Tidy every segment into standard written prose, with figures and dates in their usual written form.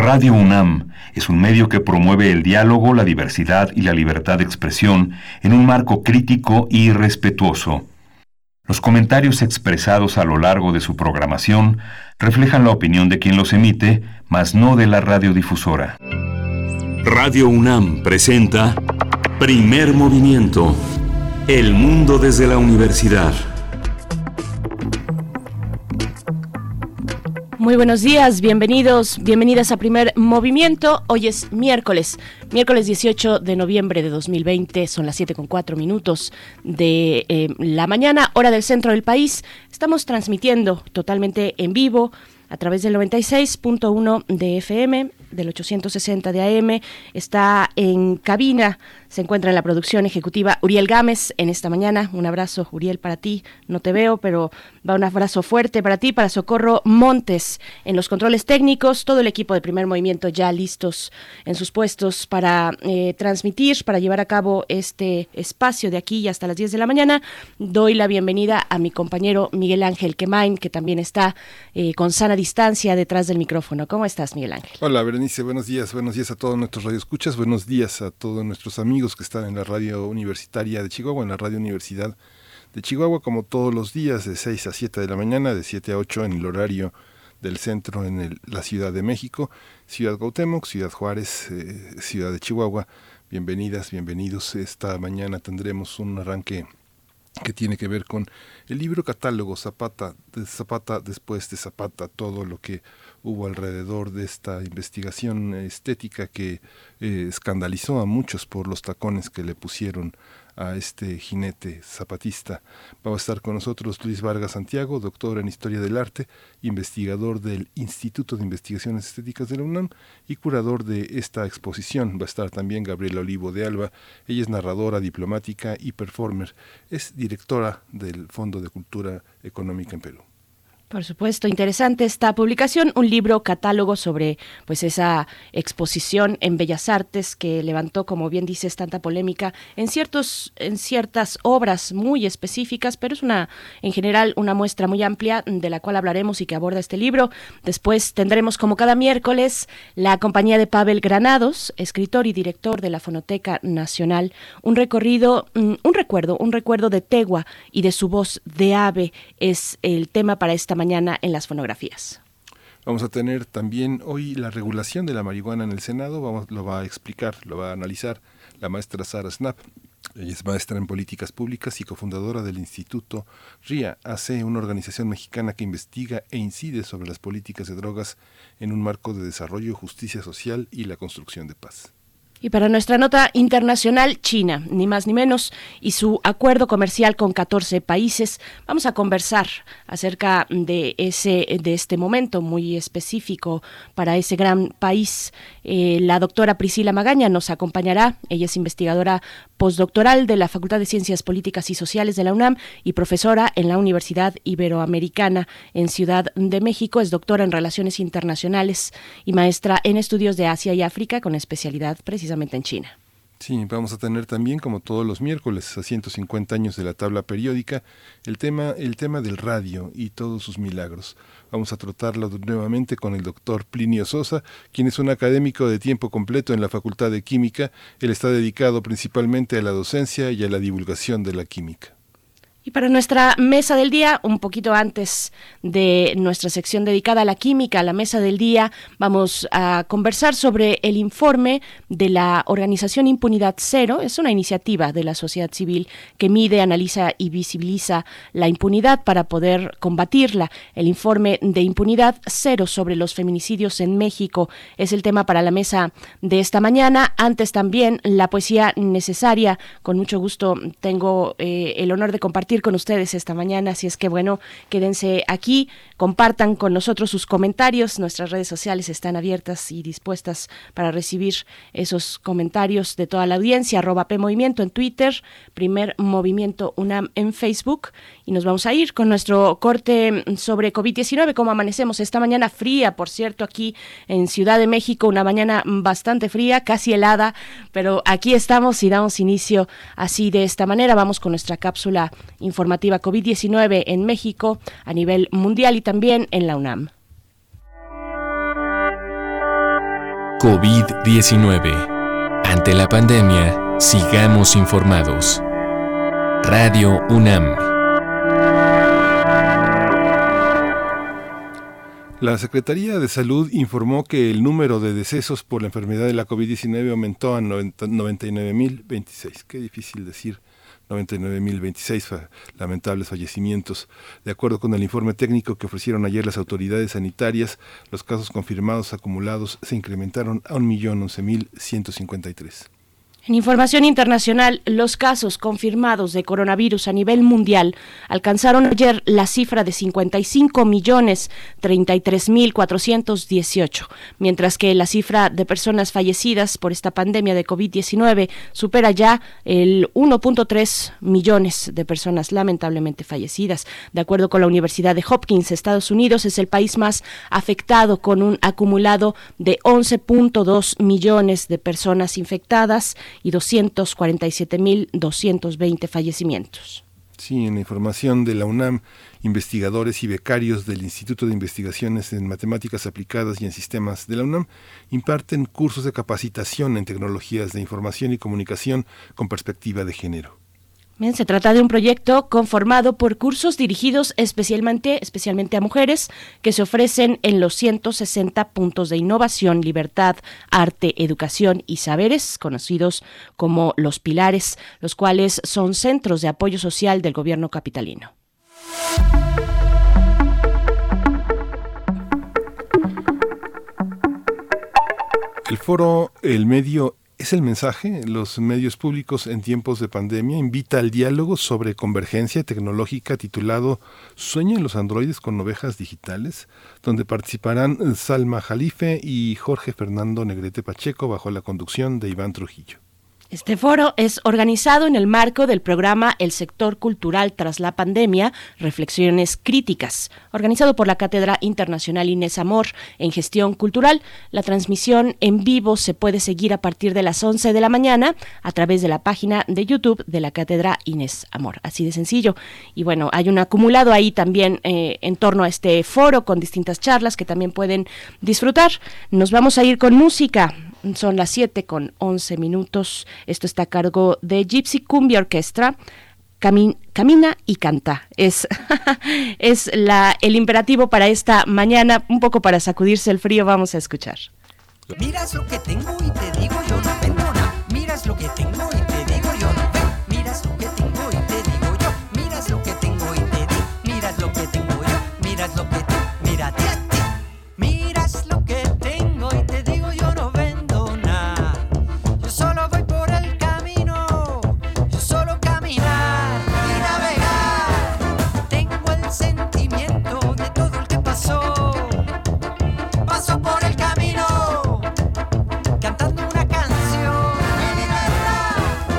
Radio UNAM es un medio que promueve el diálogo, la diversidad y la libertad de expresión en un marco crítico y respetuoso. Los comentarios expresados a lo largo de su programación reflejan la opinión de quien los emite, mas no de la radiodifusora. Radio UNAM presenta Primer Movimiento. El mundo desde la universidad. Muy buenos días, bienvenidas a Primer Movimiento. Hoy es miércoles 18 de noviembre de 2020, son las 7:04 de la mañana, hora del centro del país. Estamos transmitiendo totalmente en vivo a través del 96.1 de FM, del 860 de AM. Está en cabina, se encuentra en la producción ejecutiva Uriel Gámez en esta mañana. Un abrazo, Uriel, para ti. No te veo, pero va un abrazo fuerte para ti, para Socorro Montes en los controles técnicos. Todo el equipo de Primer Movimiento ya listos en sus puestos para transmitir, para llevar a cabo este espacio de aquí hasta las 10 de la mañana. Doy la bienvenida a mi compañero Miguel Ángel Quemain, que también está con sana distancia detrás del micrófono. ¿Cómo estás, Miguel Ángel? Hola, Berenice, buenos días a todos nuestros radioescuchas, buenos días a todos nuestros amigos que están en la radio universitaria de Chihuahua, en la Radio Universidad de Chihuahua, como todos los días, de 6 a 7 de la mañana, de 7 a 8 en el horario del centro en la Ciudad de México, Ciudad Cuauhtémoc, Ciudad Juárez, Ciudad de Chihuahua. Bienvenidas, bienvenidos. Esta mañana tendremos un arranque que tiene que ver con el libro catálogo Zapata después de Zapata, todo lo que hubo alrededor de esta investigación estética que escandalizó a muchos por los tacones que le pusieron a este jinete zapatista. Va a estar con nosotros Luis Vargas Santiago, doctor en Historia del Arte, investigador del Instituto de Investigaciones Estéticas de la UNAM y curador de esta exposición. Va a estar también Gabriela Olivo de Alba. Ella es narradora, diplomática y performer. Es directora del Fondo de Cultura Económica en Perú. Por supuesto, interesante esta publicación, un libro catálogo sobre pues esa exposición en Bellas Artes que levantó, como bien dices, tanta polémica en ciertas obras muy específicas, pero es en general una muestra muy amplia de la cual hablaremos y que aborda este libro. Después tendremos, como cada miércoles, la compañía de Pavel Granados, escritor y director de la Fonoteca Nacional, un recuerdo de Tegua y de su voz de ave es el tema para esta mañana en las fonografías. Vamos a tener también hoy la regulación de la marihuana en el Senado. Lo va a explicar, lo va a analizar la maestra Sara Snap. Ella es maestra en políticas públicas y cofundadora del Instituto RIA AC, una organización mexicana que investiga e incide sobre las políticas de drogas en un marco de desarrollo, justicia social y la construcción de paz. Y para nuestra nota internacional, China, ni más ni menos, y su acuerdo comercial con 14 países. Vamos a conversar acerca de este momento muy específico para ese gran país. La doctora Priscila Magaña nos acompañará. Ella es investigadora postdoctoral de la Facultad de Ciencias Políticas y Sociales de la UNAM y profesora en la Universidad Iberoamericana en Ciudad de México. Es doctora en Relaciones Internacionales y maestra en Estudios de Asia y África con especialidad precisamente en China. Sí, vamos a tener también, como todos los miércoles, a 150 años de la tabla periódica, el tema del radio y todos sus milagros. Vamos a tratarlo nuevamente con el doctor Plinio Sosa, quien es un académico de tiempo completo en la Facultad de Química. Él está dedicado principalmente a la docencia y a la divulgación de la química. Y para nuestra mesa del día, un poquito antes de nuestra sección dedicada a la química, la mesa del día, vamos a conversar sobre el informe de la organización Impunidad Cero. Es una iniciativa de la sociedad civil que mide, analiza y visibiliza la impunidad para poder combatirla. El informe de Impunidad Cero sobre los feminicidios en México es el tema para la mesa de esta mañana. Antes también la poesía necesaria. Con mucho gusto tengo el honor de compartir con ustedes esta mañana, así es que bueno, quédense aquí, compartan con nosotros sus comentarios. Nuestras redes sociales están abiertas y dispuestas para recibir esos comentarios de toda la audiencia. @PMovimiento en Twitter, Primer Movimiento UNAM en Facebook, y nos vamos a ir con nuestro corte sobre COVID-19, cómo amanecemos esta mañana fría, por cierto, aquí en Ciudad de México, una mañana bastante fría, casi helada, pero aquí estamos y damos inicio así de esta manera. Vamos con nuestra cápsula informativa COVID-19 en México, a nivel mundial y también en la UNAM. COVID-19. Ante la pandemia, sigamos informados. Radio UNAM. La Secretaría de Salud informó que el número de decesos por la enfermedad de la COVID-19 aumentó a 99.026. Qué difícil decir 99.026 lamentables fallecimientos. De acuerdo con el informe técnico que ofrecieron ayer las autoridades sanitarias, los casos confirmados acumulados se incrementaron a 1.011.153. En información internacional, los casos confirmados de coronavirus a nivel mundial alcanzaron ayer la cifra de 55.033.418, mientras que la cifra de personas fallecidas por esta pandemia de COVID-19 supera ya el 1.3 millones de personas lamentablemente fallecidas. De acuerdo con la Universidad de Hopkins, Estados Unidos es el país más afectado, con un acumulado de 11.2 millones de personas infectadas y 247.220 fallecimientos. Sí, en la información de la UNAM, investigadores y becarios del Instituto de Investigaciones en Matemáticas Aplicadas y en Sistemas de la UNAM imparten cursos de capacitación en tecnologías de información y comunicación con perspectiva de género. Bien, se trata de un proyecto conformado por cursos dirigidos especialmente a mujeres que se ofrecen en los 160 puntos de innovación, libertad, arte, educación y saberes, conocidos como los Pilares, los cuales son centros de apoyo social del gobierno capitalino. El foro El Medio es el mensaje. Los medios públicos en tiempos de pandemia invita al diálogo sobre convergencia tecnológica titulado ¿Sueñan los androides con ovejas digitales?, donde participarán Salma Jalife y Jorge Fernando Negrete Pacheco bajo la conducción de Iván Trujillo. Este foro es organizado en el marco del programa El Sector Cultural tras la Pandemia, Reflexiones Críticas, organizado por la Cátedra Internacional Inés Amor en Gestión Cultural. La transmisión en vivo se puede seguir a partir de las 11 de la mañana a través de la página de YouTube de la Cátedra Inés Amor, así de sencillo. Y bueno, hay un acumulado ahí también en torno a este foro con distintas charlas que también pueden disfrutar. Nos vamos a ir con música. Son las 7:11. Esto está a cargo de Gypsy Cumbia Orquestra. Camina y canta. Es el imperativo para esta mañana, un poco para sacudirse el frío. Vamos a escuchar. Miras lo que tengo y te digo yo no vendo nada. Miras lo que tengo y te digo yo no vendo. Miras lo que tengo y te digo yo. Miras lo que tengo y te digo. Miras lo que tengo yo. Miras lo que te. Mírate a ti. Miras lo que tengo y te digo yo no vendo nada. Yo solo voy por el camino. Yo solo caminar y navegar. Tengo el sentimiento de todo el que pasó. Paso por el camino cantando una canción. Mi libertad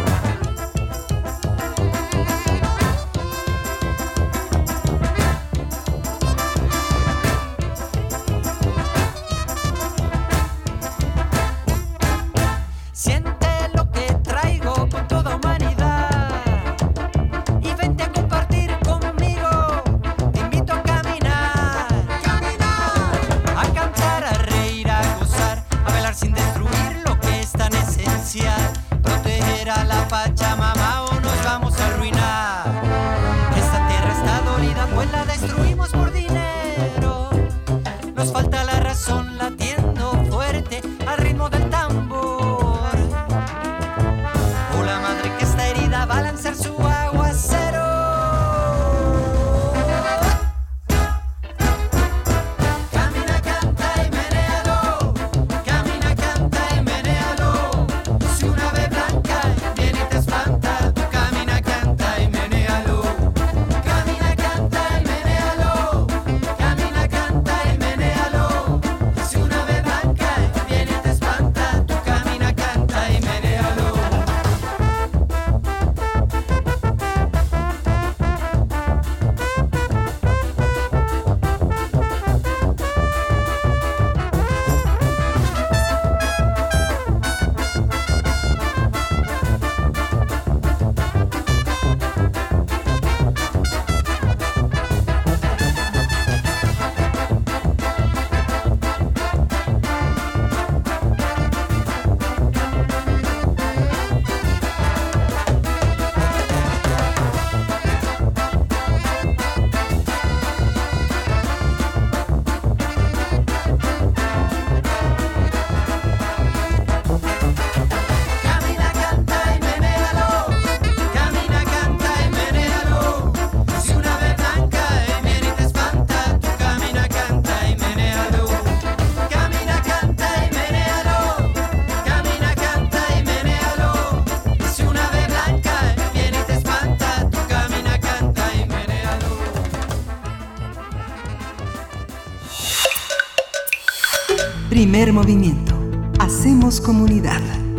Primer movimiento. Hacemos comunidad.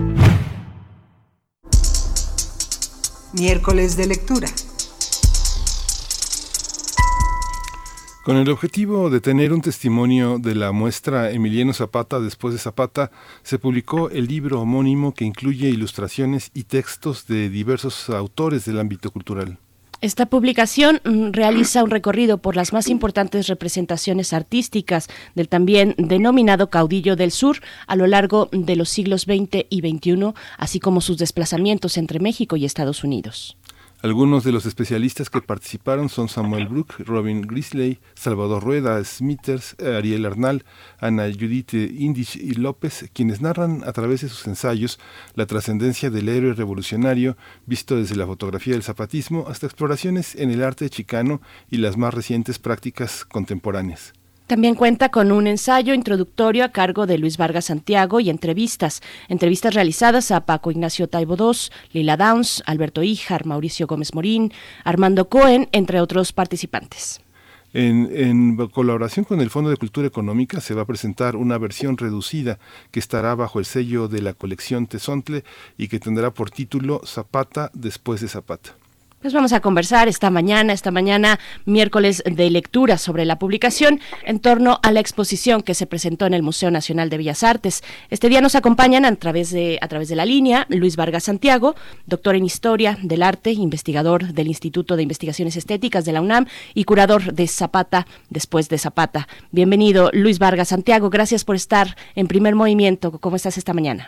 Miércoles de lectura. Con el objetivo de tener un testimonio de la muestra Emiliano Zapata después de Zapata, se publicó el libro homónimo que incluye ilustraciones y textos de diversos autores del ámbito cultural. Esta publicación realiza un recorrido por las más importantes representaciones artísticas del también denominado caudillo del sur a lo largo de los siglos XX y XXI, así como sus desplazamientos entre México y Estados Unidos. Algunos de los especialistas que participaron son Samuel Brook, Robin Grisley, Salvador Rueda, Smithers, Ariel Arnal, Ana Judith Indich y López, quienes narran a través de sus ensayos la trascendencia del héroe revolucionario visto desde la fotografía del zapatismo hasta exploraciones en el arte chicano y las más recientes prácticas contemporáneas. También cuenta con un ensayo introductorio a cargo de Luis Vargas Santiago y entrevistas realizadas a Paco Ignacio Taibo II, Lila Downs, Alberto Híjar, Mauricio Gómez Morín, Armando Cohen, entre otros participantes. En colaboración con el Fondo de Cultura Económica se va a presentar una versión reducida que estará bajo el sello de la colección Tezontle y que tendrá por título Zapata después de Zapata. Pues vamos a conversar esta mañana, miércoles de lectura, sobre la publicación en torno a la exposición que se presentó en el Museo Nacional de Bellas Artes. Este día nos acompañan a través de la línea Luis Vargas Santiago, doctor en Historia del Arte, investigador del Instituto de Investigaciones Estéticas de la UNAM y curador de Zapata después de Zapata. Bienvenido, Luis Vargas Santiago, gracias por estar en Primer Movimiento. ¿Cómo estás esta mañana?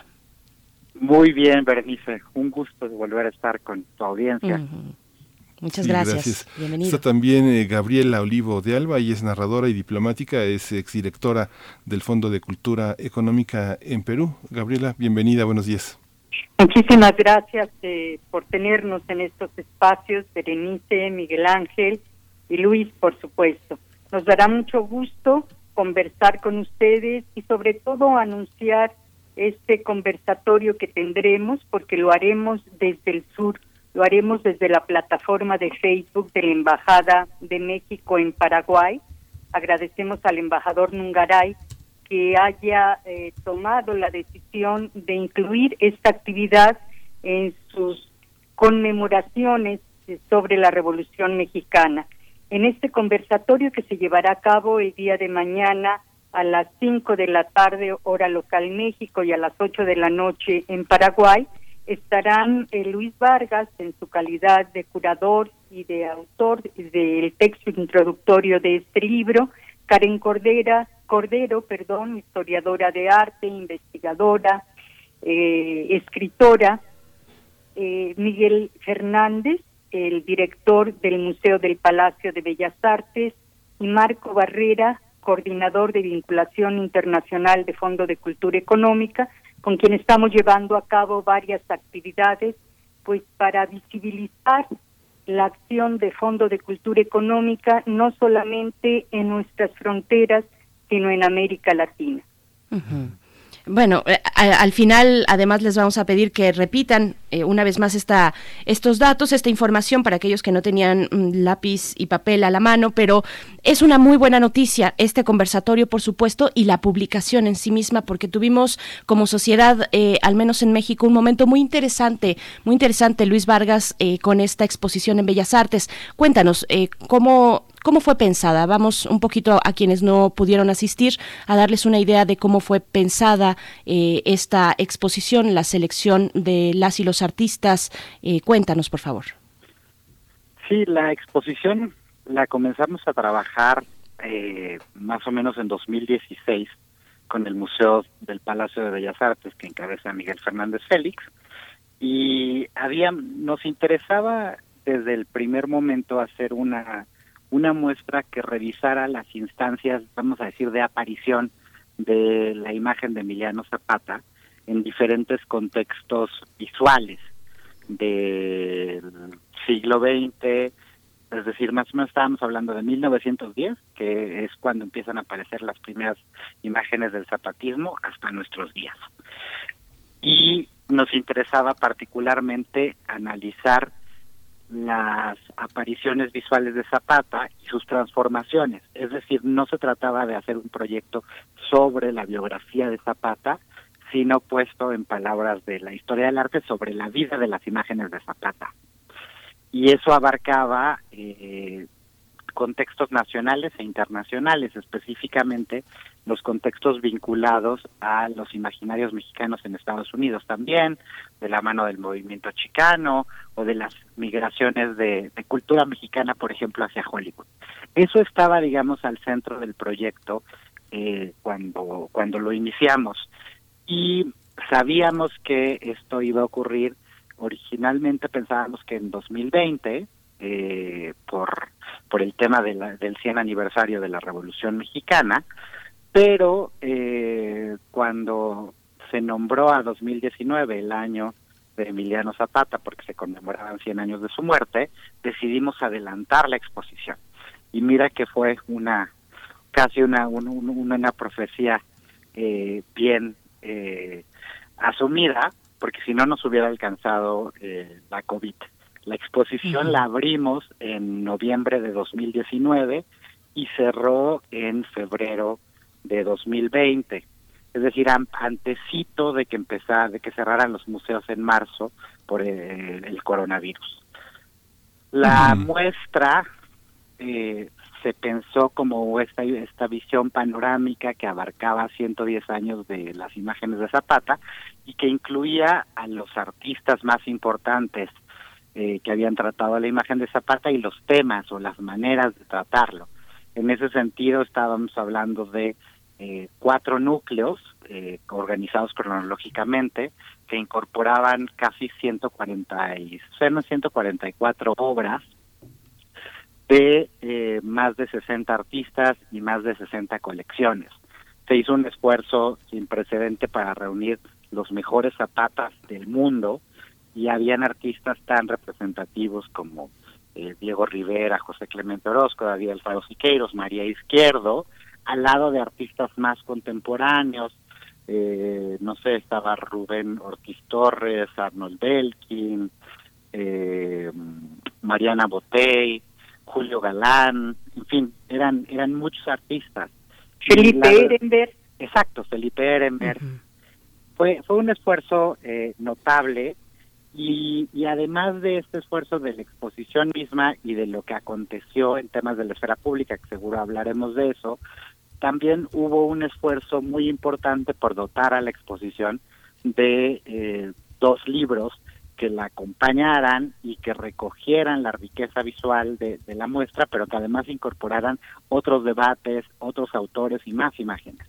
Muy bien, Berenice, un gusto de volver a estar con tu audiencia. Muchas gracias. Bienvenido. Está también Gabriela Olivo de Alba, ella es narradora y diplomática, es exdirectora del Fondo de Cultura Económica en Perú. Gabriela, bienvenida, buenos días. Muchísimas gracias por tenernos en estos espacios, Berenice, Miguel Ángel y Luis, por supuesto. Nos dará mucho gusto conversar con ustedes y sobre todo anunciar este conversatorio que tendremos, porque lo haremos desde el sur. Lo haremos desde la plataforma de Facebook de la Embajada de México en Paraguay. Agradecemos al embajador Nungaray que haya tomado la decisión de incluir esta actividad en sus conmemoraciones sobre la Revolución Mexicana. En este conversatorio que se llevará a cabo el día de mañana a las 5 de la tarde, hora local México, y a las 8 de la noche en Paraguay, estarán Luis Vargas en su calidad de curador y de autor del texto introductorio de este libro, Karen Cordero, historiadora de arte, investigadora, escritora, Miguel Fernández, el director del Museo del Palacio de Bellas Artes, y Marco Barrera, coordinador de vinculación internacional de Fondo de Cultura Económica, con quien estamos llevando a cabo varias actividades, pues para visibilizar la acción de Fondo de Cultura Económica no solamente en nuestras fronteras, sino en América Latina. Uh-huh. Bueno, al final, además, les vamos a pedir que repitan una vez más estos datos, esta información para aquellos que no tenían lápiz y papel a la mano, pero es una muy buena noticia este conversatorio, por supuesto, y la publicación en sí misma, porque tuvimos como sociedad, al menos en México, un momento muy interesante, Luis Vargas, con esta exposición en Bellas Artes. Cuéntanos, ¿Cómo fue pensada? Vamos un poquito a quienes no pudieron asistir a darles una idea de cómo fue pensada esta exposición, la selección de las y los artistas. Cuéntanos, por favor. Sí, la exposición la comenzamos a trabajar más o menos en 2016 con el Museo del Palacio de Bellas Artes, que encabeza Miguel Fernández Félix, y nos interesaba desde el primer momento hacer una muestra que revisara las instancias, vamos a decir, de aparición de la imagen de Emiliano Zapata en diferentes contextos visuales del siglo XX, es decir, más o menos estábamos hablando de 1910, que es cuando empiezan a aparecer las primeras imágenes del zapatismo, hasta nuestros días. Y nos interesaba particularmente analizar las apariciones visuales de Zapata y sus transformaciones. Es decir, no se trataba de hacer un proyecto sobre la biografía de Zapata, sino puesto en palabras de la historia del arte sobre la vida de las imágenes de Zapata. Y eso abarcaba contextos nacionales e internacionales, específicamente los contextos vinculados a los imaginarios mexicanos en Estados Unidos también, de la mano del movimiento chicano o de las migraciones de cultura mexicana, por ejemplo, hacia Hollywood. Eso estaba, digamos, al centro del proyecto cuando lo iniciamos. Y sabíamos que esto iba a ocurrir. Originalmente pensábamos que en 2020, por el tema del 100 aniversario de la Revolución Mexicana, pero cuando se nombró a 2019 el año de Emiliano Zapata, porque se conmemoraban 100 años de su muerte, decidimos adelantar la exposición. Y mira que fue casi una profecía bien asumida, porque si no nos hubiera alcanzado la COVID. La exposición la abrimos en noviembre de 2019 y cerró en febrero de 2020. Es decir, antecito de que cerraran los museos en marzo por el coronavirus. La muestra se pensó como esta visión panorámica que abarcaba 110 años de las imágenes de Zapata y que incluía a los artistas más importantes que habían tratado la imagen de Zapata y los temas o las maneras de tratarlo. En ese sentido estábamos hablando de 4 núcleos organizados cronológicamente que incorporaban casi 144 obras de más de 60 artistas y más de 60 colecciones. Se hizo un esfuerzo sin precedente para reunir los mejores Zapatas del mundo y habían artistas tan representativos como Diego Rivera, José Clemente Orozco, David Alfaro Siqueiros, María Izquierdo, al lado de artistas más contemporáneos, estaba Rubén Ortiz Torres, Arnold Belkin, Mariana Botey, Julio Galán, en fin, eran muchos artistas. Felipe Ehrenberg. Exacto, Felipe Ehrenberg. Fue un esfuerzo notable y además de este esfuerzo de la exposición misma y de lo que aconteció en temas de la esfera pública, que seguro hablaremos de eso, también hubo un esfuerzo muy importante por dotar a la exposición de 2 libros que la acompañaran y que recogieran la riqueza visual de la muestra, pero que además incorporaran otros debates, otros autores y más imágenes.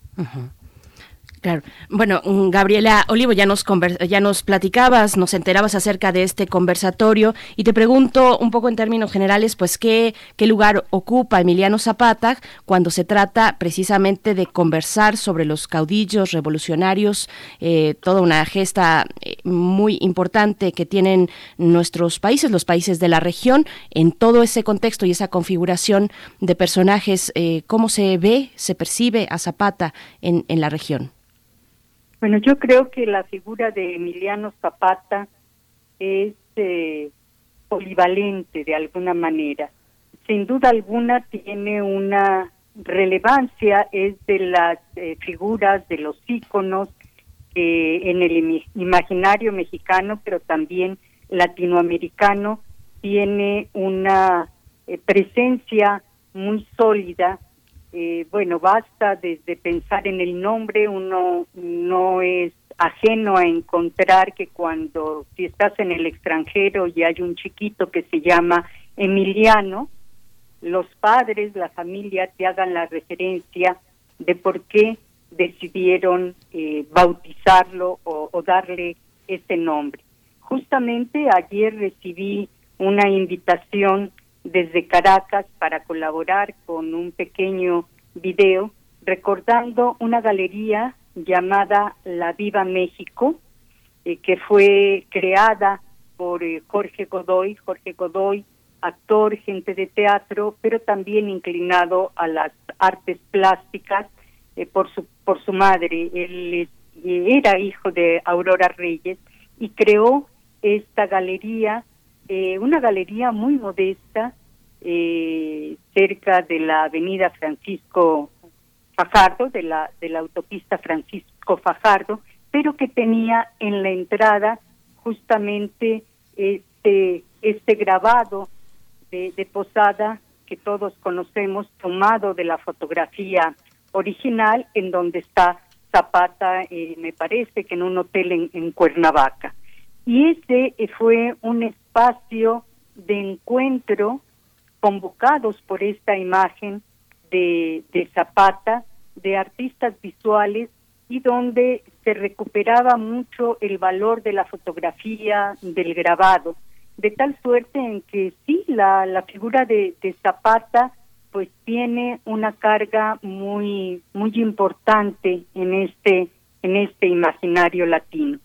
Claro. Bueno, Gabriela Olivo, ya nos platicabas, nos enterabas acerca de este conversatorio y te pregunto un poco en términos generales, pues qué lugar ocupa Emiliano Zapata cuando se trata precisamente de conversar sobre los caudillos revolucionarios, toda una gesta muy importante que tienen nuestros países, los países de la región, en todo ese contexto y esa configuración de personajes, ¿cómo se ve, se percibe a Zapata en la región? Bueno, yo creo que la figura de Emiliano Zapata es polivalente de alguna manera. Sin duda alguna tiene una relevancia, es de las figuras, de los íconos en el imaginario mexicano, pero también latinoamericano, tiene una presencia muy sólida. Basta desde pensar en el nombre, uno no es ajeno a encontrar que si estás en el extranjero y hay un chiquito que se llama Emiliano, los padres, la familia te hagan la referencia de por qué decidieron bautizarlo o darle ese nombre. Justamente ayer recibí una invitación desde Caracas para colaborar con un pequeño video recordando una galería llamada La Viva México, que fue creada por Jorge Godoy, actor, gente de teatro, pero también inclinado a las artes plásticas por su madre. Él era hijo de Aurora Reyes y creó esta galería una galería muy modesta cerca de la avenida Francisco Fajardo, de la autopista Francisco Fajardo, pero que tenía en la entrada justamente este grabado de Posada que todos conocemos, tomado de la fotografía original, en donde está Zapata, me parece que en un hotel en Cuernavaca. Y ese fue un espacio de encuentro convocados por esta imagen de Zapata, de artistas visuales, y donde se recuperaba mucho el valor de la fotografía, del grabado, de tal suerte en que sí, la figura de Zapata pues tiene una carga muy muy importante en este imaginario latino.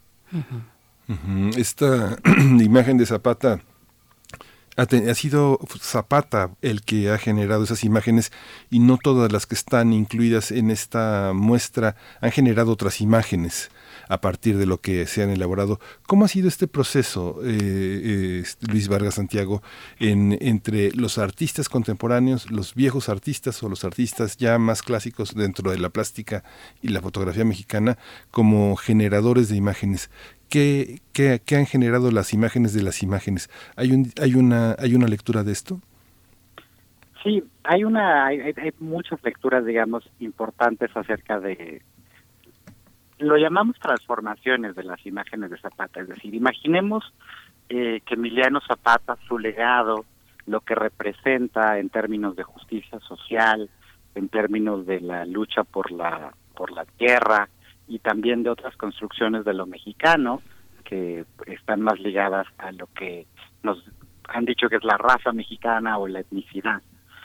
Esta imagen de Zapata ha sido Zapata el que ha generado esas imágenes, y no todas las que están incluidas en esta muestra han generado otras imágenes a partir de lo que se han elaborado. ¿Cómo ha sido este proceso, Luis Vargas Santiago, entre los artistas contemporáneos, los viejos artistas o los artistas ya más clásicos dentro de la plástica y la fotografía mexicana, como generadores de imágenes? ¿Qué han generado las imágenes de las imágenes? ¿Hay una lectura de esto? Sí, hay muchas lecturas, digamos, importantes acerca de, lo llamamos transformaciones de las imágenes de Zapata. Es decir, imaginemos que Emiliano Zapata, su legado, lo que representa en términos de justicia social, en términos de la lucha por la tierra, y también de otras construcciones de lo mexicano que están más ligadas a lo que nos han dicho que es la raza mexicana o la etnicidad.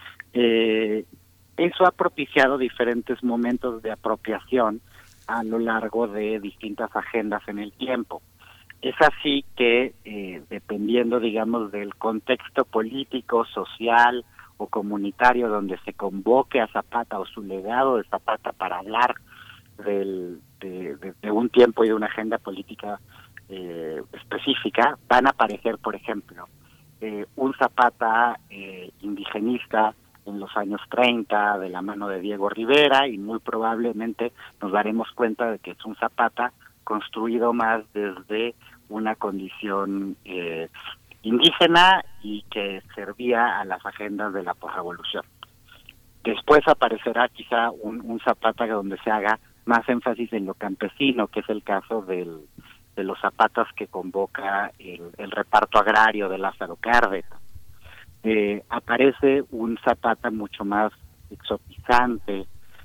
Eso ha propiciado diferentes momentos de apropiación a lo largo de distintas agendas en el tiempo. Es así que, dependiendo, digamos, del contexto político, social o comunitario donde se convoque a Zapata o su legado de Zapata para hablar de un tiempo y de una agenda política específica, van a aparecer, por ejemplo, un Zapata indigenista en los años 30 de la mano de Diego Rivera, y muy probablemente nos daremos cuenta de que es un Zapata construido más desde una condición indígena y que servía a las agendas de la posrevolución. Después aparecerá quizá un Zapata donde se haga más énfasis en lo campesino, que es el caso de los Zapatas que convoca el reparto agrario de Lázaro Cárdenas. Aparece un Zapata mucho más exotizante,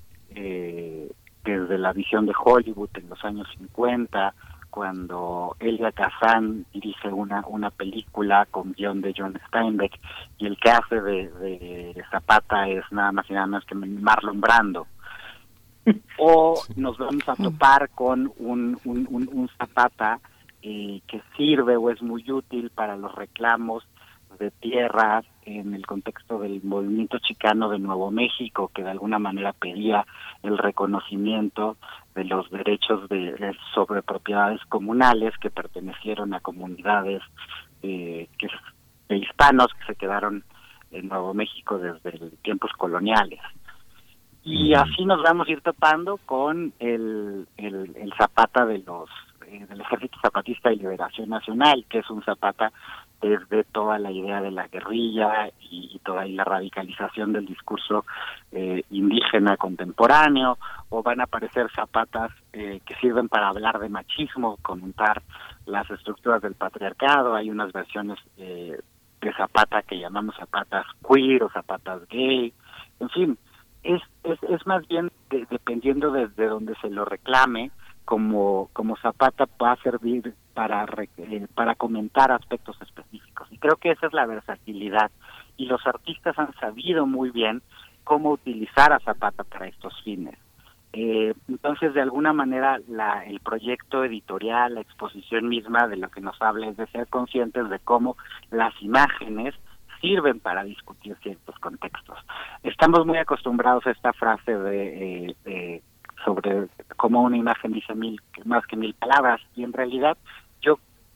desde la visión de Hollywood en los años 50, cuando Elia Kazan dirige una película con guión de John Steinbeck, y el que hace de Zapata es nada más y nada más que Marlon Brando. O nos vamos a topar con un Zapata que sirve o es muy útil para los reclamos de tierras en el contexto del movimiento chicano de Nuevo México, que de alguna manera pedía el reconocimiento de los derechos sobre propiedades comunales que pertenecieron a comunidades de hispanos que se quedaron en Nuevo México desde tiempos coloniales. Y así nos vamos a ir topando con el Zapata del Ejército Zapatista de Liberación Nacional, que es un Zapata desde toda la idea de la guerrilla y toda la radicalización del discurso indígena contemporáneo. O van a aparecer Zapatas que sirven para hablar de machismo, comentar las estructuras del patriarcado. Hay unas versiones de Zapata que llamamos Zapatas queer o Zapatas gay. En fin, es más bien dependiendo de donde se lo reclame, como Zapata va a servir para comentar aspectos específicos. Y creo que esa es la versatilidad, y los artistas han sabido muy bien cómo utilizar a Zapata para estos fines. Entonces, de alguna manera, el proyecto editorial, la exposición misma de lo que nos habla es de ser conscientes de cómo las imágenes sirven para discutir ciertos contextos. Estamos muy acostumbrados a esta frase sobre cómo una imagen dice más que mil palabras, y en realidad yo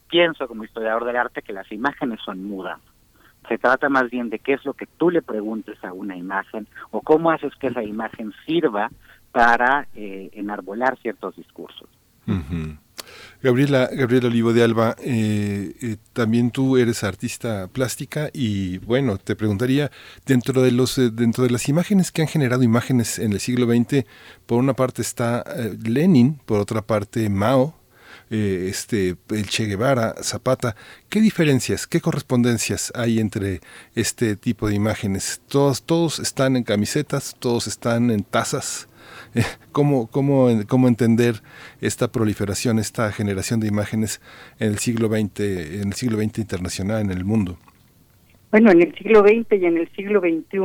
pienso como historiador del arte que las imágenes son mudas. Se trata más bien de qué es lo que tú le preguntes a una imagen o cómo haces que esa imagen sirva para enarbolar ciertos discursos. Uh-huh. Gabriela Olivo de Alba, también tú eres artista plástica y bueno, te preguntaría, dentro de las imágenes que han generado imágenes en el siglo XX, por una parte está Lenin, por otra parte Mao, el Che Guevara, Zapata. ¿Qué diferencias, qué correspondencias hay entre este tipo de imágenes? Todos están en camisetas, todos están en tazas. ¿Cómo entender esta proliferación, esta generación de imágenes en el siglo XX internacional, en el mundo? Bueno, en el siglo XX y en el siglo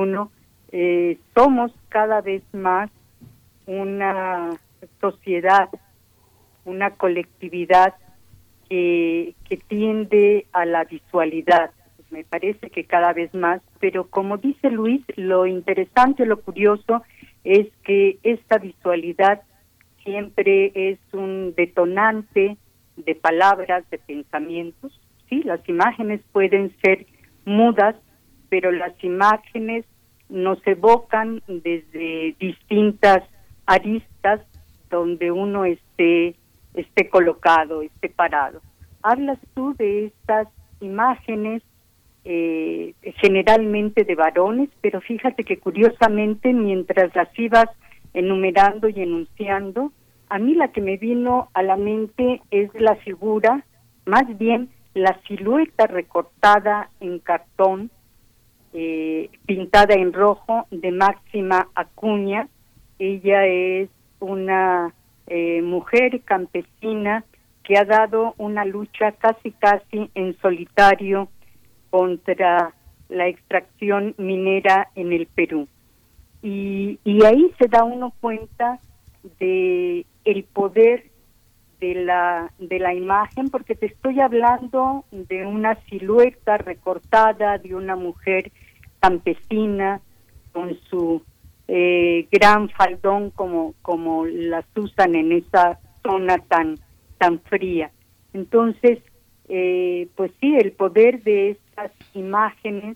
XXI somos cada vez más una sociedad, una colectividad que tiende a la visualidad. Me parece que cada vez más, pero como dice Luis, lo interesante, lo curioso es que esta visualidad siempre es un detonante de palabras, de pensamientos. Sí, las imágenes pueden ser mudas, pero las imágenes nos evocan desde distintas aristas donde uno esté colocado, esté parado. Hablas tú de estas imágenes generalmente de varones, pero fíjate que curiosamente mientras las ibas enumerando y enunciando, a mí la que me vino a la mente es la figura, más bien la silueta recortada en cartón, pintada en rojo, de Máxima Acuña. Ella es una mujer campesina que ha dado una lucha casi en solitario contra la extracción minera en el Perú. Y ahí se da uno cuenta de el poder de la imagen, porque te estoy hablando de una silueta recortada de una mujer campesina con su gran faldón como las usan en esa zona tan fría. Entonces, pues sí, el poder de estas imágenes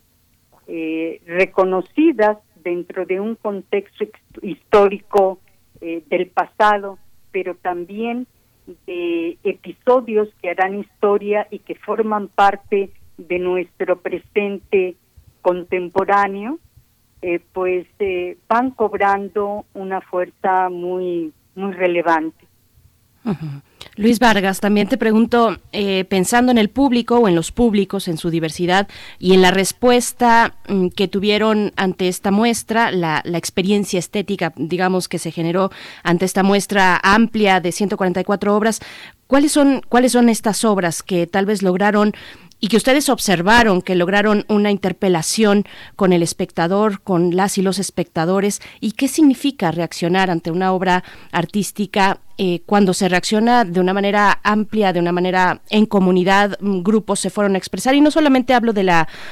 reconocidas dentro de un contexto histórico del pasado, pero también de episodios que harán historia y que forman parte de nuestro presente contemporáneo, pues van cobrando una fuerza muy, muy relevante. Uh-huh. Luis Vargas, también te pregunto, pensando en el público o en los públicos, en su diversidad y en la respuesta que tuvieron ante esta muestra, la experiencia estética, digamos, que se generó ante esta muestra amplia de 144 obras, ¿cuáles son estas obras que tal vez lograron y que ustedes observaron, que lograron una interpelación con el espectador, con las y los espectadores? ¿Y qué significa reaccionar ante una obra artística cuando se reacciona de una manera amplia, de una manera en comunidad? Grupos se fueron a expresar, y no solamente hablo de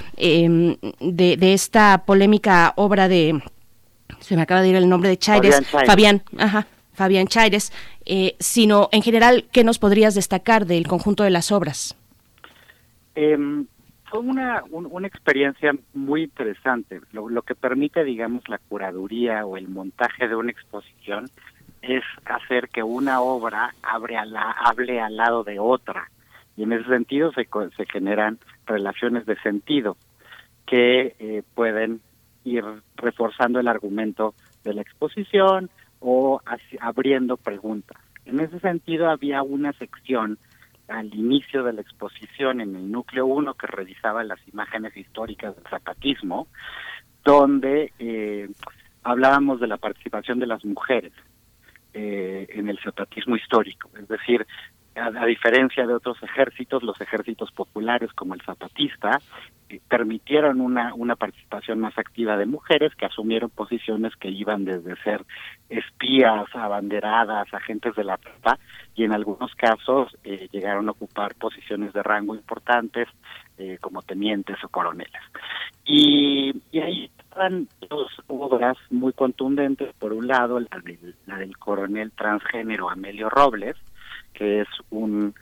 de esta polémica obra de, se me acaba de ir el nombre de Chaires, Fabián Chaires, sino en general, ¿qué nos podrías destacar del conjunto de las obras? Fue una experiencia muy interesante. Lo que permite, digamos, la curaduría o el montaje de una exposición es hacer que una obra hable al lado de otra, y en ese sentido se generan relaciones de sentido que pueden ir reforzando el argumento de la exposición o abriendo preguntas. En ese sentido había una sección al inicio de la exposición en el núcleo 1 que revisaba las imágenes históricas del zapatismo, donde hablábamos de la participación de las mujeres en el zapatismo histórico. Es decir, a diferencia de otros ejércitos, los ejércitos populares como el zapatista permitieron una participación más activa de mujeres que asumieron posiciones que iban desde ser espías, abanderadas, agentes de la tropa, y en algunos casos llegaron a ocupar posiciones de rango importantes como tenientes o coroneles. Y ahí estaban dos obras muy contundentes. Por un lado, la del coronel transgénero Amelio Robles, que es un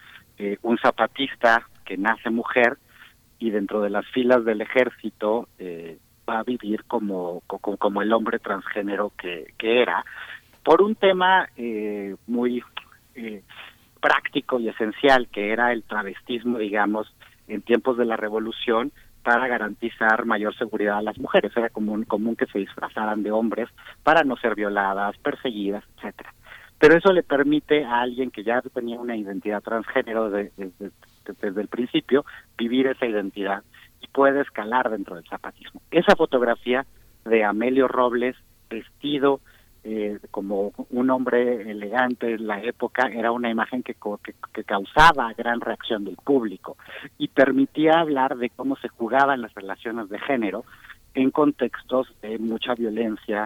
un zapatista que nace mujer y dentro de las filas del ejército va a vivir como el hombre transgénero que era, por un tema muy práctico y esencial, que era el travestismo, digamos, en tiempos de la Revolución, para garantizar mayor seguridad a las mujeres. Era común que se disfrazaran de hombres para no ser violadas, perseguidas, etcétera. Pero eso le permite a alguien que ya tenía una identidad transgénero desde el principio, vivir esa identidad y puede escalar dentro del zapatismo. Esa fotografía de Amelio Robles vestido como un hombre elegante en la época era una imagen que causaba gran reacción del público y permitía hablar de cómo se jugaban las relaciones de género en contextos de mucha violencia,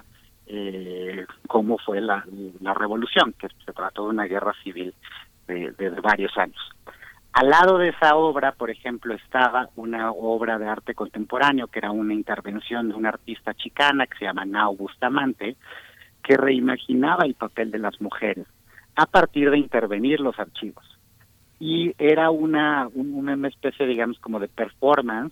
como fue la revolución, que se trató de una guerra civil de varios años. Al lado de esa obra, por ejemplo, estaba una obra de arte contemporáneo, que era una intervención de una artista chicana que se llama Nao Bustamante, que reimaginaba el papel de las mujeres a partir de intervenir los archivos. Y era una especie, digamos, como de performance,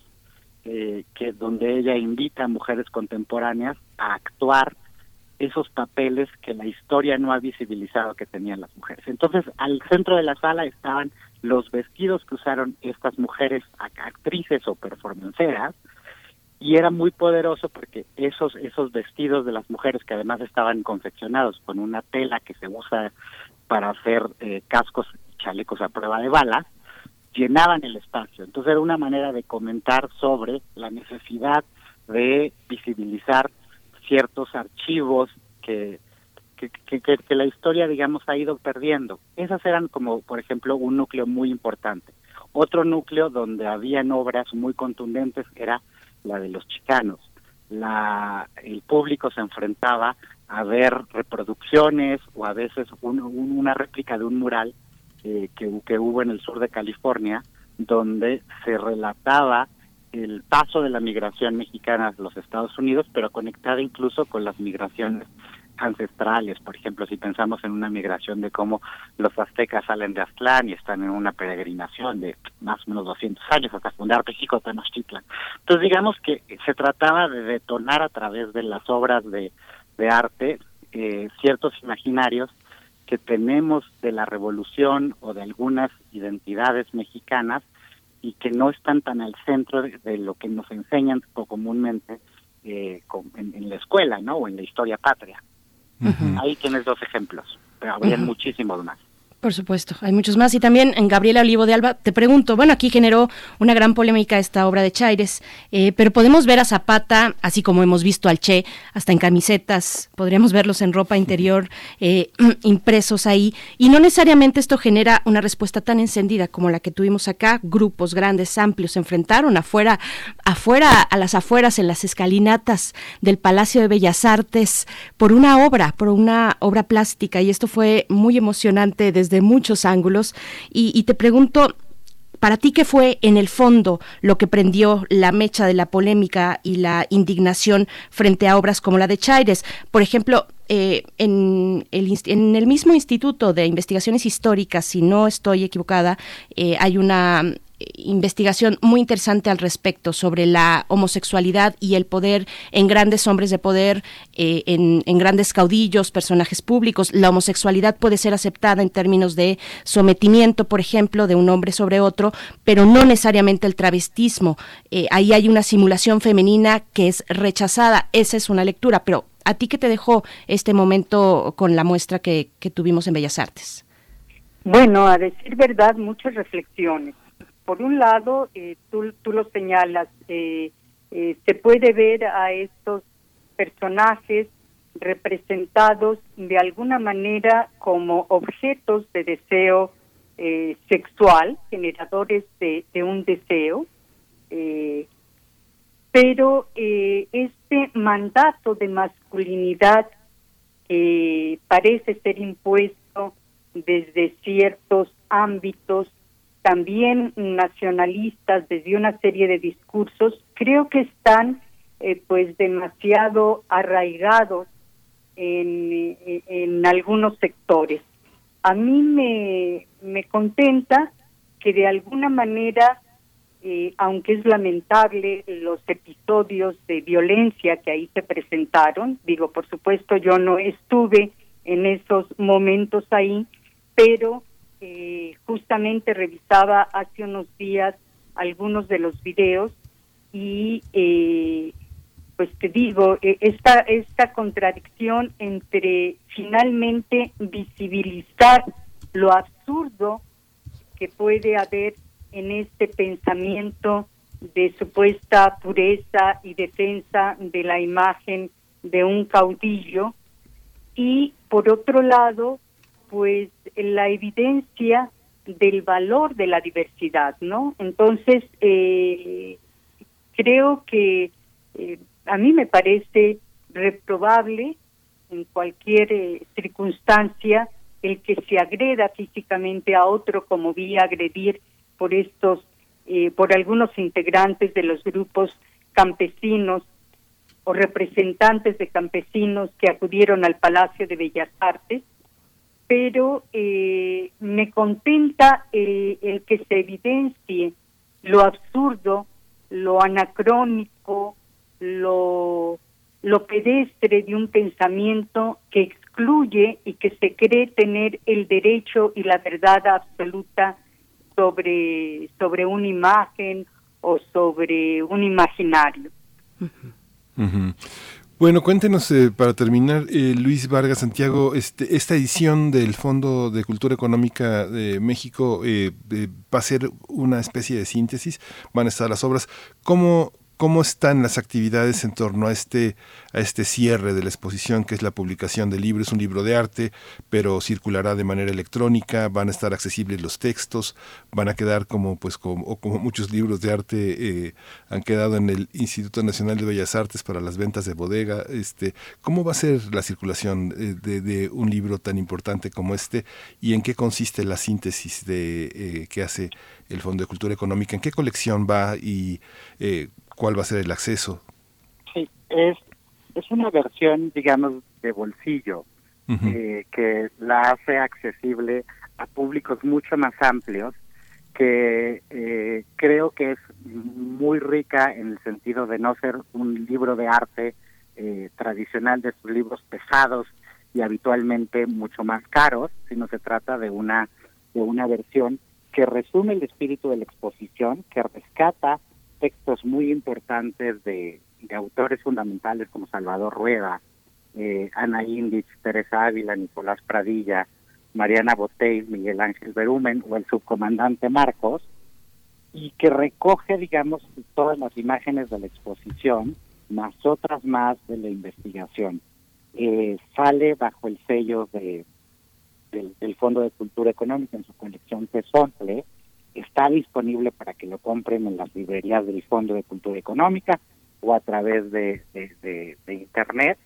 donde ella invita a mujeres contemporáneas a actuar esos papeles que la historia no ha visibilizado que tenían las mujeres. Entonces, al centro de la sala estaban los vestidos que usaron estas mujeres actrices o performanceras, y era muy poderoso porque esos vestidos de las mujeres, que además estaban confeccionados con una tela que se usa para hacer cascos y chalecos a prueba de balas, llenaban el espacio. Entonces era una manera de comentar sobre la necesidad de visibilizar ciertos archivos que la historia, digamos, ha ido perdiendo. Esas eran como, por ejemplo, un núcleo muy importante. Otro núcleo donde habían obras muy contundentes era la de los chicanos. El público se enfrentaba a ver reproducciones o a veces una réplica de un mural que hubo en el sur de California, donde se relataba el paso de la migración mexicana a los Estados Unidos, pero conectada incluso con las migraciones ancestrales. Por ejemplo, si pensamos en una migración de cómo los aztecas salen de Aztlán y están en una peregrinación de más o menos 200 años hasta fundar México Tenochtitlan. Entonces, digamos que se trataba de detonar a través de las obras de arte ciertos imaginarios que tenemos de la revolución o de algunas identidades mexicanas y que no están tan al centro de lo que nos enseñan comúnmente en la escuela, ¿no? O en la historia patria. Uh-huh. Ahí tienes 2 ejemplos, pero habría muchísimos más. Por supuesto, hay muchos más. Y también en Gabriela Olivo de Alba, te pregunto, bueno, aquí generó una gran polémica esta obra de Chaires, pero podemos ver a Zapata, así como hemos visto al Che, hasta en camisetas, podríamos verlos en ropa interior, impresos ahí, y no necesariamente esto genera una respuesta tan encendida como la que tuvimos acá. Grupos grandes, amplios, se enfrentaron afuera, a las afueras, en las escalinatas del Palacio de Bellas Artes, por una obra plástica, y esto fue muy emocionante desde muchos ángulos, y te pregunto, para ti, ¿qué fue en el fondo lo que prendió la mecha de la polémica y la indignación frente a obras como la de Chaires? Por ejemplo, en el mismo Instituto de Investigaciones Históricas, si no estoy equivocada, hay una investigación muy interesante al respecto sobre la homosexualidad y el poder en grandes hombres de poder, en grandes caudillos, personajes públicos. La homosexualidad puede ser aceptada en términos de sometimiento, por ejemplo, de un hombre sobre otro, pero no necesariamente el travestismo. Ahí hay una simulación femenina que es rechazada. Esa es una lectura, pero ¿a ti qué te dejó este momento con la muestra que tuvimos en Bellas Artes? Bueno, a decir verdad, muchas reflexiones. Por un lado, tú lo señalas, se puede ver a estos personajes representados de alguna manera como objetos de deseo sexual, generadores de un deseo, pero este mandato de masculinidad parece ser impuesto desde ciertos ámbitos también nacionalistas, desde una serie de discursos, creo que están pues demasiado arraigados en algunos sectores. A mí me contenta que de alguna manera, aunque es lamentable los episodios de violencia que ahí se presentaron, digo, por supuesto yo no estuve en esos momentos ahí, pero justamente revisaba hace unos días algunos de los videos y pues te digo, esta contradicción entre finalmente visibilizar lo absurdo que puede haber en este pensamiento de supuesta pureza y defensa de la imagen de un caudillo, y por otro lado, pues la evidencia del valor de la diversidad, ¿no? Entonces, creo que a mí me parece reprobable en cualquier circunstancia el que se agreda físicamente a otro, como vi agredir por algunos integrantes de los grupos campesinos o representantes de campesinos que acudieron al Palacio de Bellas Artes, pero me contenta el que se evidencie lo absurdo, lo anacrónico, lo pedestre de un pensamiento que excluye y que se cree tener el derecho y la verdad absoluta sobre una imagen o sobre un imaginario. Uh-huh. Bueno, cuéntenos para terminar, Luis Vargas Santiago, esta edición del Fondo de Cultura Económica de México va a ser una especie de síntesis, van a estar las obras. ¿Cómo están las actividades en torno a este cierre de la exposición, que es la publicación del libro? Es un libro de arte, pero circulará de manera electrónica, van a estar accesibles los textos, van a quedar como muchos libros de arte han quedado en el Instituto Nacional de Bellas Artes para las ventas de bodega. ¿Cómo va a ser la circulación de un libro tan importante como este, y en qué consiste la síntesis que hace el Fondo de Cultura Económica? ¿En qué colección va y cuál va a ser el acceso? Sí, es una versión, digamos, de bolsillo, que la hace accesible a públicos mucho más amplios, que creo que es muy rica en el sentido de no ser un libro de arte tradicional, de estos libros pesados y habitualmente mucho más caros, sino se trata de una versión que resume el espíritu de la exposición, que rescata textos muy importantes de autores fundamentales como Salvador Rueda, Ana Índice, Teresa Ávila, Nicolás Pradilla, Mariana Botey, Miguel Ángel Berumen o el subcomandante Marcos, y que recoge, digamos, todas las imágenes de la exposición, más otras más de la investigación. Sale bajo el sello del Fondo de Cultura Económica en su colección Tezontle. Está disponible para que lo compren en las librerías del Fondo de Cultura Económica o a través de Internet.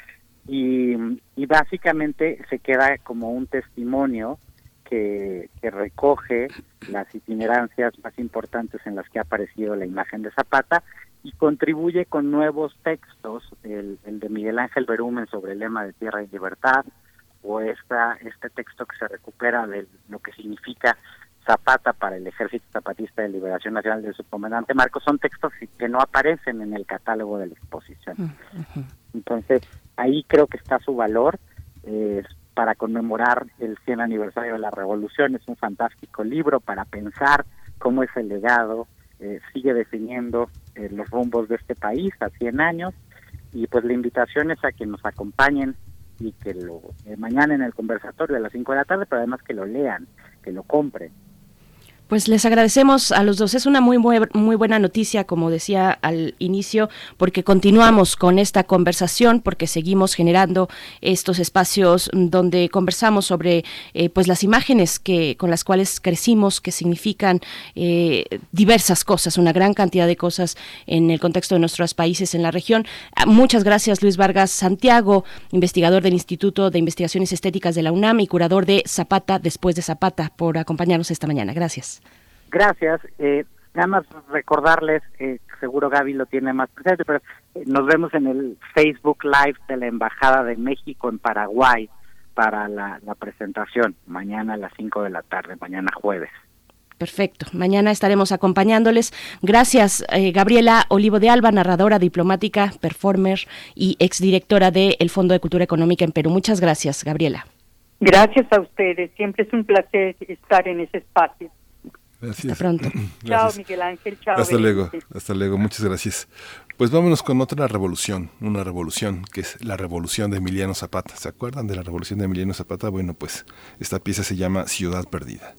Y básicamente se queda como un testimonio que recoge las itinerancias más importantes en las que ha aparecido la imagen de Zapata y contribuye con nuevos textos, el de Miguel Ángel Berumen sobre el lema de Tierra y Libertad, o este texto que se recupera de lo que significa Zapata para el Ejército Zapatista de Liberación Nacional del subcomandante Marcos. Son textos que no aparecen en el catálogo de la exposición. Entonces, ahí creo que está su valor para conmemorar el 100 aniversario de la Revolución. Es un fantástico libro para pensar cómo ese legado sigue definiendo los rumbos de este país a 100 años. Y pues la invitación es a que nos acompañen y que mañana en el conversatorio a las 5 de la tarde, pero además que lo lean, que lo compren. Pues les agradecemos a los dos. Es una muy buena noticia, como decía al inicio, porque continuamos con esta conversación, porque seguimos generando estos espacios donde conversamos sobre pues las imágenes con las cuales crecimos, que significan diversas cosas, una gran cantidad de cosas en el contexto de nuestros países en la región. Muchas gracias, Luis Vargas Santiago, investigador del Instituto de Investigaciones Estéticas de la UNAM y curador de Zapata después de Zapata, por acompañarnos esta mañana. Gracias. Gracias. Nada más recordarles, seguro Gaby lo tiene más presente, pero nos vemos en el Facebook Live de la Embajada de México en Paraguay para la presentación, mañana a las 5 de la tarde, mañana jueves. Perfecto. Mañana estaremos acompañándoles. Gracias, Gabriela Olivo de Alba, narradora, diplomática, performer y exdirectora del Fondo de Cultura Económica en Perú. Muchas gracias, Gabriela. Gracias a ustedes. Siempre es un placer estar en ese espacio. Gracias. Hasta pronto. Chao, Miguel Ángel. Chao. Hasta luego. Hasta luego. Muchas gracias. Pues vámonos con otra revolución, una revolución que es la revolución de Emiliano Zapata. ¿Se acuerdan de la revolución de Emiliano Zapata? Bueno, pues esta pieza se llama Ciudad Perdida.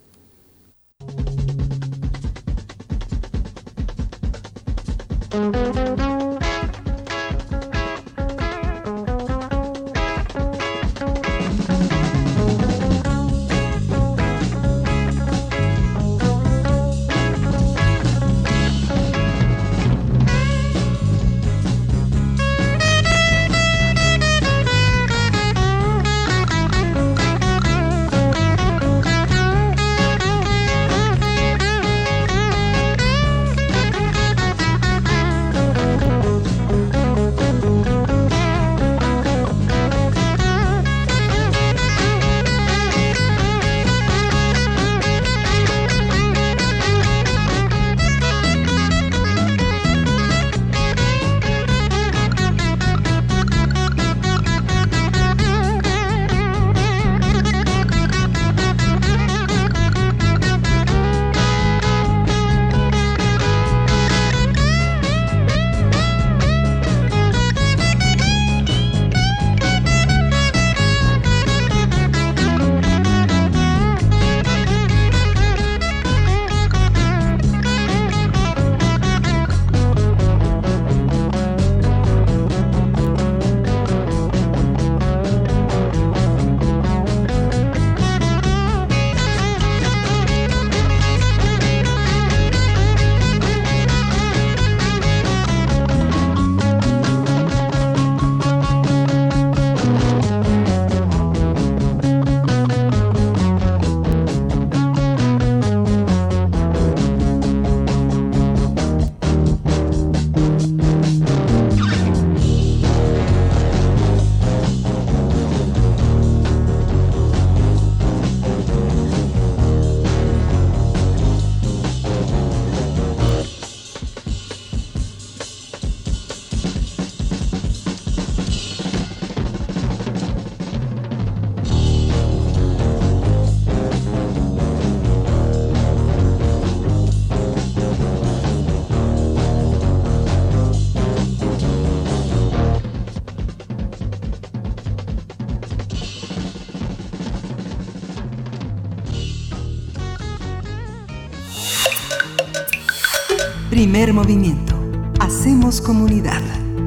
Primer movimiento. Hacemos comunidad.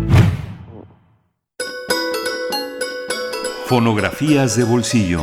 Fonografías de bolsillo.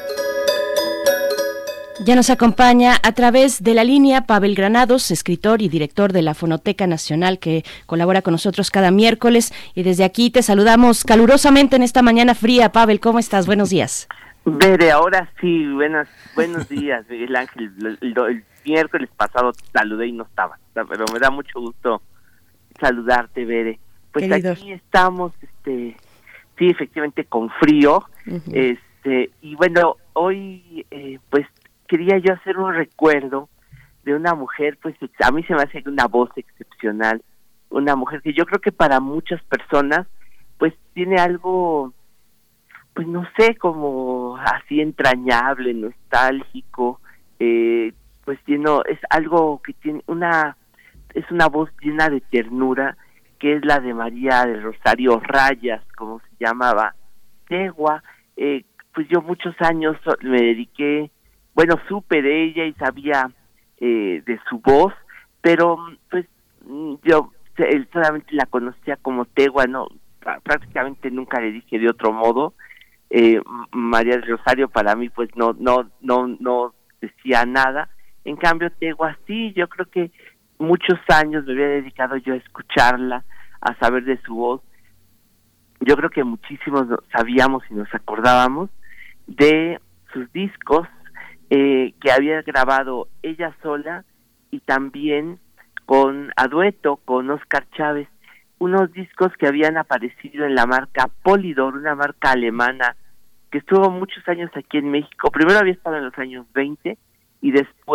Ya nos acompaña a través de la línea Pavel Granados, escritor y director de la Fonoteca Nacional, que colabora con nosotros cada miércoles. Y desde aquí te saludamos calurosamente en esta mañana fría. Pavel, ¿cómo estás? Buenos días. Bere, ahora sí, buenos días, Miguel Ángel. El miércoles pasado te saludé y no estaba, pero me da mucho gusto saludarte, Bere. Pues querido, aquí estamos, sí, efectivamente con frío, uh-huh. Y bueno, hoy, pues quería yo hacer un recuerdo de una mujer, pues a mí se me hace una voz excepcional, una mujer que yo creo que para muchas personas, pues tiene algo, pues no sé, como así entrañable, nostálgico, pues es algo que tiene es una voz llena de ternura, que es la de María del Rosario Rayas, como se llamaba, Tegua. Pues yo muchos años me dediqué, bueno, supe de ella y sabía de su voz, pero pues yo solamente la conocía como Tegua, no, prácticamente nunca le dije de otro modo. María del Rosario para mí pues no decía nada. En cambio Tegua sí, yo creo que muchos años me había dedicado yo a escucharla, a saber de su voz. Yo creo que muchísimos sabíamos y nos acordábamos de sus discos que había grabado ella sola y también a dueto con Oscar Chávez, unos discos que habían aparecido en la marca Polydor, una marca alemana que estuvo muchos años aquí en México. Primero había estado en los años 20 y después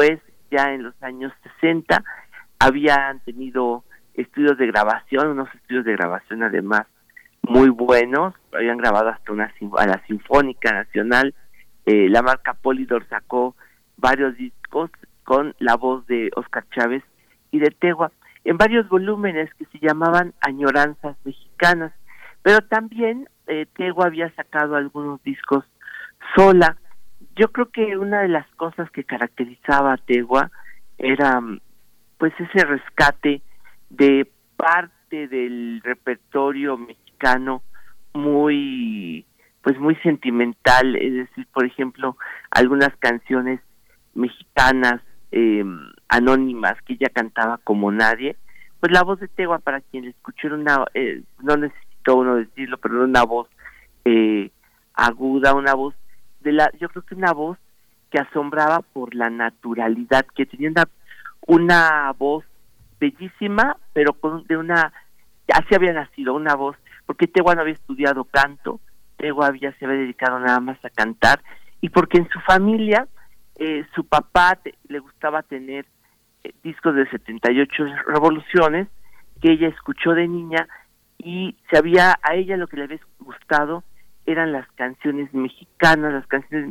ya en los años 60, habían tenido estudios de grabación, unos estudios de grabación además muy buenos, habían grabado hasta a la Sinfónica Nacional. La marca Polydor sacó varios discos con la voz de Óscar Chávez y de Tegua, en varios volúmenes que se llamaban Añoranzas Mexicanas, pero también Tegua había sacado algunos discos sola. Yo creo que una de las cosas que caracterizaba a Tegua era pues ese rescate de parte del repertorio mexicano muy sentimental, es decir, por ejemplo, algunas canciones mexicanas anónimas que ella cantaba como nadie. Pues la voz de Tegua, para quien le escuchó, era una, no necesitó uno decirlo, pero era una voz aguda, una voz yo creo que una voz que asombraba por la naturalidad, que tenía una voz bellísima, pero así había nacido, una voz, porque Tegua no había estudiado canto, Tegua se había dedicado nada más a cantar, y porque en su familia su papá le gustaba tener discos de 78 revoluciones que ella escuchó de niña, y a ella lo que le había gustado eran las canciones mexicanas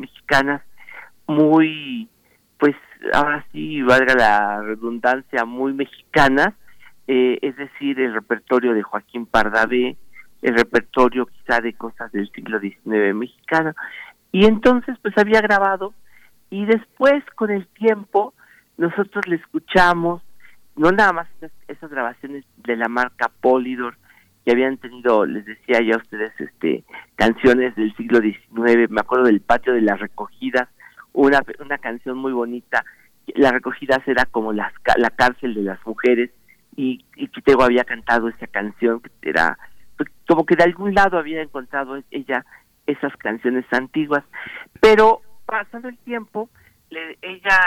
muy, pues ahora sí, valga la redundancia, muy mexicanas, es decir, el repertorio de Joaquín Pardavé, el repertorio quizá de cosas del siglo XIX mexicano, y entonces pues había grabado, y después con el tiempo nosotros le escuchamos, no nada más esas grabaciones de la marca Polydor, que habían tenido, les decía ya a ustedes, canciones del siglo XIX, me acuerdo del Patio de las Recogidas, una canción muy bonita. Las Recogidas era como la cárcel de las mujeres, y Tegua había cantado esa canción, que era como que de algún lado había encontrado ella esas canciones antiguas, pero pasando el tiempo, ella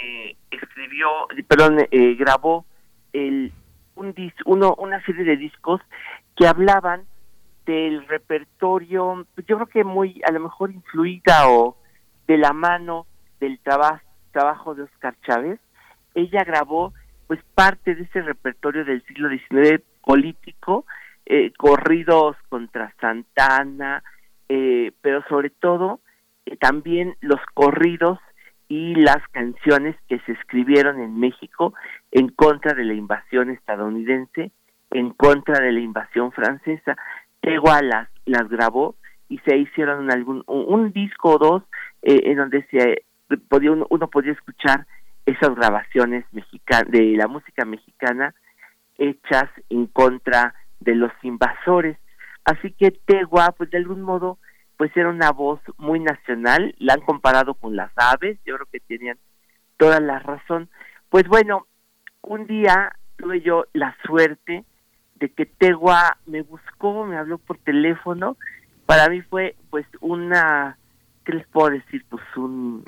grabó una serie de discos que hablaban del repertorio, yo creo que muy, a lo mejor influida o de la mano del trabajo de Óscar Chávez. Ella grabó pues parte de ese repertorio del siglo XIX político, corridos contra Santana, pero sobre todo también los corridos y las canciones que se escribieron en México en contra de la invasión estadounidense, en contra de la invasión francesa. Tegua las grabó y se hicieron un disco o dos en donde uno podía escuchar esas grabaciones de la música mexicana hechas en contra de los invasores. Así que Tegua, pues de algún modo, pues era una voz muy nacional. La han comparado con las aves, yo creo que tenían toda la razón. Pues bueno, un día tuve yo la suerte de que Tegua me habló por teléfono. Para mí fue pues ¿qué les puedo decir? Pues un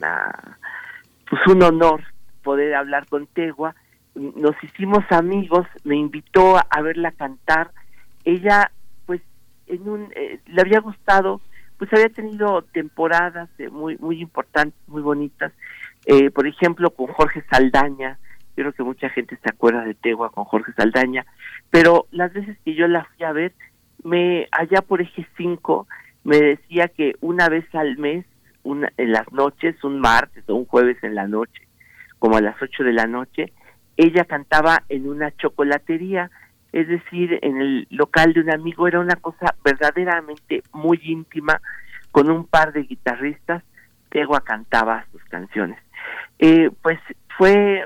honor poder hablar con Tegua. Nos hicimos amigos, me invitó a verla cantar. Ella pues le había gustado, pues había tenido temporadas muy muy importantes, muy bonitas, por ejemplo con Jorge Saldaña. Yo creo que mucha gente se acuerda de Tegua con Jorge Saldaña, pero las veces que yo la fui a ver, allá por Eje 5, me decía que una vez al mes, en las noches, un martes o un jueves en la noche, como a las 8 de la noche, ella cantaba en una chocolatería, es decir, en el local de un amigo. Era una cosa verdaderamente muy íntima, con un par de guitarristas. Tegua cantaba sus canciones. Pues fue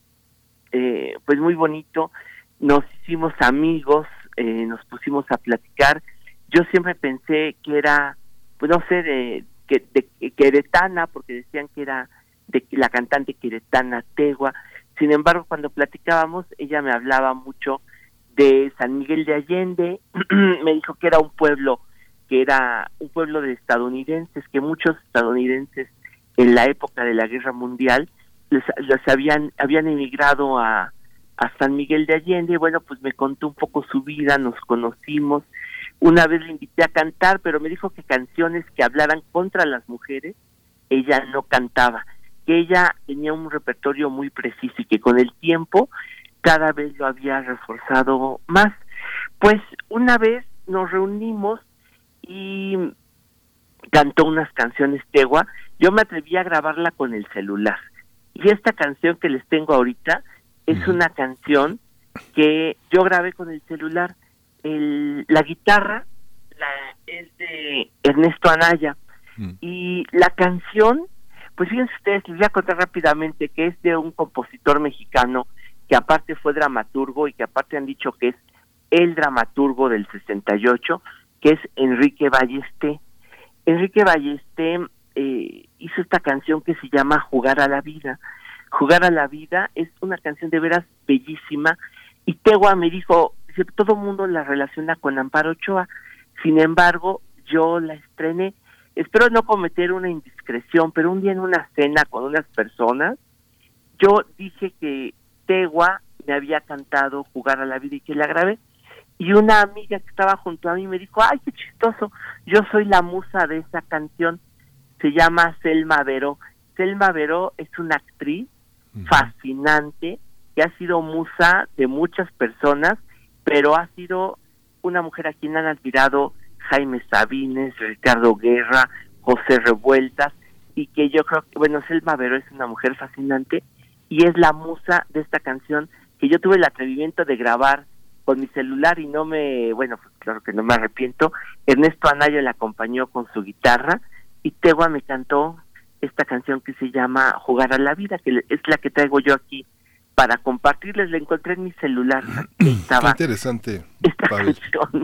pues muy bonito, nos hicimos amigos, nos pusimos a platicar. Yo siempre pensé que era, pues no sé, de queretana, porque decían que era de la cantante queretana Tegua. Sin embargo, cuando platicábamos, ella me hablaba mucho de San Miguel de Allende. Me dijo que era un pueblo de estadounidenses, que muchos estadounidenses en la época de la Guerra Mundial habían emigrado a San Miguel de Allende. Bueno, pues me contó un poco su vida, nos conocimos. Una vez le invité a cantar, pero me dijo que canciones que hablaran contra las mujeres, ella no cantaba. que ella tenía un repertorio muy preciso y que con el tiempo cada vez lo había reforzado más. Pues una vez nos reunimos y cantó unas canciones Tegua. Yo me atreví a grabarla con el celular. Y esta canción que les tengo ahorita es una canción que yo grabé con el celular. La guitarra es de Ernesto Anaya. Y la canción, pues fíjense ustedes, les voy a contar rápidamente que es de un compositor mexicano que aparte fue dramaturgo y que aparte han dicho que es el dramaturgo del 68, que es Enrique Ballesté. Enrique Ballesté hizo esta canción que se llama Jugar a la Vida. Jugar a la Vida es una canción de veras bellísima, y Tegua me dijo, todo el mundo la relaciona con Amparo Ochoa, sin embargo, yo la estrené. Espero no cometer una indiscreción, pero un día en una cena con unas personas, yo dije que Tegua me había cantado Jugar a la Vida y que la grabé, y una amiga que estaba junto a mí me dijo, ay, qué chistoso, yo soy la musa de esa canción, se llama Selma Veró. Selma Veró es una actriz fascinante, que ha sido musa de muchas personas, pero ha sido una mujer a quien han admirado Jaime Sabines, Ricardo Guerra, José Revueltas, y que yo creo que, bueno, Selma Veró es una mujer fascinante, y es la musa de esta canción que yo tuve el atrevimiento de grabar con mi celular y pues claro que no me arrepiento. Ernesto Anaya la acompañó con su guitarra y Tegua me cantó esta canción que se llama Jugar a la Vida, que es la que traigo yo aquí para compartirles. La encontré en mi celular. Qué interesante, Pavel.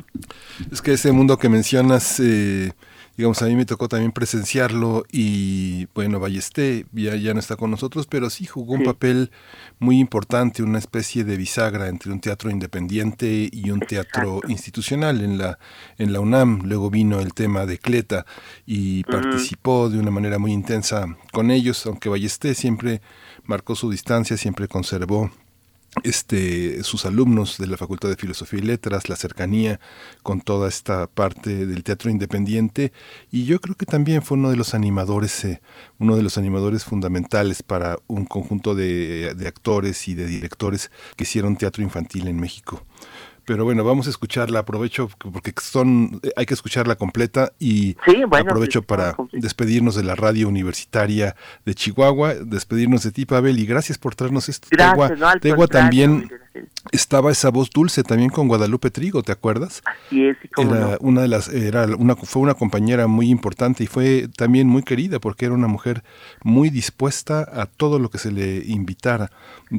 Es que ese mundo que mencionas, digamos, a mí me tocó también presenciarlo, y bueno, Ballesté ya no está con nosotros, pero sí jugó un papel muy importante, una especie de bisagra entre un teatro independiente y un teatro institucional en la UNAM. Luego vino el tema de Cleta y participó de una manera muy intensa con ellos, aunque Ballesté siempre marcó su distancia, siempre conservó sus alumnos de la Facultad de Filosofía y Letras, la cercanía con toda esta parte del teatro independiente, y yo creo que también fue uno de los animadores fundamentales para un conjunto de actores y de directores que hicieron teatro infantil en México. Pero bueno, vamos a escucharla, aprovecho porque hay que escucharla completa, y aprovecho para despedirnos de la radio universitaria de Chihuahua, despedirnos de ti, Pavel, y gracias por traernos esto. Tegua también estaba esa voz dulce también con Guadalupe Trigo, ¿te acuerdas? Así es, fue una compañera muy importante y fue también muy querida porque era una mujer muy dispuesta a todo lo que se le invitara.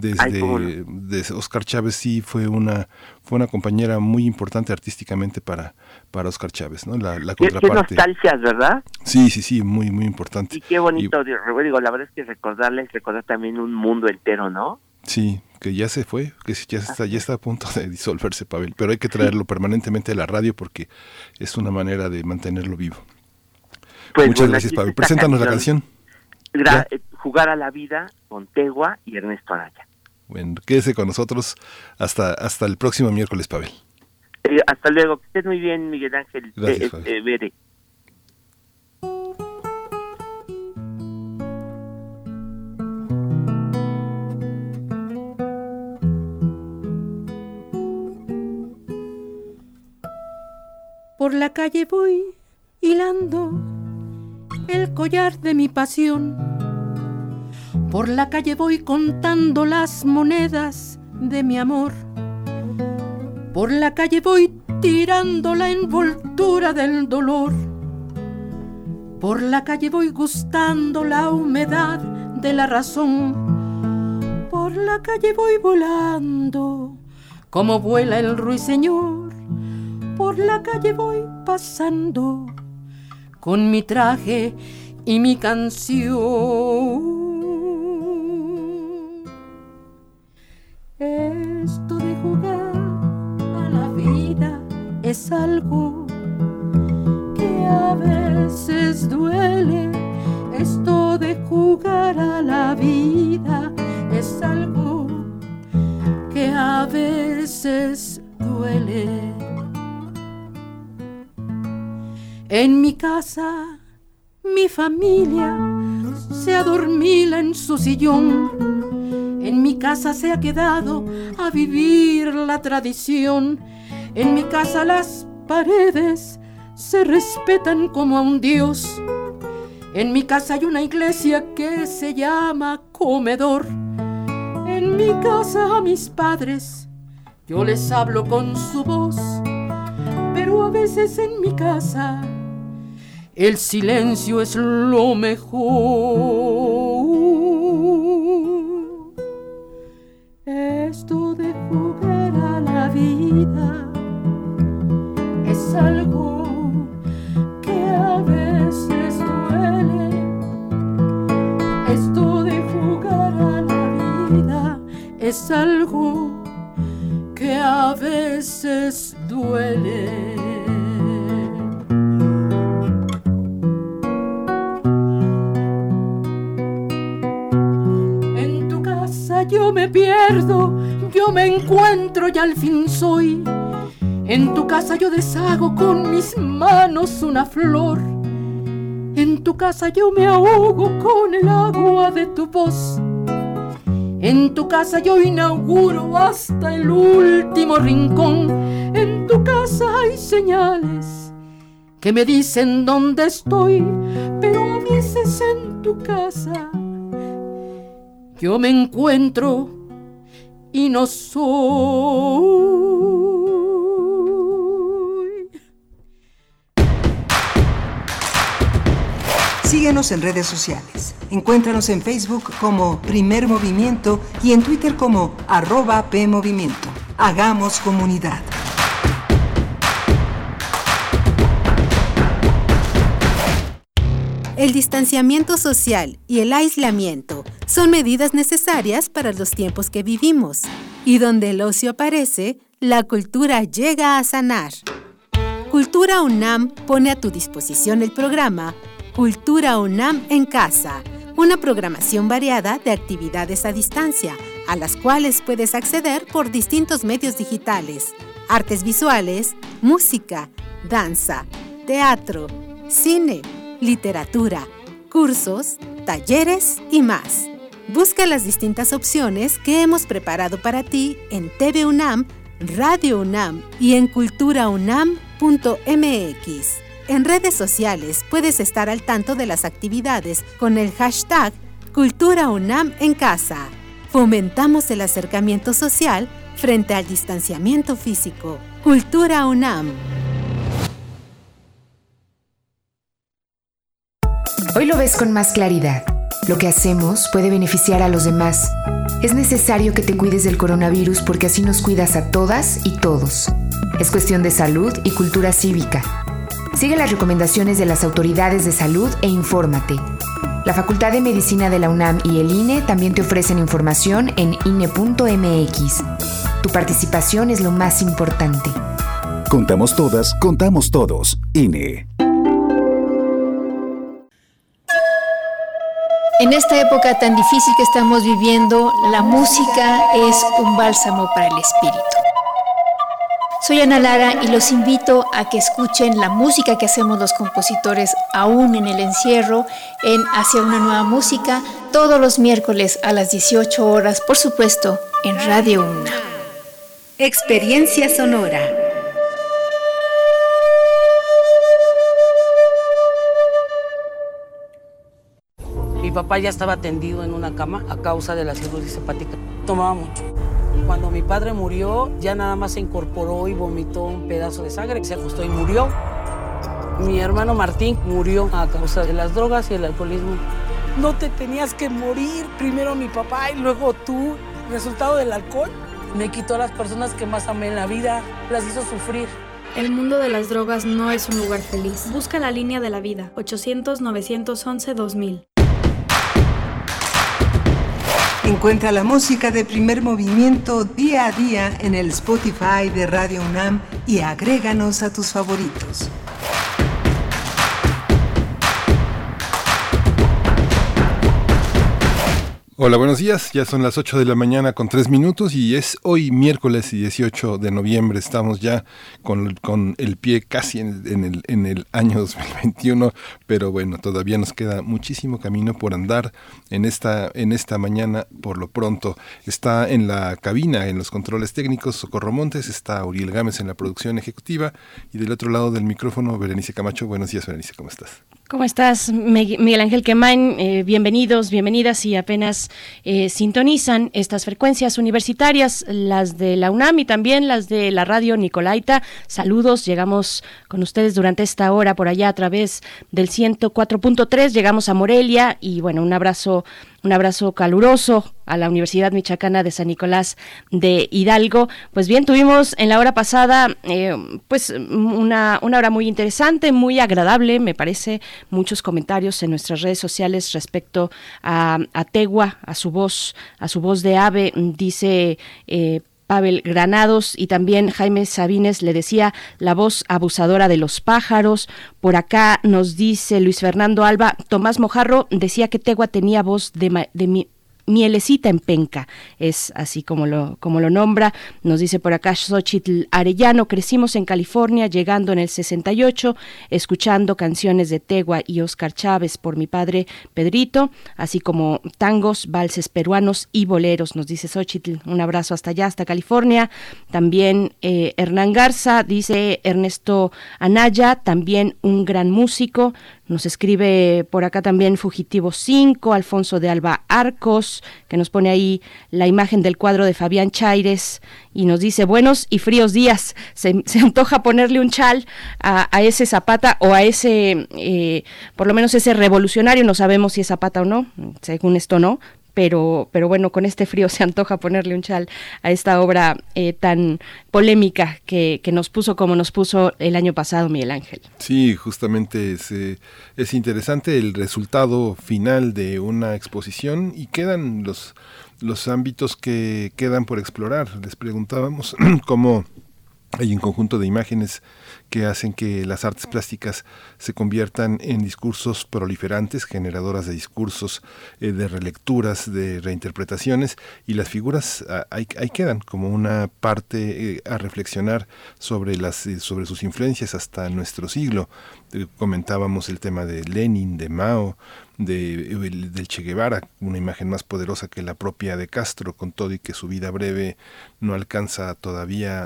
Desde Oscar Chávez sí fue una compañera muy importante artísticamente para Oscar Chávez, ¿no? La contraparte. Qué nostalgias, ¿verdad? Sí, muy importante. Y qué bonito, digo, la verdad es que recordar también un mundo entero, ¿no? Sí, que ya se fue, que ya está a punto de disolverse, Pavel, pero hay que traerlo permanentemente a la radio porque es una manera de mantenerlo vivo. Pues muchas gracias, Pavel. Preséntanos la canción. Jugar a la Vida con Tegua y Ernesto Anaya. Bueno, quédese con nosotros hasta el próximo miércoles, Pavel. Hasta luego, que estés muy bien, Miguel Ángel. Gracias, Bere. Por la calle voy hilando el collar de mi pasión. Por la calle voy contando las monedas de mi amor. Por la calle voy tirando la envoltura del dolor. Por la calle voy gustando la humedad de la razón. Por la calle voy volando como vuela el ruiseñor. Por la calle voy pasando con mi traje y mi canción. Esto de jugar a la vida es algo que a veces duele. Esto de jugar a la vida es algo que a veces duele. En mi casa, mi familia se adormila en su sillón. En mi casa se ha quedado a vivir la tradición. En mi casa las paredes se respetan como a un dios. En mi casa hay una iglesia que se llama comedor. En mi casa a mis padres yo les hablo con su voz, pero a veces en mi casa el silencio es lo mejor. Esto de jugar a la vida es algo que a veces duele. Esto de jugar a la vida es algo que a veces duele. En tu casa yo me pierdo, yo me encuentro y al fin soy. En tu casa yo deshago con mis manos una flor. En tu casa yo me ahogo con el agua de tu voz. En tu casa yo inauguro hasta el último rincón. En tu casa hay señales que me dicen dónde estoy, pero a veces en tu casa yo me encuentro y no soy. Síguenos en redes sociales. Encuéntranos en Facebook como Primer Movimiento y en Twitter como @PMovimiento. Hagamos comunidad. El distanciamiento social y el aislamiento son medidas necesarias para los tiempos que vivimos. Y donde el ocio aparece, la cultura llega a sanar. Cultura UNAM pone a tu disposición el programa Cultura UNAM en Casa, una programación variada de actividades a distancia, a las cuales puedes acceder por distintos medios digitales, artes visuales, música, danza, teatro, cine, literatura, cursos, talleres y más. Busca las distintas opciones que hemos preparado para ti en TV UNAM, Radio UNAM y en culturaunam.mx. En redes sociales puedes estar al tanto de las actividades con el hashtag Cultura UNAM en Casa. Fomentamos el acercamiento social frente al distanciamiento físico. Cultura UNAM. Hoy lo ves con más claridad. Lo que hacemos puede beneficiar a los demás. Es necesario que te cuides del coronavirus porque así nos cuidas a todas y todos. Es cuestión de salud y cultura cívica. Sigue las recomendaciones de las autoridades de salud e infórmate. La Facultad de Medicina de la UNAM y el INE también te ofrecen información en INE.mx. Tu participación es lo más importante. Contamos todas, contamos todos. INE. En esta época tan difícil que estamos viviendo, la música es un bálsamo para el espíritu. Soy Ana Lara y los invito a que escuchen la música que hacemos los compositores aún en el encierro en Hacia una nueva música todos los miércoles a las 18 horas, por supuesto, en Radio UNAM. Experiencia sonora. Mi papá ya estaba tendido en una cama a causa de la cirrosis hepática. Tomaba mucho. Cuando mi padre murió, ya nada más se incorporó y vomitó un pedazo de sangre, se acostó y murió. Mi hermano Martín murió a causa de las drogas y el alcoholismo. No te tenías que morir, primero mi papá y luego tú. Resultado del alcohol me quitó a las personas que más amé en la vida, las hizo sufrir. El mundo de las drogas no es un lugar feliz. Busca la línea de la vida, 800-911-2000. Encuentra la música de Primer Movimiento día a día en el Spotify de Radio UNAM y agréganos a tus favoritos. Hola, buenos días. Ya son las 8 de la mañana con 3 minutos y es hoy miércoles 18 de noviembre. Estamos ya con el pie casi en el año 2021, pero bueno, todavía nos queda muchísimo camino por andar en esta mañana. Por lo pronto está en la cabina, en los controles técnicos, Socorro Montes, está Uriel Gámez en la producción ejecutiva y del otro lado del micrófono, Berenice Camacho. Buenos días, Berenice, ¿cómo estás? ¿Cómo estás, Miguel Ángel Quemain? Bienvenidos, bienvenidas, y apenas sintonizan estas frecuencias universitarias, las de la UNAM y también las de la radio Nicolaita. Saludos, llegamos con ustedes durante esta hora por allá a través del 104.3, llegamos a Morelia y bueno, un abrazo caluroso a la Universidad Michoacana de San Nicolás de Hidalgo. Pues bien, tuvimos en la hora pasada pues una hora muy interesante, muy agradable, me parece, muchos comentarios en nuestras redes sociales respecto a Tegua, a su voz de ave, dice Pavel Granados, y también Jaime Sabines le decía la voz abusadora de los pájaros. Por acá nos dice Luis Fernando Alba, Tomás Mojarro decía que Tegua tenía voz de mielecita en penca, es así como lo nombra. Nos dice por acá Xochitl Arellano, crecimos en California, llegando en el 68, escuchando canciones de Tegua y Óscar Chávez por mi padre Pedrito, así como tangos, valses peruanos y boleros, nos dice Xochitl. Un abrazo hasta allá, hasta California. También Hernán Garza, dice Ernesto Anaya, también un gran músico. Nos escribe por acá también Fugitivo 5, Alfonso de Alba Arcos, que nos pone ahí la imagen del cuadro de Fabián Chaires y nos dice, buenos y fríos días, se antoja ponerle un chal a ese Zapata o a ese, por lo menos ese revolucionario, no sabemos si es Zapata o no, según esto no. Pero bueno, con este frío se antoja ponerle un chal a esta obra tan polémica que nos puso como nos puso el año pasado, Miguel Ángel. Sí, justamente es interesante el resultado final de una exposición y quedan los ámbitos que quedan por explorar. Les preguntábamos cómo hay un conjunto de imágenes que hacen que las artes plásticas se conviertan en discursos proliferantes, generadoras de discursos, de relecturas, de reinterpretaciones, y las figuras ahí quedan como una parte a reflexionar sobre sus influencias hasta nuestro siglo. Comentábamos el tema de Lenin, de Mao, del Che Guevara, una imagen más poderosa que la propia de Castro, con todo y que su vida breve no alcanza todavía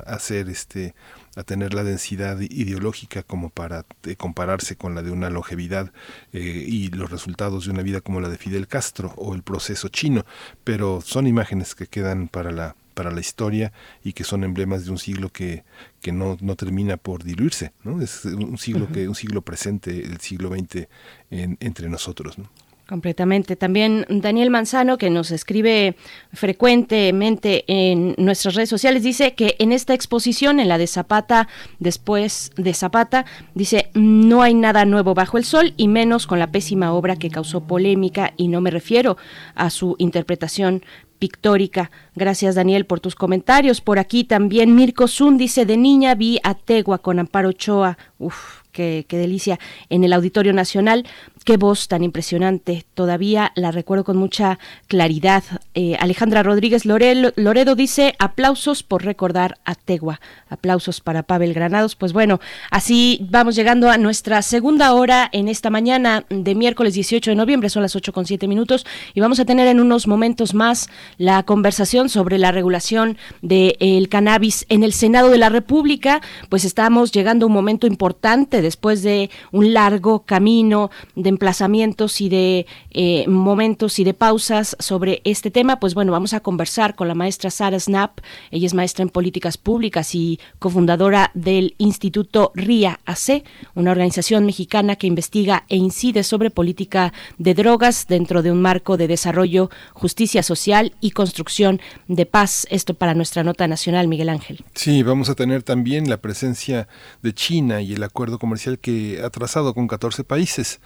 a tener la densidad ideológica como para compararse con la de una longevidad y los resultados de una vida como la de Fidel Castro o el proceso chino, pero son imágenes que quedan para la historia y que son emblemas de un siglo que no termina por diluirse, ¿no? Es un siglo un siglo presente, el siglo XX entre nosotros, ¿no? Completamente. También Daniel Manzano, que nos escribe frecuentemente en nuestras redes sociales, dice que en esta exposición, en la de Zapata, después de Zapata, dice, no hay nada nuevo bajo el sol y menos con la pésima obra que causó polémica, y no me refiero a su interpretación pictórica. Gracias, Daniel, por tus comentarios. Por aquí también Mirko Zun dice, de niña vi a Tegua con Amparo Ochoa, qué delicia, en el Auditorio Nacional. Qué voz tan impresionante, todavía la recuerdo con mucha claridad. Alejandra Rodríguez Loredo dice, aplausos por recordar a Tegua. Aplausos para Pavel Granados. Pues bueno, así vamos llegando a nuestra segunda hora en esta mañana de miércoles 18 de noviembre, son las 8:07 y vamos a tener en unos momentos más la conversación sobre la regulación del cannabis en el Senado de la República. Pues estamos llegando a un momento importante después de un largo camino de emplazamientos y de momentos y de pausas sobre este tema. Pues bueno, vamos a conversar con la maestra Sara Snap. Ella es maestra en políticas públicas y cofundadora del Instituto RIA-AC, una organización mexicana que investiga e incide sobre política de drogas dentro de un marco de desarrollo, justicia social y construcción de paz. Esto para nuestra nota nacional, Miguel Ángel. Sí, vamos a tener también la presencia de China y el acuerdo comercial que ha trazado con 14 países.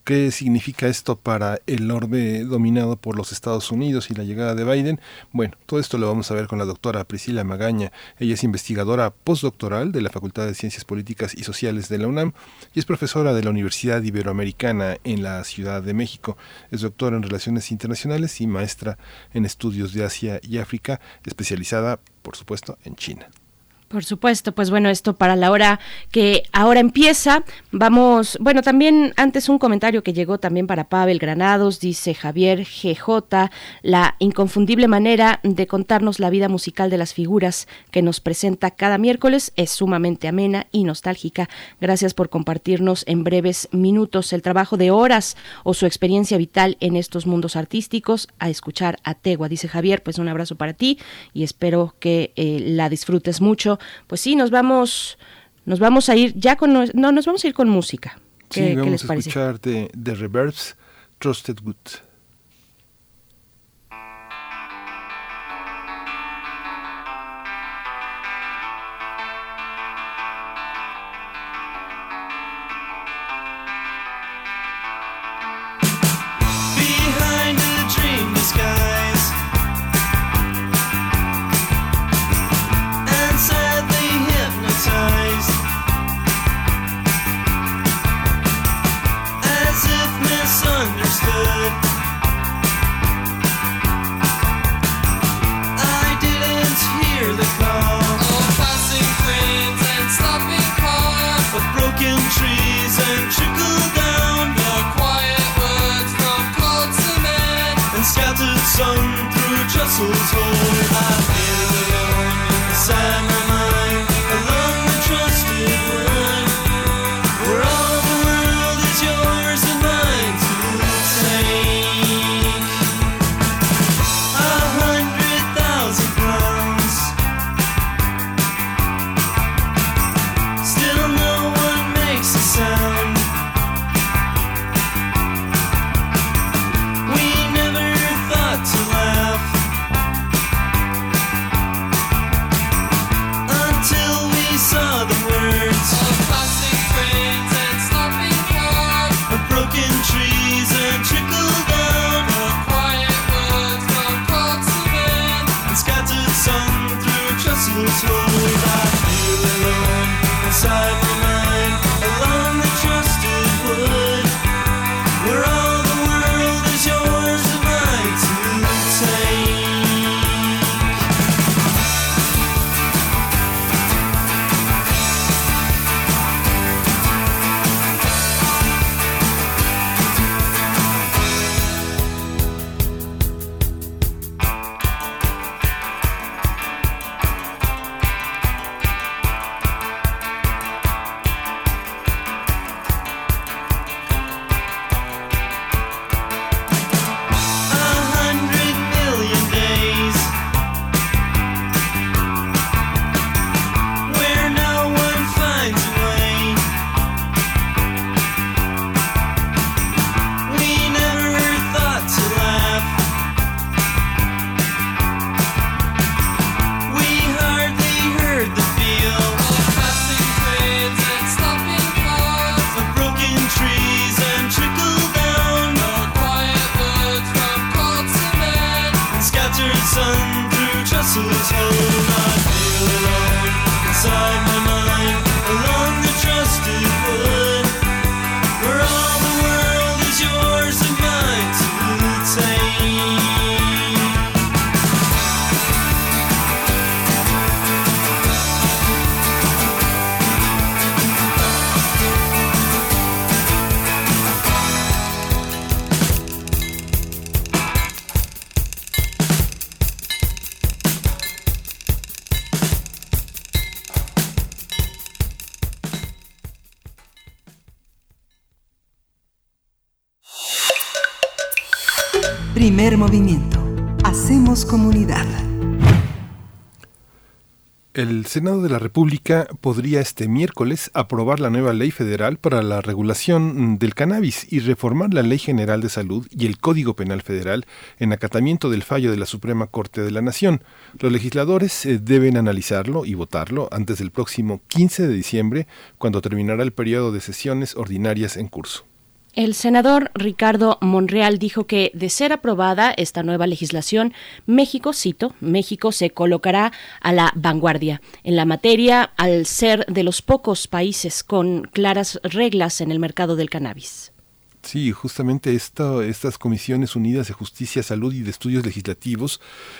¿Qué significa esto para el orbe dominado por los Estados Unidos y la llegada de Biden? Bueno, todo esto lo vamos a ver con la doctora Priscila Magaña. Ella es investigadora postdoctoral de la Facultad de Ciencias Políticas y Sociales de la UNAM y es profesora de la Universidad Iberoamericana en la Ciudad de México. Es doctora en Relaciones Internacionales y maestra en Estudios de Asia y África, especializada, por supuesto, en China. Por supuesto, pues bueno, esto para la hora que ahora empieza. Vamos, bueno, también antes un comentario que llegó también para Pavel Granados, dice Javier GJ, la inconfundible manera de contarnos la vida musical de las figuras que nos presenta cada miércoles es sumamente amena y nostálgica. Gracias por compartirnos en breves minutos el trabajo de horas o su experiencia vital en estos mundos artísticos. A escuchar a Tegua, dice Javier, pues un abrazo para ti y espero que la disfrutes mucho. Pues sí, nos vamos a ir ya con nos vamos a ir con música. ¿Qué les vamos a parece? escuchar de The Reverbs, Trusted Good. Behind a dream disguise and sadly hypnotized, as if misunderstood. I didn't hear the call of passing trains and stopping cars, of broken trees and trickle down the quiet words from cold cement and scattered sun through trestles hole. I feel alone inside my mind, along the trusted wood, where all the world is yours and mine to take. 100,000 pounds, still no one makes a sound. We never thought to laugh until we saw the words of passing trains and stopping cars, of broken trees and trickle down, of quiet words from cold cement and scattered sun through trestles hold. I feel alone inside my mind, along the trusted wood, where all the world is yours and mine to take. Sun through trestles hold. I feel alone inside my mind, along the trusted wood, where all the world is yours and mine to take. Primer movimiento. Hacemos comunidad. El Senado de la República podría este miércoles aprobar la nueva ley federal para la regulación del cannabis y reformar la Ley General de Salud y el Código Penal Federal en acatamiento del fallo de la Suprema Corte de la Nación. Los legisladores deben analizarlo y votarlo antes del próximo 15 de diciembre, cuando terminará el periodo de sesiones ordinarias en curso. El senador Ricardo Monreal dijo que, de ser aprobada esta nueva legislación, México, cito, México se colocará a la vanguardia en la materia al ser de los pocos países con claras reglas en el mercado del cannabis. Sí, justamente estas comisiones unidas de Justicia, Salud y de Estudios Legislativos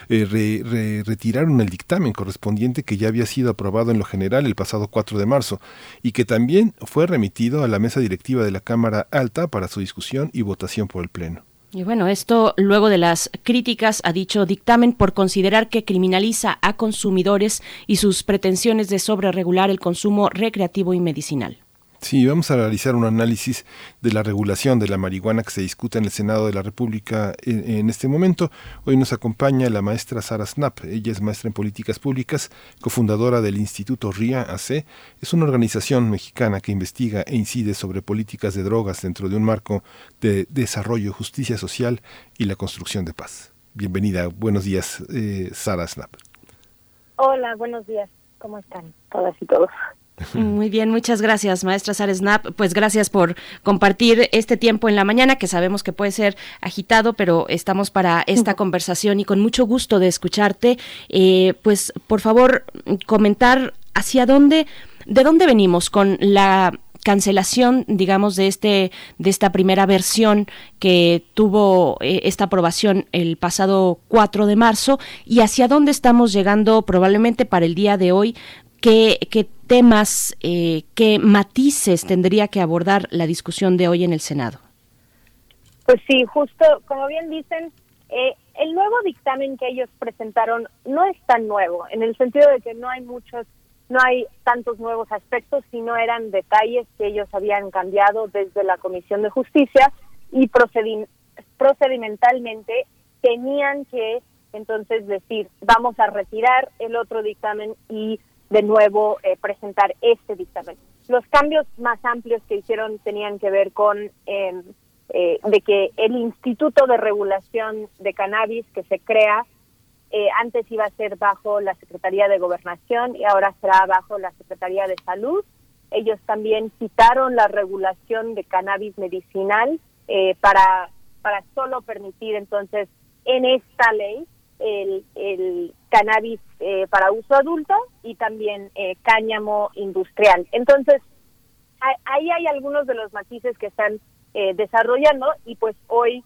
retiraron el dictamen correspondiente que ya había sido aprobado en lo general el pasado 4 de marzo y que también fue remitido a la mesa directiva de la Cámara Alta para su discusión y votación por el Pleno. Y bueno, esto luego de las críticas a dicho dictamen por considerar que criminaliza a consumidores y sus pretensiones de sobreregular el consumo recreativo y medicinal. Sí, vamos a realizar un análisis de la regulación de la marihuana que se discute en el Senado de la República en este momento. Hoy nos acompaña la maestra Sara Snap. Ella es maestra en políticas públicas, cofundadora del Instituto RIA AC. Es una organización mexicana que investiga e incide sobre políticas de drogas dentro de un marco de desarrollo, justicia social y la construcción de paz. Bienvenida, buenos días, Sara Snap. Hola, buenos días. ¿Cómo están todas y todos? Muy bien, muchas gracias, maestra Sara Snap. Pues gracias por compartir este tiempo en la mañana, que sabemos que puede ser agitado, pero estamos para esta conversación y con mucho gusto de escucharte. Pues por favor, comentar de dónde venimos con la cancelación, digamos, de esta primera versión que tuvo esta aprobación el pasado 4 de marzo y hacia dónde estamos llegando probablemente para el día de hoy. ¿Qué temas, qué matices tendría que abordar la discusión de hoy en el Senado? Pues sí, justo como bien dicen, el nuevo dictamen que ellos presentaron no es tan nuevo, en el sentido de que no hay tantos nuevos aspectos, sino eran detalles que ellos habían cambiado desde la Comisión de Justicia y procedimentalmente tenían que entonces decir, vamos a retirar el otro dictamen y de nuevo presentar este dictamen. Los cambios más amplios que hicieron tenían que ver con de que el Instituto de Regulación de Cannabis que se crea, antes iba a ser bajo la Secretaría de Gobernación y ahora será bajo la Secretaría de Salud. Ellos también quitaron la regulación de cannabis medicinal para solo permitir entonces en esta ley el cannabis para uso adulto y también cáñamo industrial. Entonces, ahí hay algunos de los matices que están desarrollando y pues hoy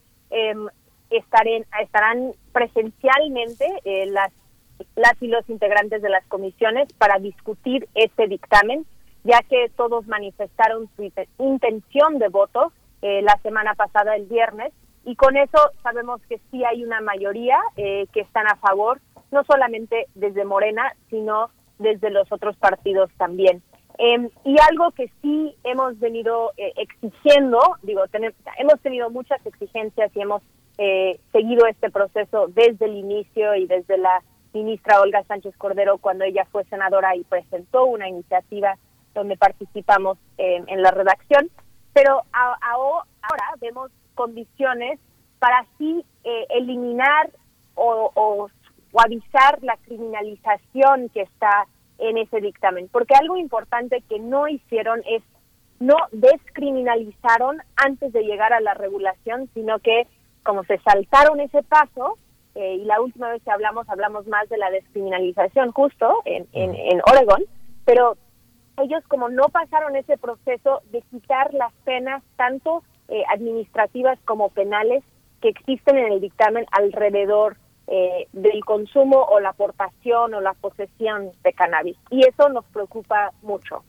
estarán presencialmente las y los integrantes de las comisiones para discutir este dictamen, ya que todos manifestaron su intención de voto la semana pasada, el viernes, y con eso sabemos que sí hay una mayoría que están a favor, no solamente desde Morena, sino desde los otros partidos también. Y algo que sí hemos venido exigiendo, hemos tenido muchas exigencias y hemos seguido este proceso desde el inicio y desde la ministra Olga Sánchez Cordero cuando ella fue senadora y presentó una iniciativa donde participamos en la redacción, pero ahora vemos condiciones para así eliminar o suavizar la criminalización que está en ese dictamen, porque algo importante que no hicieron es no descriminalizaron antes de llegar a la regulación, sino que como se saltaron ese paso, y la última vez que hablamos más de la descriminalización justo en Oregón, pero ellos como no pasaron ese proceso de quitar las penas tanto administrativas como penales que existen en el dictamen alrededor del consumo o la aportación o la posesión de cannabis. Y eso nos preocupa mucho.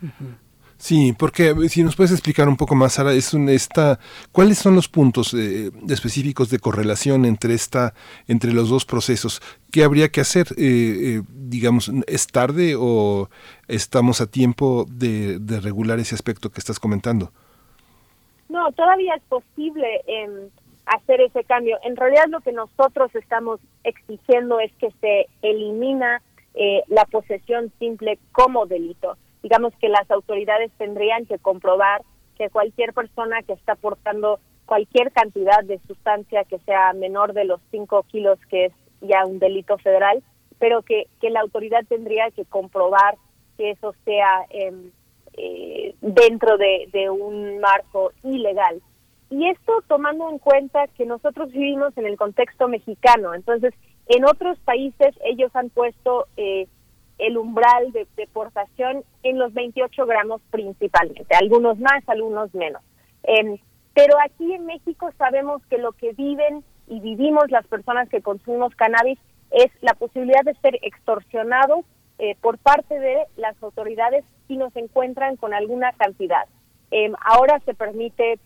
Sí, porque si nos puedes explicar un poco más, Sara, ¿cuáles son los puntos específicos de correlación entre los dos procesos? ¿Qué habría que hacer? Digamos, ¿es tarde o estamos a tiempo de regular ese aspecto que estás comentando? No, todavía es posible hacer ese cambio. En realidad lo que nosotros estamos exigiendo es que se elimina la posesión simple como delito. Digamos que las autoridades tendrían que comprobar que cualquier persona que está portando cualquier cantidad de sustancia que sea menor de los 5 kilos, que es ya un delito federal, pero que la autoridad tendría que comprobar que eso sea dentro de un marco ilegal. Y esto tomando en cuenta que nosotros vivimos en el contexto mexicano. Entonces, en otros países ellos han puesto el umbral de portación en los 28 gramos principalmente, algunos más, algunos menos. Pero aquí en México sabemos que lo que viven y vivimos las personas que consumimos cannabis es la posibilidad de ser extorsionados por parte de las autoridades si nos encuentran con alguna cantidad. Ahora se permite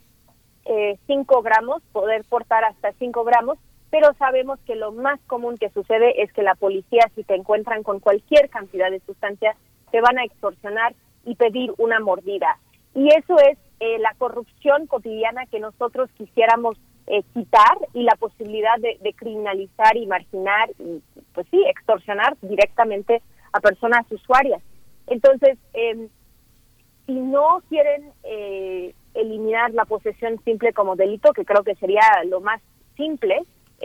5 gramos, poder portar hasta 5 gramos, pero sabemos que lo más común que sucede es que la policía, si te encuentran con cualquier cantidad de sustancia, te van a extorsionar y pedir una mordida. Y eso es la corrupción cotidiana que nosotros quisiéramos quitar, y la posibilidad de criminalizar y marginar y, pues sí, extorsionar directamente a personas usuarias. Entonces, si no quieren eliminar la posesión simple como delito, que creo que sería lo más simple,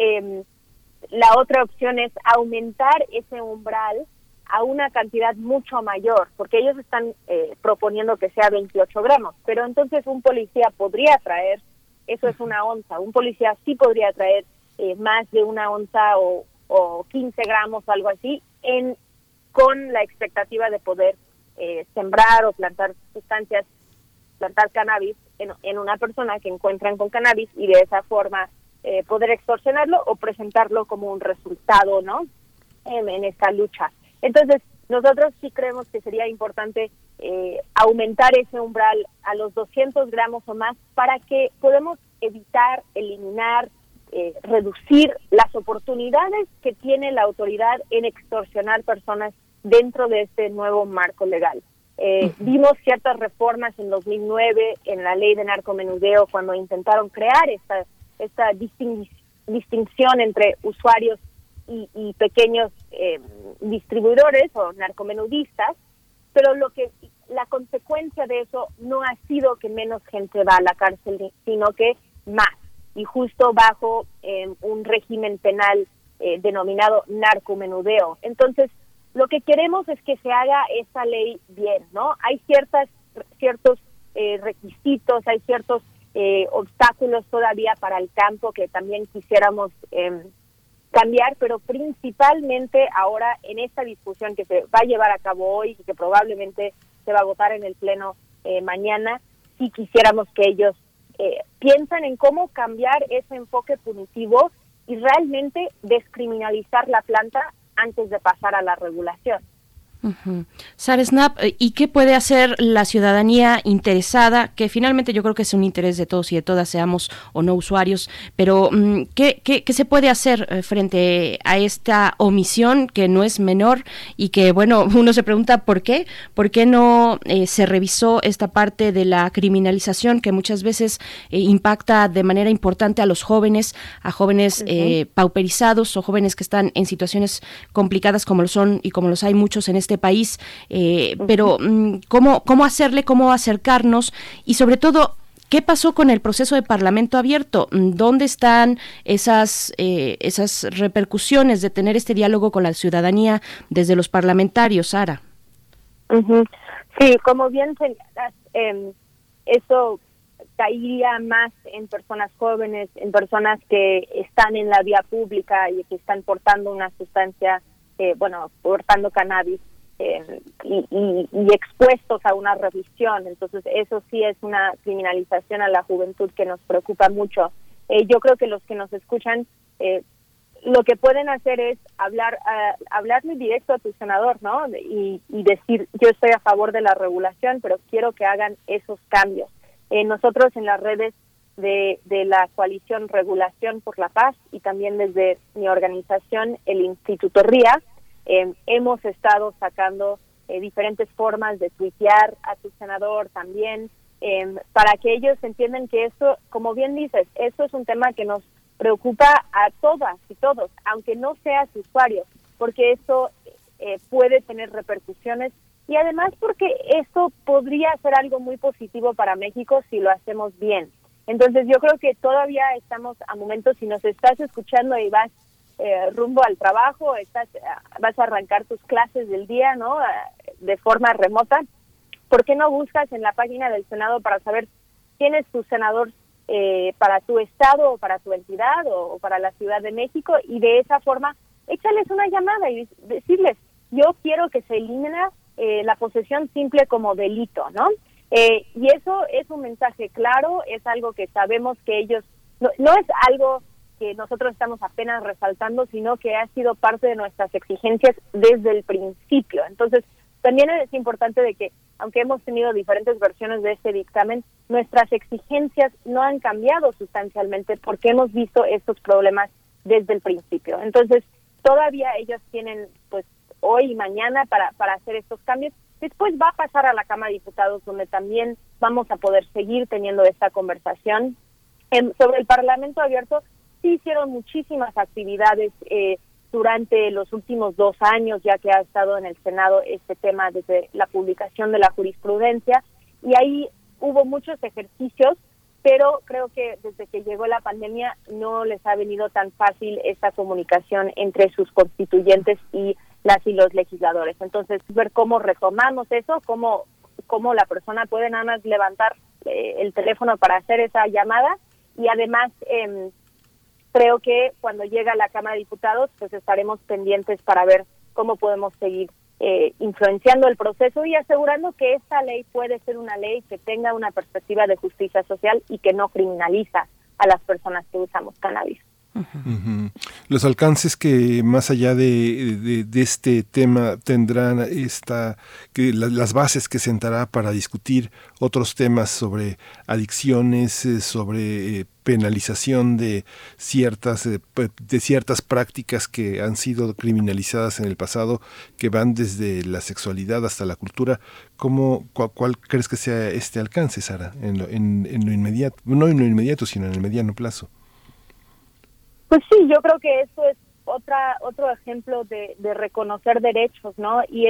la otra opción es aumentar ese umbral a una cantidad mucho mayor, porque ellos están proponiendo que sea 28 gramos, pero entonces un policía podría traer, eso es 1 onza, un policía sí podría traer más de 1 onza o 15 gramos o algo así, con la expectativa de poder sembrar o plantar sustancias, plantar cannabis en una persona que encuentran con cannabis, y de esa forma poder extorsionarlo o presentarlo como un resultado, ¿no? En esta lucha. Entonces, nosotros sí creemos que sería importante aumentar ese umbral a los 200 gramos o más para que podamos evitar, eliminar, reducir las oportunidades que tiene la autoridad en extorsionar personas dentro de este nuevo marco legal. Vimos ciertas reformas en 2009 en la ley de narcomenudeo cuando intentaron crear esta distinción entre usuarios y pequeños distribuidores o narcomenudistas, pero la consecuencia de eso no ha sido que menos gente va a la cárcel, sino que más, y justo bajo un régimen penal denominado narcomenudeo. Entonces, lo que queremos es que se haga esa ley bien, ¿no? Hay ciertos requisitos, hay ciertos obstáculos todavía para el campo que también quisiéramos cambiar, pero principalmente ahora en esta discusión que se va a llevar a cabo hoy y que probablemente se va a votar en el pleno mañana, sí quisiéramos que ellos piensen en cómo cambiar ese enfoque punitivo y realmente descriminalizar la planta antes de pasar a la regulación. Sara Snap, ¿y qué puede hacer la ciudadanía interesada? Que finalmente yo creo que es un interés de todos y de todas, seamos o no usuarios, pero ¿qué se puede hacer frente a esta omisión que no es menor y que, bueno, uno se pregunta ¿por qué? ¿Por qué no se revisó esta parte de la criminalización que muchas veces impacta de manera importante a los jóvenes, pauperizados o jóvenes que están en situaciones complicadas como lo son y como los hay muchos en este país, pero ¿cómo hacerle, cómo acercarnos y sobre todo qué pasó con el proceso de Parlamento abierto? ¿Dónde están esas repercusiones de tener este diálogo con la ciudadanía desde los parlamentarios, Sara? Sí, como bien señalas, eso caería más en personas jóvenes, en personas que están en la vía pública y que están portando una sustancia, portando cannabis. Y expuestos a una revisión. Entonces eso sí es una criminalización a la juventud que nos preocupa mucho. Yo creo que los que nos escuchan lo que pueden hacer es hablarle directo a tu senador, ¿no? Y decir, yo estoy a favor de la regulación, pero quiero que hagan esos cambios. Nosotros en las redes de la coalición Regulación por la Paz y también desde mi organización, el Instituto RIA, hemos estado sacando diferentes formas de tuitear a tu senador también, para que ellos entiendan que esto, como bien dices, esto es un tema que nos preocupa a todas y todos, aunque no seas usuario, porque esto puede tener repercusiones y además porque esto podría ser algo muy positivo para México si lo hacemos bien. Entonces yo creo que todavía estamos a momentos, si nos estás escuchando y vas rumbo al trabajo, vas a arrancar tus clases del día, ¿no? De forma remota. ¿Por qué no buscas en la página del Senado para saber quién es tu senador para tu estado o para tu entidad o para la Ciudad de México, y de esa forma échales una llamada y decirles, yo quiero que se elimine la posesión simple como delito, ¿no? Y eso es un mensaje claro, es algo que sabemos que ellos, no es algo que nosotros estamos apenas resaltando, sino que ha sido parte de nuestras exigencias desde el principio. Entonces, también es importante de que, aunque hemos tenido diferentes versiones de este dictamen, nuestras exigencias no han cambiado sustancialmente porque hemos visto estos problemas desde el principio. Entonces, todavía ellos tienen, pues, hoy y mañana para hacer estos cambios. Después va a pasar a la Cámara de Diputados, donde también vamos a poder seguir teniendo esta conversación. Sobre el Parlamento Abierto, sí hicieron muchísimas actividades durante los últimos 2 años, ya que ha estado en el Senado este tema desde la publicación de la jurisprudencia, y ahí hubo muchos ejercicios, pero creo que desde que llegó la pandemia no les ha venido tan fácil esta comunicación entre sus constituyentes y las y los legisladores. Entonces, ver cómo retomamos eso, cómo la persona puede nada más levantar el teléfono para hacer esa llamada, y además creo que cuando llega a la Cámara de Diputados, pues estaremos pendientes para ver cómo podemos seguir influenciando el proceso y asegurando que esta ley puede ser una ley que tenga una perspectiva de justicia social y que no criminaliza a las personas que usamos cannabis. Uh-huh. Los alcances que más allá de este tema tendrán las bases que sentará para discutir otros temas sobre adicciones, sobre penalización de ciertas prácticas que han sido criminalizadas en el pasado, que van desde la sexualidad hasta la cultura. ¿Cuál crees que sea este alcance, Sara, en lo inmediato? No en lo inmediato, sino en el mediano plazo. Pues sí, yo creo que esto es otro ejemplo de reconocer derechos, ¿no? Y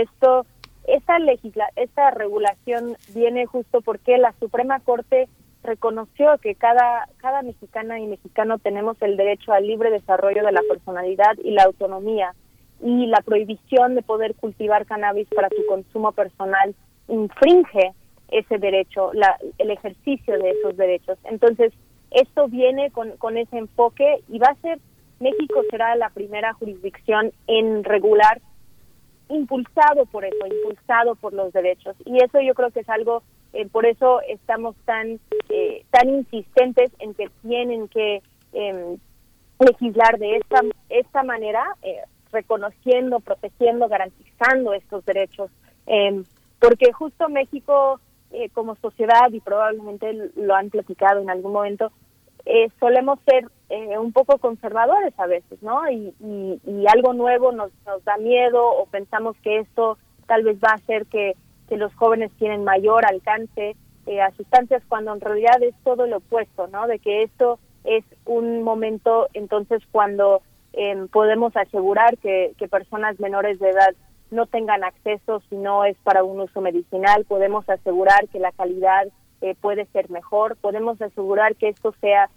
esta regulación viene justo porque la Suprema Corte reconoció que cada mexicana y mexicano tenemos el derecho al libre desarrollo de la personalidad y la autonomía, y la prohibición de poder cultivar cannabis para su consumo personal infringe ese derecho, el ejercicio de esos derechos. Entonces, esto viene con ese enfoque, y México será la primera jurisdicción en regular, impulsado por los derechos. Y eso yo creo que es algo, por eso estamos tan insistentes en que tienen que legislar de esta manera, reconociendo, protegiendo, garantizando estos derechos. Porque justo México, como sociedad, y probablemente lo han platicado en algún momento, solemos ser un poco conservadores a veces, ¿no? Y algo nuevo nos da miedo, o pensamos que esto tal vez va a hacer que los jóvenes tienen mayor alcance a sustancias, cuando en realidad es todo lo opuesto, ¿no? De que esto es un momento entonces cuando podemos asegurar que personas menores de edad no tengan acceso si no es para un uso medicinal. Podemos asegurar que la calidad puede ser mejor, podemos asegurar que esto sea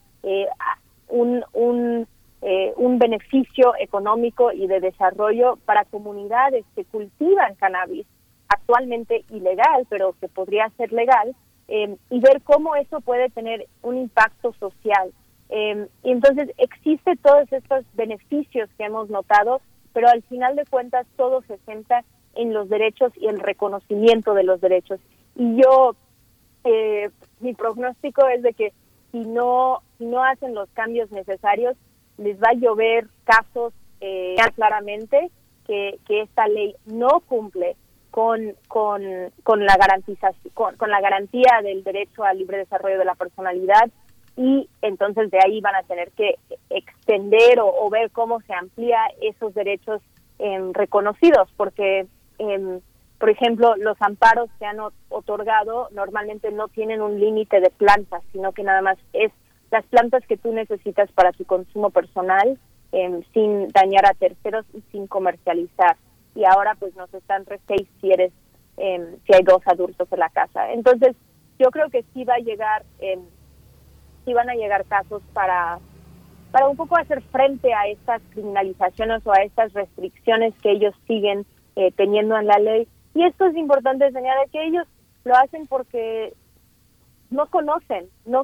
un beneficio económico y de desarrollo para comunidades que cultivan cannabis, actualmente ilegal, pero que podría ser legal, y ver cómo eso puede tener un impacto social. Y entonces existe todos estos beneficios que hemos notado, pero al final de cuentas todo se centra en los derechos y el reconocimiento de los derechos. Y yo, mi pronóstico es de que si no hacen los cambios necesarios, les va a llover casos claramente que esta ley no cumple con la garantización, con la garantía del derecho al libre desarrollo de la personalidad, y entonces de ahí van a tener que extender o ver cómo se amplía esos derechos reconocidos, porque por ejemplo, los amparos que han otorgado normalmente no tienen un límite de plantas, sino que nada más es las plantas que tú necesitas para tu consumo personal, sin dañar a terceros y sin comercializar. Y ahora pues nos están si hay 2 adultos en la casa. Entonces yo creo que sí van a llegar casos para un poco hacer frente a estas criminalizaciones o a estas restricciones que ellos siguen teniendo en la ley. Y esto es importante señalar, que ellos lo hacen porque no conocen, no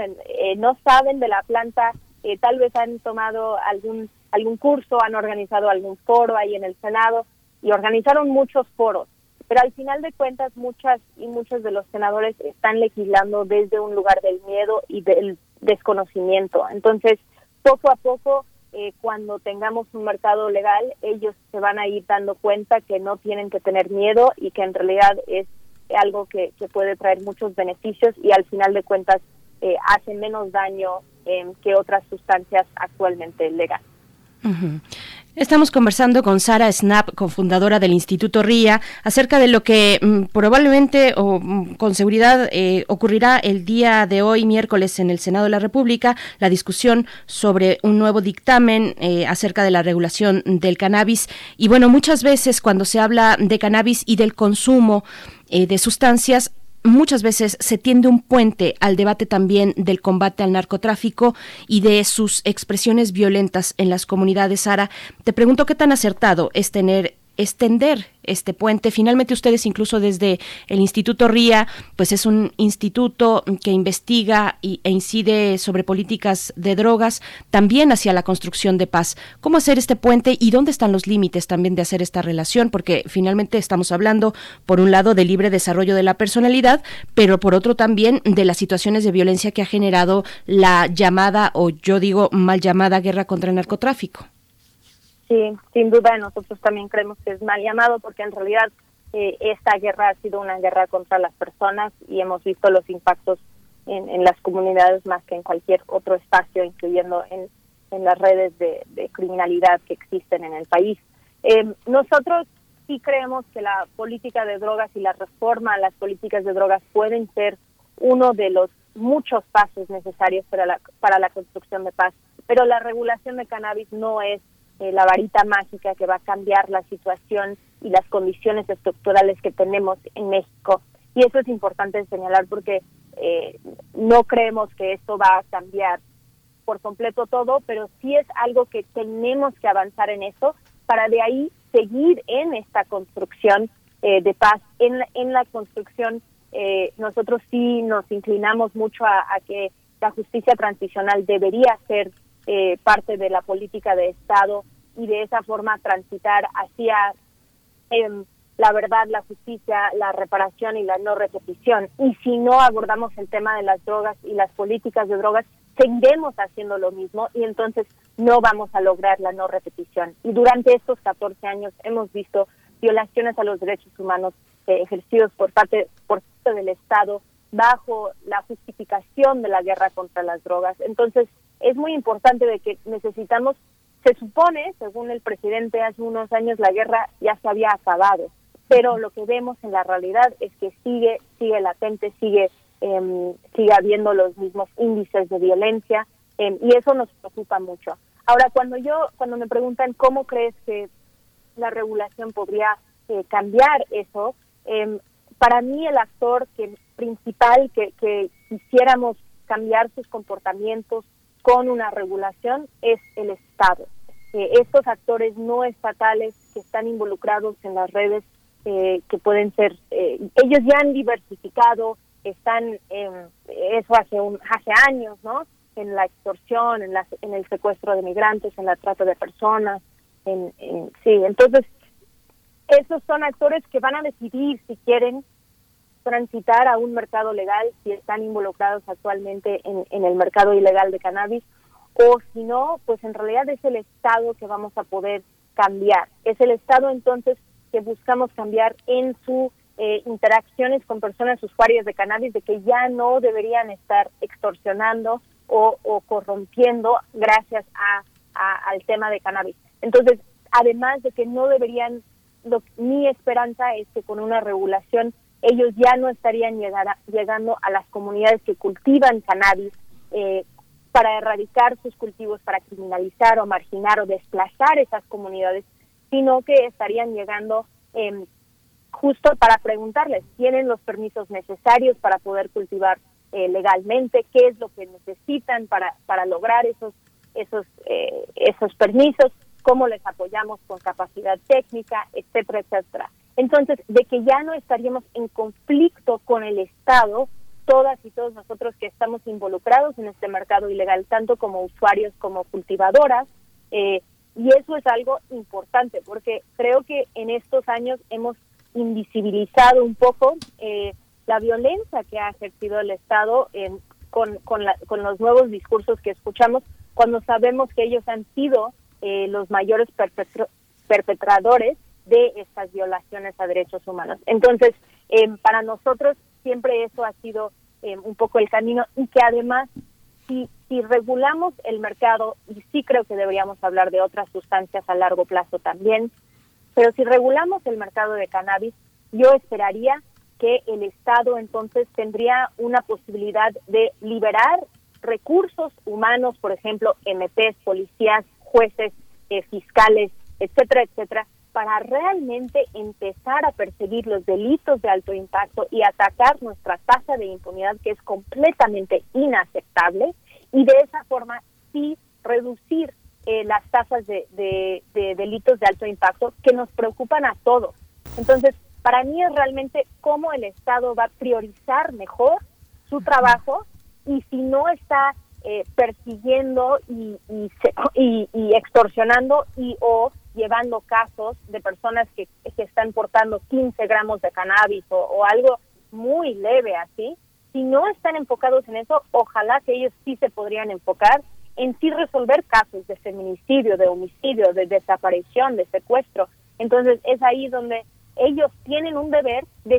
saben de la planta, tal vez han tomado algún curso, han organizado algún foro ahí en el Senado y organizaron muchos foros, pero al final de cuentas muchos de los senadores están legislando desde un lugar del miedo y del desconocimiento. Entonces, poco a poco, cuando tengamos un mercado legal, ellos se van a ir dando cuenta que no tienen que tener miedo y que en realidad es algo que puede traer muchos beneficios y al final de cuentas hace menos daño que otras sustancias actualmente legales. Uh-huh. Estamos conversando con Sara Snap, cofundadora del Instituto RIA, acerca de lo que probablemente o con seguridad ocurrirá el día de hoy, miércoles, en el Senado de la República, la discusión sobre un nuevo dictamen acerca de la regulación del cannabis. Y bueno, muchas veces cuando se habla de cannabis y del consumo de sustancias, muchas veces se tiende un puente al debate también del combate al narcotráfico y de sus expresiones violentas en las comunidades. Sara, te pregunto qué tan acertado es extender este puente. Finalmente ustedes, incluso desde el Instituto RIA, pues es un instituto que investiga e incide sobre políticas de drogas, también hacia la construcción de paz. ¿Cómo hacer este puente y dónde están los límites también de hacer esta relación? Porque finalmente estamos hablando, por un lado, del libre desarrollo de la personalidad, pero por otro también de las situaciones de violencia que ha generado la llamada, o yo digo mal llamada, guerra contra el narcotráfico. Sí, sin duda nosotros también creemos que es mal llamado porque en realidad esta guerra ha sido una guerra contra las personas y hemos visto los impactos en las comunidades más que en cualquier otro espacio, incluyendo en las redes de criminalidad que existen en el país. Nosotros sí creemos que la política de drogas y la reforma a las políticas de drogas pueden ser uno de los muchos pasos necesarios para la construcción de paz, pero la regulación de cannabis no es la varita mágica que va a cambiar la situación y las condiciones estructurales que tenemos en México. Y eso es importante señalar porque no creemos que esto va a cambiar por completo todo, pero sí es algo que tenemos que avanzar en eso para de ahí seguir en esta construcción de paz. En la construcción nosotros sí nos inclinamos mucho a que la justicia transicional debería ser parte de la política de Estado y de esa forma transitar hacia la verdad, la justicia, la reparación y la no repetición. Y si no abordamos el tema de las drogas y las políticas de drogas, seguiremos haciendo lo mismo y entonces no vamos a lograr la no repetición. Y durante estos 14 años hemos visto violaciones a los derechos humanos ejercidos por parte del Estado bajo la justificación de la guerra contra las drogas. Entonces, es muy importante de que necesitamos, se supone, según el presidente hace unos años, la guerra ya se había acabado, pero lo que vemos en la realidad es que sigue latente, sigue habiendo los mismos índices de violencia y eso nos preocupa mucho. Ahora, cuando me preguntan cómo crees que la regulación podría cambiar eso, para mí el actor principal que quisiéramos cambiar sus comportamientos con una regulación es el Estado. Estos actores no estatales que están involucrados en las redes, que pueden ser, ellos ya han diversificado, están eso hace años, ¿no? En la extorsión, en el secuestro de migrantes, en la trata de personas, sí. Entonces, esos son actores que van a decidir si quieren transitar a un mercado legal, si están involucrados actualmente en el mercado ilegal de cannabis, o si no, pues en realidad es el Estado que vamos a poder cambiar. Es el Estado entonces que buscamos cambiar en sus interacciones con personas usuarias de cannabis, de que ya no deberían estar extorsionando o corrompiendo gracias al tema de cannabis. Entonces, además de que no deberían, mi esperanza es que con una regulación ellos ya no estarían llegando a las comunidades que cultivan cannabis para erradicar sus cultivos, para criminalizar o marginar o desplazar esas comunidades, sino que estarían llegando justo para preguntarles, ¿tienen los permisos necesarios para poder cultivar legalmente? ¿Qué es lo que necesitan para lograr esos permisos? ¿Cómo les apoyamos con capacidad técnica, etcétera, etcétera? Entonces, de que ya no estaríamos en conflicto con el Estado, todas y todos nosotros que estamos involucrados en este mercado ilegal, tanto como usuarios como cultivadoras, y eso es algo importante, porque creo que en estos años hemos invisibilizado un poco la violencia que ha ejercido el Estado con los nuevos discursos que escuchamos, cuando sabemos que ellos han sido los mayores perpetradores de estas violaciones a derechos humanos. Entonces, para nosotros siempre eso ha sido un poco el camino, y que además, si regulamos el mercado, y sí creo que deberíamos hablar de otras sustancias a largo plazo también, pero si regulamos el mercado de cannabis, yo esperaría que el Estado entonces tendría una posibilidad de liberar recursos humanos, por ejemplo, MPs, policías, jueces, fiscales, etcétera, etcétera, para realmente empezar a perseguir los delitos de alto impacto y atacar nuestra tasa de impunidad, que es completamente inaceptable, y de esa forma sí reducir las tasas de delitos de alto impacto que nos preocupan a todos. Entonces, para mí es realmente cómo el Estado va a priorizar mejor su trabajo, y si no está persiguiendo y extorsionando o llevando casos de personas que están portando 15 gramos de cannabis o algo muy leve así, si no están enfocados en eso, ojalá que ellos sí se podrían enfocar en sí resolver casos de feminicidio, de homicidio, de desaparición, de secuestro. Entonces es ahí donde ellos tienen un deber de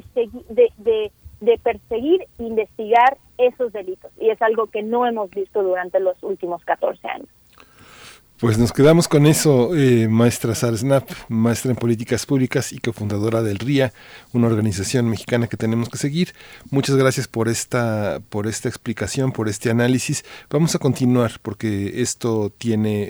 perseguir e investigar esos delitos, y es algo que no hemos visto durante los últimos 14 años. Pues nos quedamos con eso, maestra Sara Snap, maestra en políticas públicas y cofundadora del RIA, una organización mexicana que tenemos que seguir. Muchas gracias por esta explicación, por este análisis. Vamos a continuar porque esto tiene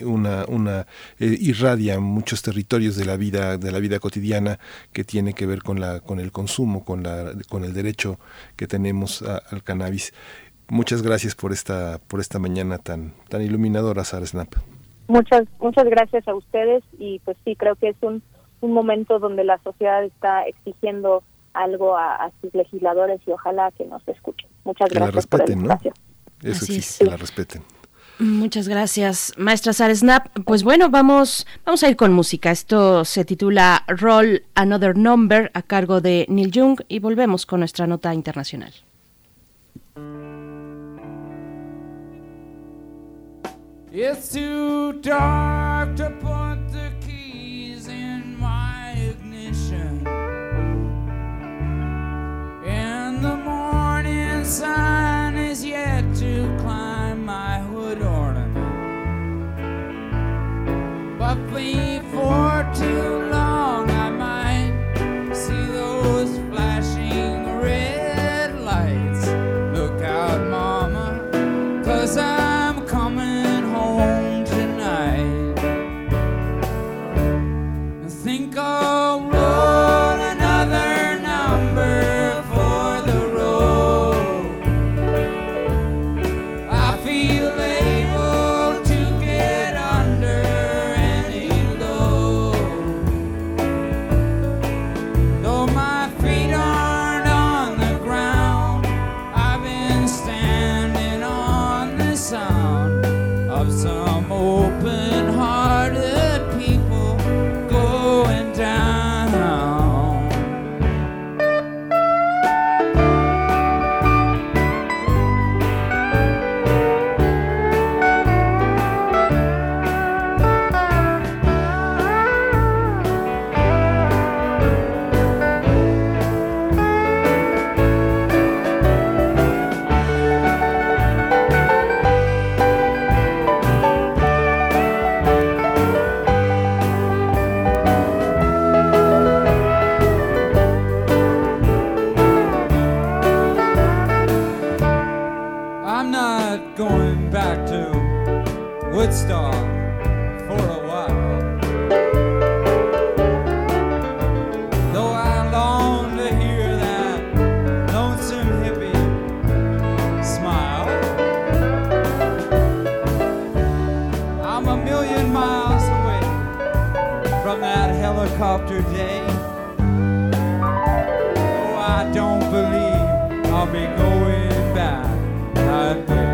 irradia muchos territorios de la vida cotidiana, que tiene que ver con el consumo, con el derecho que tenemos al cannabis. Muchas gracias por esta mañana tan iluminadora, Sara Snap. Muchas gracias a ustedes, y pues sí, creo que es un momento donde la sociedad está exigiendo algo a sus legisladores, y ojalá que nos escuchen. Muchas gracias. Que la respeten, por el espacio. ¿No? Eso Así existe, es. que la respeten. Muchas gracias, maestra Sara Snap. Pues bueno, vamos a ir con música. Esto se titula Roll Another Number, a cargo de Neil Young, y volvemos con nuestra nota internacional. It's too dark to put the keys in my ignition, and the morning sun is yet to climb my hood ornament. But for too long I might see those flashing red lights. Look out, mama, 'cause I'm coming home tonight. Think I'll roll another number for the road. I feel able to get under any load. Though my feet aren't on the ground, I've been standing on the sound of some open-hearted people going down. I'm not going back to Woodstock for a while, though I long to hear that lonesome hippie smile. I'm a million miles away from that helicopter day. Oh, I don't believe I'll be going I'd bet.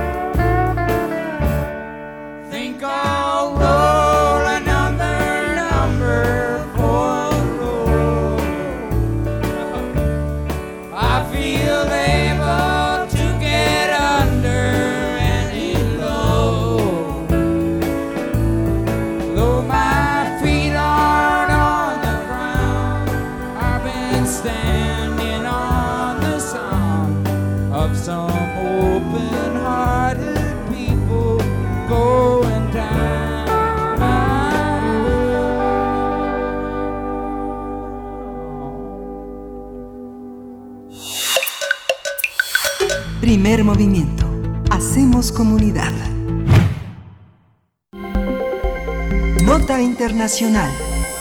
Think I'll roll another number for gold. I feel able to get under any load. Though my feet aren't on the ground, I've been standing on the sound of some open-hearted people going down. Primer movimiento. Hacemos comunidad. Nota internacional.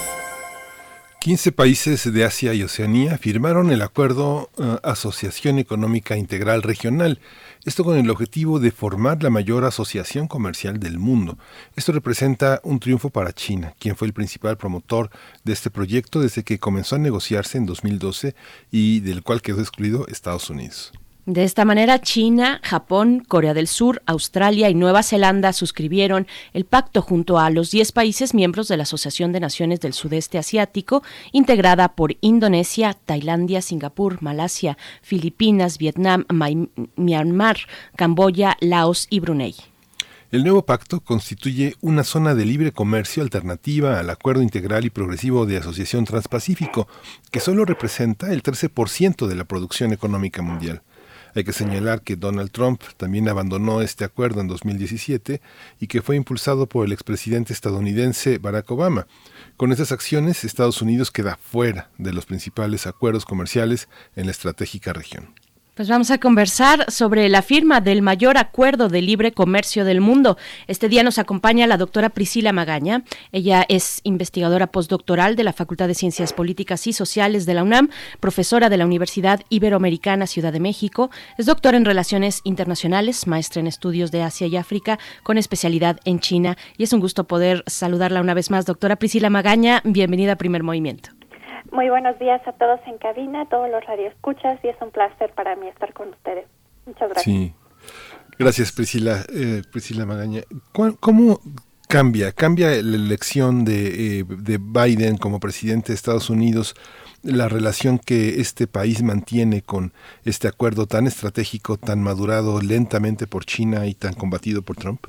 15 países de Asia y Oceanía firmaron el acuerdo Asociación Económica Integral Regional, esto con el objetivo de formar la mayor asociación comercial del mundo. Esto representa un triunfo para China, quien fue el principal promotor de este proyecto desde que comenzó a negociarse en 2012 y del cual quedó excluido Estados Unidos. De esta manera, China, Japón, Corea del Sur, Australia y Nueva Zelanda suscribieron el pacto junto a los 10 países miembros de la Asociación de Naciones del Sudeste Asiático, integrada por Indonesia, Tailandia, Singapur, Malasia, Filipinas, Vietnam, Myanmar, Camboya, Laos y Brunei. El nuevo pacto constituye una zona de libre comercio alternativa al Acuerdo Integral y Progresivo de Asociación Transpacífico, que solo representa el 13% de la producción económica mundial. Hay que señalar que Donald Trump también abandonó este acuerdo en 2017 y que fue impulsado por el expresidente estadounidense Barack Obama. Con estas acciones, Estados Unidos queda fuera de los principales acuerdos comerciales en la estratégica región. Pues vamos a conversar sobre la firma del mayor acuerdo de libre comercio del mundo. Este día nos acompaña la doctora Priscila Magaña. Ella es investigadora postdoctoral de la Facultad de Ciencias Políticas y Sociales de la UNAM, profesora de la Universidad Iberoamericana Ciudad de México, es doctora en Relaciones Internacionales, maestra en Estudios de Asia y África, con especialidad en China. Y es un gusto poder saludarla una vez más. Doctora Priscila Magaña, bienvenida a Primer Movimiento. Muy buenos días a todos en cabina, a todos los radioescuchas, y es un placer para mí estar con ustedes. Muchas gracias. Sí, gracias Priscila Magaña. ¿Cómo cambia la elección de Biden como presidente de Estados Unidos, la relación que este país mantiene con este acuerdo tan estratégico, tan madurado lentamente por China y tan combatido por Trump?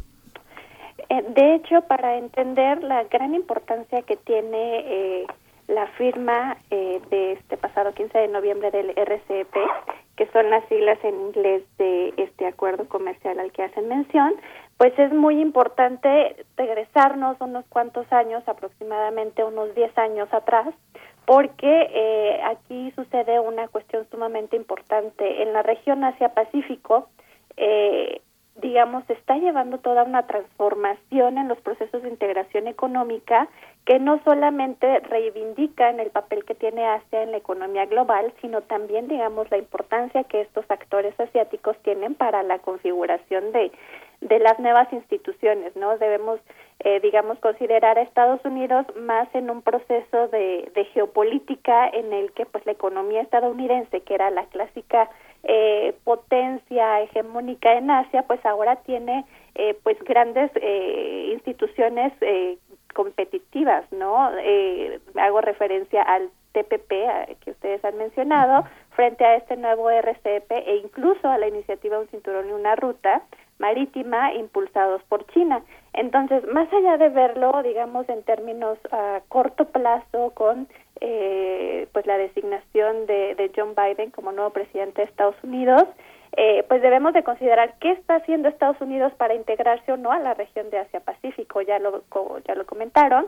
De hecho, para entender la gran importancia que tiene la firma de este pasado 15 de noviembre del RCEP, que son las siglas en inglés de este acuerdo comercial al que hacen mención, pues es muy importante regresarnos unos cuantos años, aproximadamente unos 10 años atrás, porque aquí sucede una cuestión sumamente importante. En la región Asia-Pacífico, digamos, se está llevando toda una transformación en los procesos de integración económica que no solamente reivindican el papel que tiene Asia en la economía global, sino también, digamos, la importancia que estos actores asiáticos tienen para la configuración de las nuevas instituciones, ¿no? Debemos, digamos, considerar a Estados Unidos más en un proceso de geopolítica en el que, pues, la economía estadounidense, que era la clásica potencia hegemónica en Asia, pues ahora tiene pues grandes instituciones competitivas, ¿no? Hago referencia al TPP que ustedes han mencionado, frente a este nuevo RCEP e incluso a la iniciativa Un Cinturón y una Ruta Marítima impulsados por China. Entonces, más allá de verlo, digamos, en términos a corto plazo con pues la designación de John Biden como nuevo presidente de Estados Unidos, pues debemos de considerar qué está haciendo Estados Unidos para integrarse o no a la región de Asia-Pacífico. Ya lo comentaron,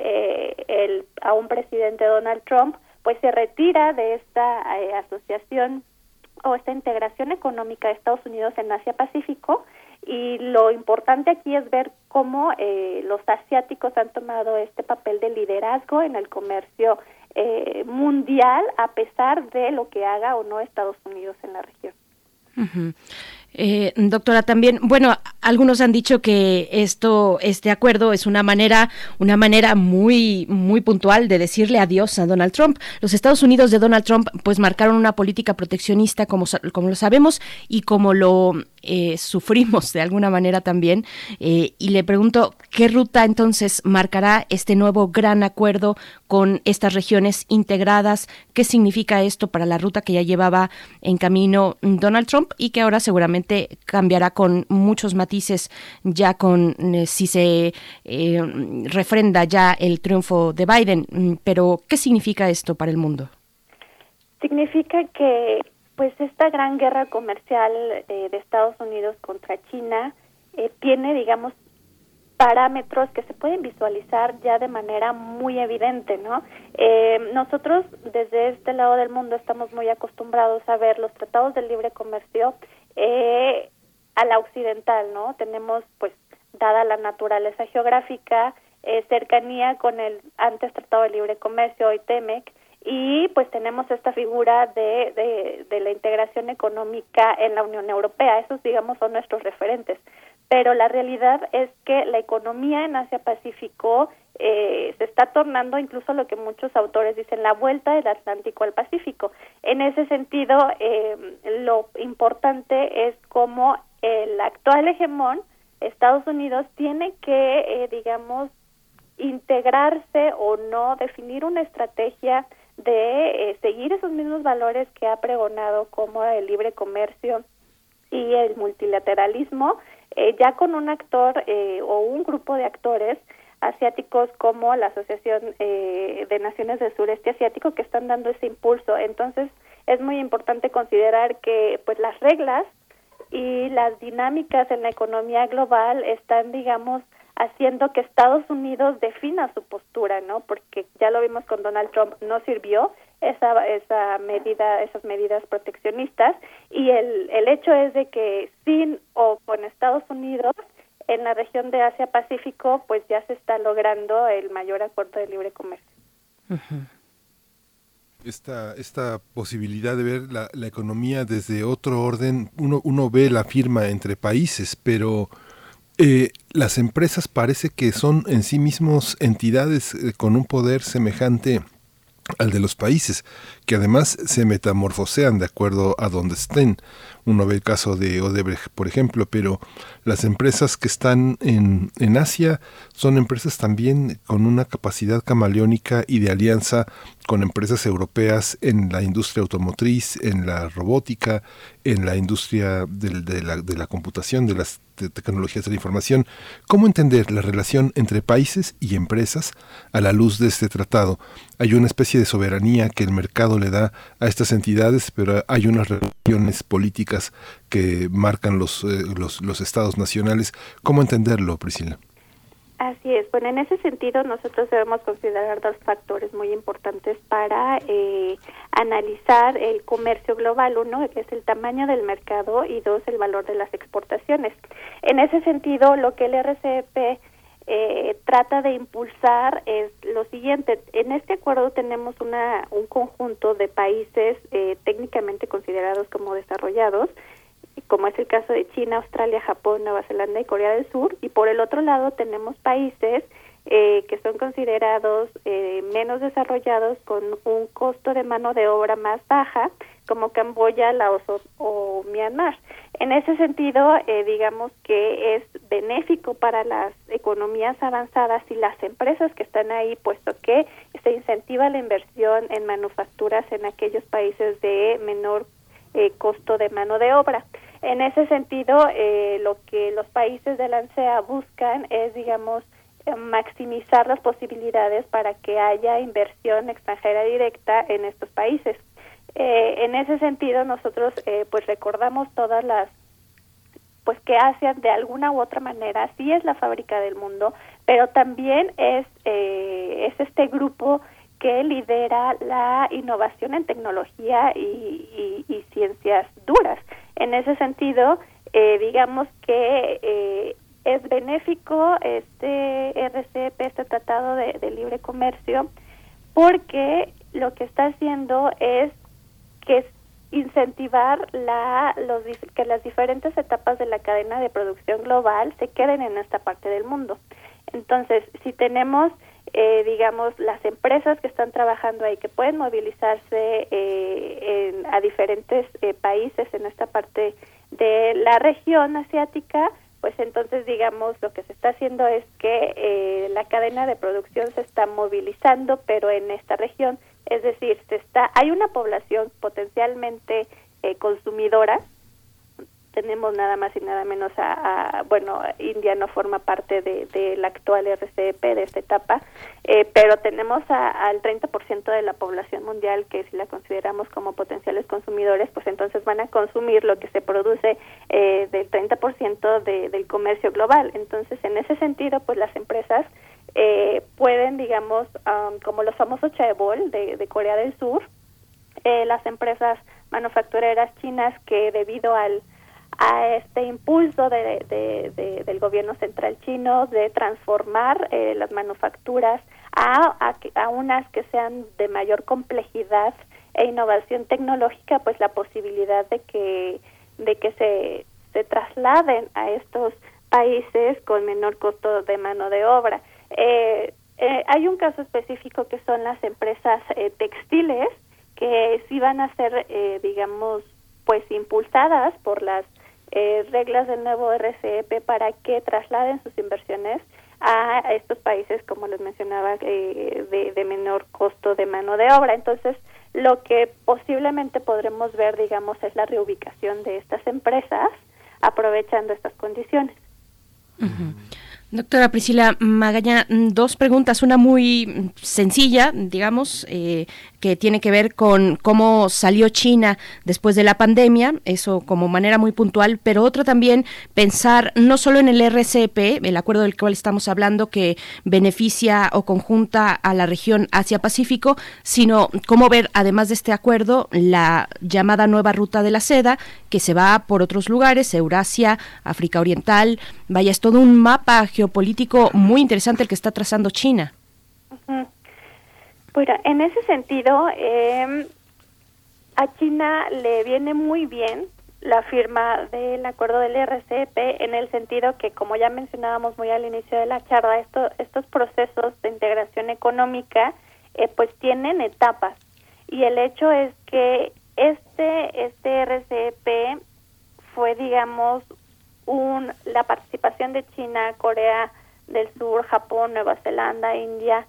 a un presidente Donald Trump pues se retira de esta asociación o esta integración económica de Estados Unidos en Asia-Pacífico, y lo importante aquí es ver cómo los asiáticos han tomado este papel de liderazgo en el comercio mundial, a pesar de lo que haga o no Estados Unidos en la región. Uh-huh. Doctora, también, bueno, algunos han dicho que este acuerdo es una manera muy, muy puntual de decirle adiós a Donald Trump. Los Estados Unidos de Donald Trump, pues, marcaron una política proteccionista, como lo sabemos, y como lo sufrimos de alguna manera también. Y le pregunto, ¿qué ruta entonces marcará este nuevo gran acuerdo con estas regiones integradas? ¿Qué significa esto para la ruta que ya llevaba en camino Donald Trump y que ahora seguramente cambiará con muchos matices ya con si se refrenda ya el triunfo de Biden? Pero ¿qué significa esto para el mundo? Significa que pues esta gran guerra comercial de Estados Unidos contra China tiene, digamos, parámetros que se pueden visualizar ya de manera muy evidente, ¿no? Nosotros desde este lado del mundo estamos muy acostumbrados a ver los tratados de libre comercio a la occidental, ¿no? Tenemos, pues, dada la naturaleza geográfica, cercanía con el antes Tratado de Libre Comercio, hoy TEMEC, y pues tenemos esta figura de la integración económica en la Unión Europea. Esos, digamos, son nuestros referentes. Pero la realidad es que la economía en Asia-Pacífico se está tornando incluso lo que muchos autores dicen, la vuelta del Atlántico al Pacífico. En ese sentido, lo importante es cómo el actual hegemón, Estados Unidos, tiene que, digamos, integrarse o no, definir una estrategia de seguir esos mismos valores que ha pregonado, como el libre comercio y el multilateralismo, ya con un actor o un grupo de actores asiáticos como la Asociación de Naciones del Sureste Asiático, que están dando ese impulso. Entonces es muy importante considerar que pues las reglas y las dinámicas en la economía global están, digamos, haciendo que Estados Unidos defina su postura, ¿no? Porque ya lo vimos con Donald Trump, no sirvió esas medidas proteccionistas, y el hecho es de que sin o con Estados Unidos en la región de Asia-Pacífico, pues ya se está logrando el mayor acuerdo de libre comercio. Uh-huh. Esta posibilidad de ver la economía desde otro orden, uno ve la firma entre países, pero las empresas parece que son en sí mismos entidades con un poder semejante al de los países, que además se metamorfosean de acuerdo a donde estén. Uno ve el caso de Odebrecht, por ejemplo, pero las empresas que están en Asia son empresas también con una capacidad camaleónica y de alianza con empresas europeas en la industria automotriz, en la robótica, en la industria de la computación, de las tecnologías de la información. ¿Cómo entender la relación entre países y empresas a la luz de este tratado? Hay una especie de soberanía que el mercado le da a estas entidades, pero hay unas relaciones políticas que marcan los estados nacionales. ¿Cómo entenderlo, Priscila? Así es. Bueno, en ese sentido nosotros debemos considerar dos factores muy importantes para analizar el comercio global. Uno, que es el tamaño del mercado, y dos, el valor de las exportaciones. En ese sentido, lo que el RCEP trata de impulsar es lo siguiente. En este acuerdo tenemos un conjunto de países técnicamente considerados como desarrollados, como es el caso de China, Australia, Japón, Nueva Zelanda y Corea del Sur, y por el otro lado tenemos países que son considerados menos desarrollados, con un costo de mano de obra más baja, como Camboya, Laos o Myanmar. En ese sentido, digamos que es benéfico para las economías avanzadas y las empresas que están ahí, puesto que se incentiva la inversión en manufacturas en aquellos países de menor costo de mano de obra. En ese sentido, lo que los países de la ANSEA buscan es, digamos, maximizar las posibilidades para que haya inversión extranjera directa en estos países. En ese sentido, nosotros pues recordamos todas las, pues que Asia de alguna u otra manera sí es la fábrica del mundo, pero también es este grupo que lidera la innovación en tecnología y ciencias duras. En ese sentido, digamos que es benéfico este RCEP, este Tratado de Libre Comercio, porque lo que está haciendo es que incentivar que las diferentes etapas de la cadena de producción global se queden en esta parte del mundo. Entonces, si tenemos digamos, las empresas que están trabajando ahí, que pueden movilizarse a diferentes países en esta parte de la región asiática, pues entonces digamos lo que se está haciendo es que la cadena de producción se está movilizando, pero en esta región, es decir, hay una población potencialmente consumidora. Tenemos nada más y nada menos India no forma parte del actual RCEP, de esta etapa, pero tenemos al 30% de la población mundial que si la consideramos como potenciales consumidores, pues entonces van a consumir lo que se produce del 30% del comercio global. Entonces, en ese sentido, pues las empresas pueden, digamos, como los famosos chaebol de Corea del Sur, las empresas manufactureras chinas que debido a este impulso del gobierno central chino de transformar las manufacturas a unas que sean de mayor complejidad e innovación tecnológica, pues la posibilidad de que se trasladen a estos países con menor costo de mano de obra. Hay un caso específico que son las empresas textiles, que sí van a ser, digamos, pues impulsadas por las reglas del nuevo RCEP para que trasladen sus inversiones a estos países, como les mencionaba, de menor costo de mano de obra. Entonces, lo que posiblemente podremos ver, digamos, es la reubicación de estas empresas aprovechando estas condiciones. Uh-huh. Doctora Priscila Magaña, dos preguntas, una muy sencilla, digamos, que tiene que ver con cómo salió China después de la pandemia, eso como manera muy puntual, pero otra también pensar no solo en el RCEP, el acuerdo del cual estamos hablando que beneficia o conjunta a la región Asia-Pacífico, sino cómo ver, además de este acuerdo, la llamada nueva ruta de la seda, que se va por otros lugares, Eurasia, África Oriental, vaya, es todo un mapa geopolítico muy interesante el que está trazando China. Uh-huh. Bueno, en ese sentido, a China le viene muy bien la firma del acuerdo del RCEP, en el sentido que, como ya mencionábamos muy al inicio de la charla, estos procesos de integración económica pues tienen etapas, y el hecho es que este RCEP fue, digamos, la participación de China, Corea del Sur, Japón, Nueva Zelanda, India,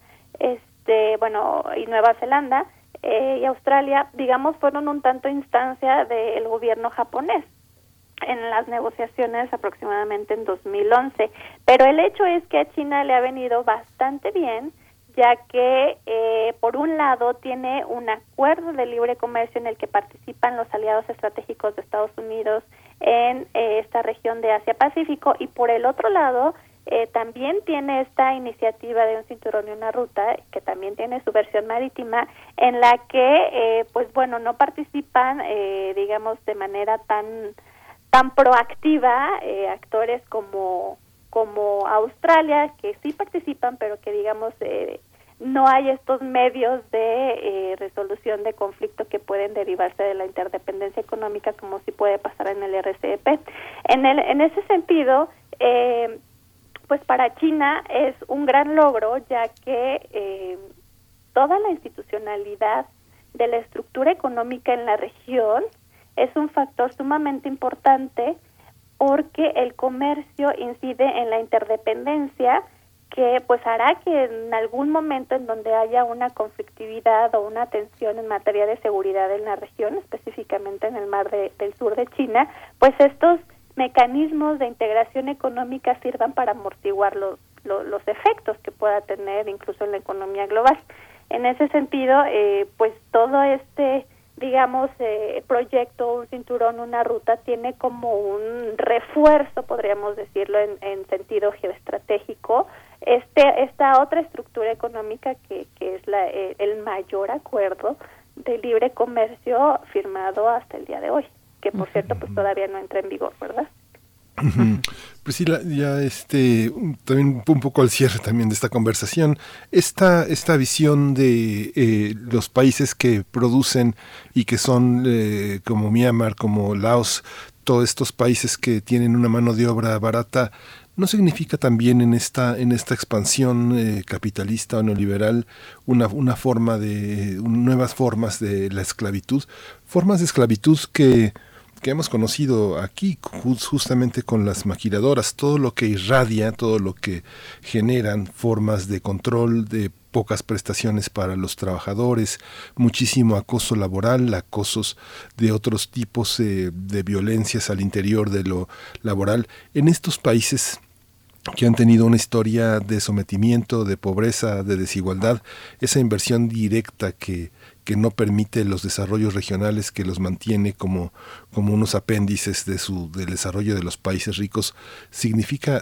y Nueva Zelanda y Australia, digamos, fueron un tanto instancia del gobierno japonés en las negociaciones aproximadamente en 2011. Pero el hecho es que a China le ha venido bastante bien, ya que por un lado tiene un acuerdo de libre comercio en el que participan los aliados estratégicos de Estados Unidos en esta región de Asia-Pacífico, y por el otro lado también tiene esta iniciativa de un cinturón y una ruta, que también tiene su versión marítima, en la que no participan digamos de manera tan proactiva actores como Australia, que sí participan, pero que digamos no hay estos medios de resolución de conflicto que pueden derivarse de la interdependencia económica, como sí puede pasar en el RCEP. En ese sentido, pues para China es un gran logro, ya que toda la institucionalidad de la estructura económica en la región es un factor sumamente importante, porque el comercio incide en la interdependencia, que pues hará que en algún momento en donde haya una conflictividad o una tensión en materia de seguridad en la región, específicamente en el mar del sur de China, pues estos mecanismos de integración económica sirvan para amortiguar los efectos que pueda tener incluso en la economía global. En ese sentido, pues todo digamos, proyecto, un cinturón, una ruta, tiene como un refuerzo, podríamos decirlo, en sentido geoestratégico, esta otra estructura económica que es el mayor acuerdo de libre comercio firmado hasta el día de hoy, que por cierto pues todavía no entra en vigor, ¿verdad? Priscila, ya también un poco al cierre también de esta conversación, esta visión de los países que producen y que son como Myanmar, como Laos, todos estos países que tienen una mano de obra barata, ¿no significa también en esta expansión capitalista o neoliberal una forma nuevas formas de la esclavitud? Formas de esclavitud que hemos conocido aquí, justamente con las maquiladoras, todo lo que irradia, todo lo que generan formas de control, de pocas prestaciones para los trabajadores, muchísimo acoso laboral, acosos de otros tipos de violencias al interior de lo laboral. En estos países que han tenido una historia de sometimiento, de pobreza, de desigualdad, esa inversión directa que no permite los desarrollos regionales, que los mantiene como unos apéndices del desarrollo de los países ricos, ¿significa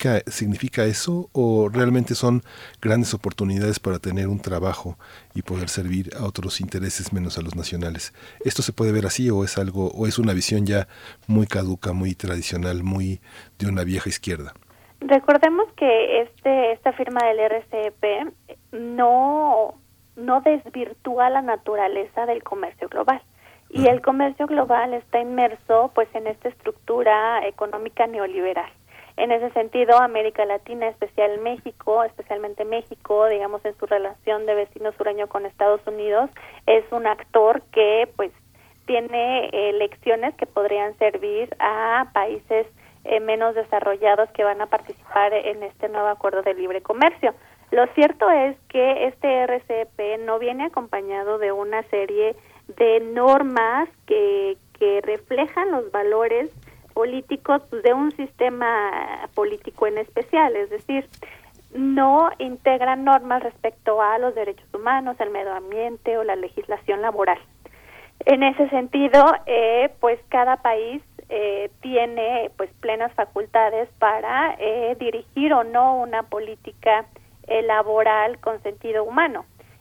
eso o realmente son grandes oportunidades para tener un trabajo y poder servir a otros intereses menos a los nacionales? ¿Esto se puede ver así o es una visión ya muy caduca, muy tradicional, muy de una vieja izquierda? Recordemos que esta firma del RCEP no desvirtúa la naturaleza del comercio global. Y el comercio global está inmerso pues en esta estructura económica neoliberal. En ese sentido, América Latina, especialmente México, digamos en su relación de vecino sureño con Estados Unidos, es un actor que pues tiene lecciones que podrían servir a países menos desarrollados que van a participar en este nuevo acuerdo de libre comercio. Lo cierto es que este RCEP no viene acompañado de una serie de normas que reflejan los valores políticos de un sistema político en especial, es decir, no integran normas respecto a los derechos humanos, el medio ambiente o la legislación laboral. En ese sentido, pues cada país tiene pues plenas facultades para dirigir o no una política laboral con sentido humano.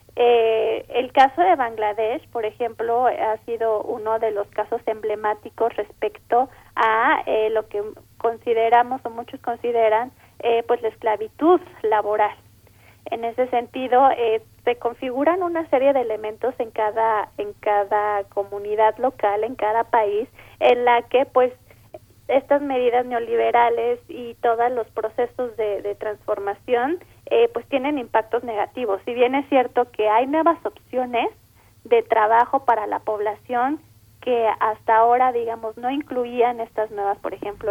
El caso de Bangladesh, por ejemplo, ha sido uno de los casos emblemáticos respecto a lo que consideramos o muchos consideran pues la esclavitud laboral. En ese sentido, se configuran una serie de elementos en cada comunidad local, en cada país, en la que pues estas medidas neoliberales y todos los procesos de transformación pues tienen impactos negativos. Si bien es cierto que hay nuevas opciones de trabajo para la población que hasta ahora, digamos, no incluían estas nuevas, por ejemplo,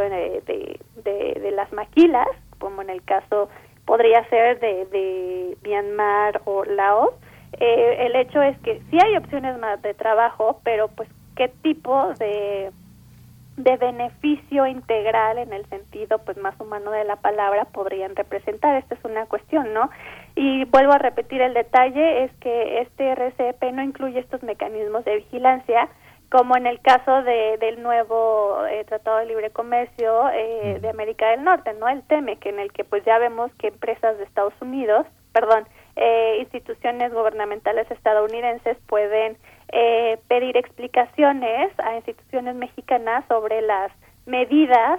de las maquilas, como en el caso podría ser de Myanmar o Laos, el hecho es que sí hay opciones más de trabajo, pero pues qué tipo de beneficio integral en el sentido pues más humano de la palabra podrían representar. Esta es una cuestión, ¿no? Y vuelvo a repetir el detalle, es que este RCEP no incluye estos mecanismos de vigilancia, como en el caso del nuevo Tratado de Libre Comercio de América del Norte, ¿no? El TEMEC, en el que pues ya vemos que empresas de Estados Unidos, instituciones gubernamentales estadounidenses pueden pedir explicaciones a instituciones mexicanas sobre las medidas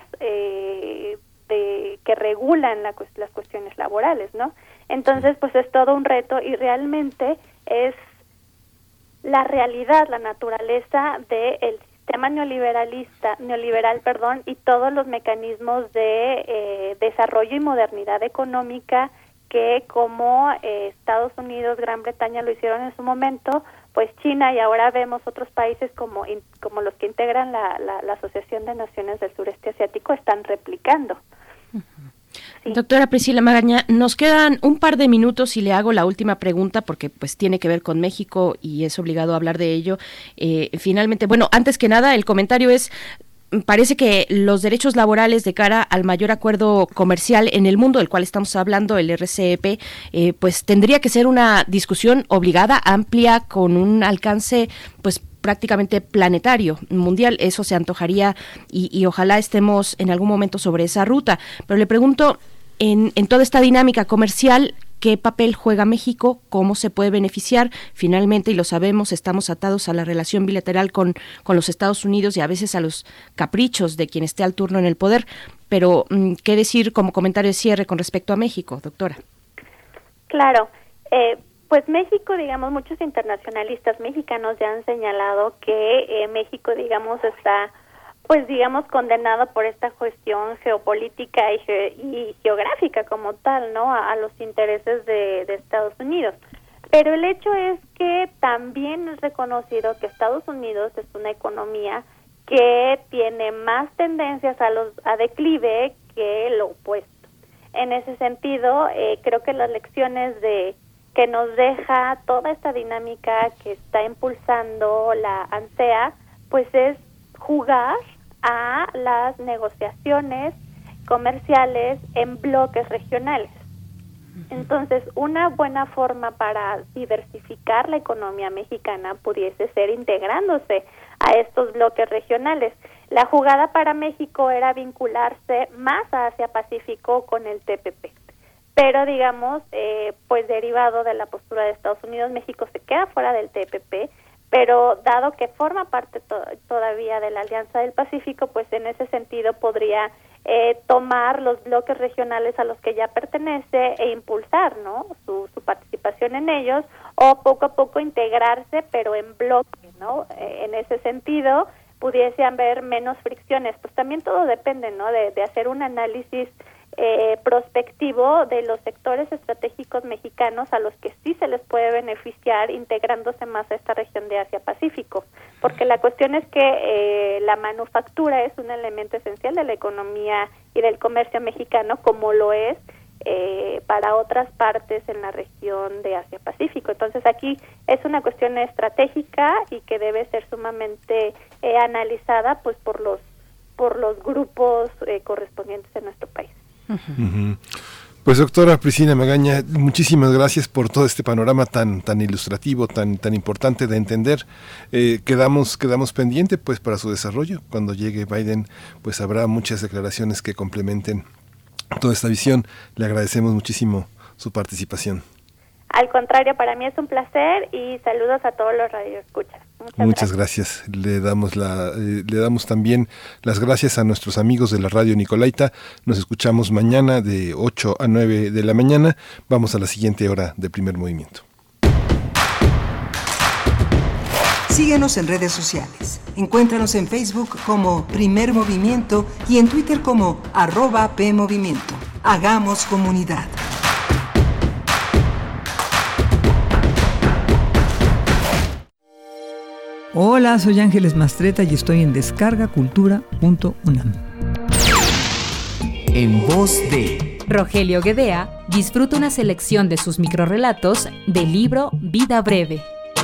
que regulan las cuestiones laborales, ¿no? Entonces, pues es todo un reto y realmente es la realidad, la naturaleza del sistema neoliberal, y todos los mecanismos de desarrollo y modernidad económica que como Estados Unidos, Gran Bretaña lo hicieron en su momento, pues China y ahora vemos otros países como los que integran la Asociación de Naciones del Sureste Asiático están replicando. Sí. Doctora Priscila Magaña, nos quedan un par de minutos y le hago la última pregunta porque pues tiene que ver con México y es obligado a hablar de ello. Finalmente, bueno, antes que nada, el comentario es: parece que los derechos laborales de cara al mayor acuerdo comercial en el mundo del cual estamos hablando, el RCEP, pues tendría que ser una discusión obligada, amplia, con un alcance pues prácticamente planetario, mundial. Eso se antojaría y ojalá estemos en algún momento sobre esa ruta. Pero le pregunto, en toda esta dinámica comercial, ¿qué papel juega México? ¿Cómo se puede beneficiar? Finalmente, y lo sabemos, estamos atados a la relación bilateral con los Estados Unidos y a veces a los caprichos de quien esté al turno en el poder. Pero, ¿qué decir como comentario de cierre con respecto a México, doctora? Claro. Pues México, digamos, muchos internacionalistas mexicanos ya han señalado que México, digamos, está pues digamos condenado por esta cuestión geopolítica y geográfica como tal, ¿no? A los intereses de Estados Unidos. Pero el hecho es que también es reconocido que Estados Unidos es una economía que tiene más tendencias a declive que lo opuesto. En ese sentido, creo que las lecciones que nos deja toda esta dinámica que está impulsando la ANSEA, pues es jugar a las negociaciones comerciales en bloques regionales. Entonces, una buena forma para diversificar la economía mexicana pudiese ser integrándose a estos bloques regionales. La jugada para México era vincularse más a Asia-Pacífico con el TPP. Pero, digamos, pues derivado de la postura de Estados Unidos, México se queda fuera del TPP, pero dado que forma parte todavía de la Alianza del Pacífico, pues en ese sentido podría tomar los bloques regionales a los que ya pertenece e impulsar, ¿no?, su participación en ellos, o poco a poco integrarse, pero en bloque, ¿no? En ese sentido, pudiese haber menos fricciones. Pues también todo depende, ¿no?, de hacer un análisis prospectivo de los sectores estratégicos mexicanos a los que sí se les puede beneficiar integrándose más a esta región de Asia-Pacífico, porque la cuestión es que la manufactura es un elemento esencial de la economía y del comercio mexicano, como lo es para otras partes en la región de Asia-Pacífico. Entonces aquí es una cuestión estratégica y que debe ser sumamente analizada pues por los grupos correspondientes en nuestro país. Uh-huh. Pues doctora Priscila Magaña, muchísimas gracias por todo este panorama tan ilustrativo, tan importante de entender. Quedamos pendiente pues para su desarrollo. Cuando llegue Biden, pues habrá muchas declaraciones que complementen toda esta visión. Le agradecemos muchísimo su participación. Al contrario, para mí es un placer y saludos a todos los radioescuchas. Muchas gracias. Le damos también las gracias a nuestros amigos de la Radio Nicolaita. Nos escuchamos mañana de 8 a 9 de la mañana. Vamos a la siguiente hora de Primer Movimiento. Síguenos en redes sociales. Encuéntranos en Facebook como Primer Movimiento y en Twitter como @PMovimiento. Hagamos comunidad. Hola, soy Ángeles Mastreta y estoy en descargacultura.unam. En voz de Rogelio Guedea, disfruta una selección de sus microrrelatos del libro Vida Breve.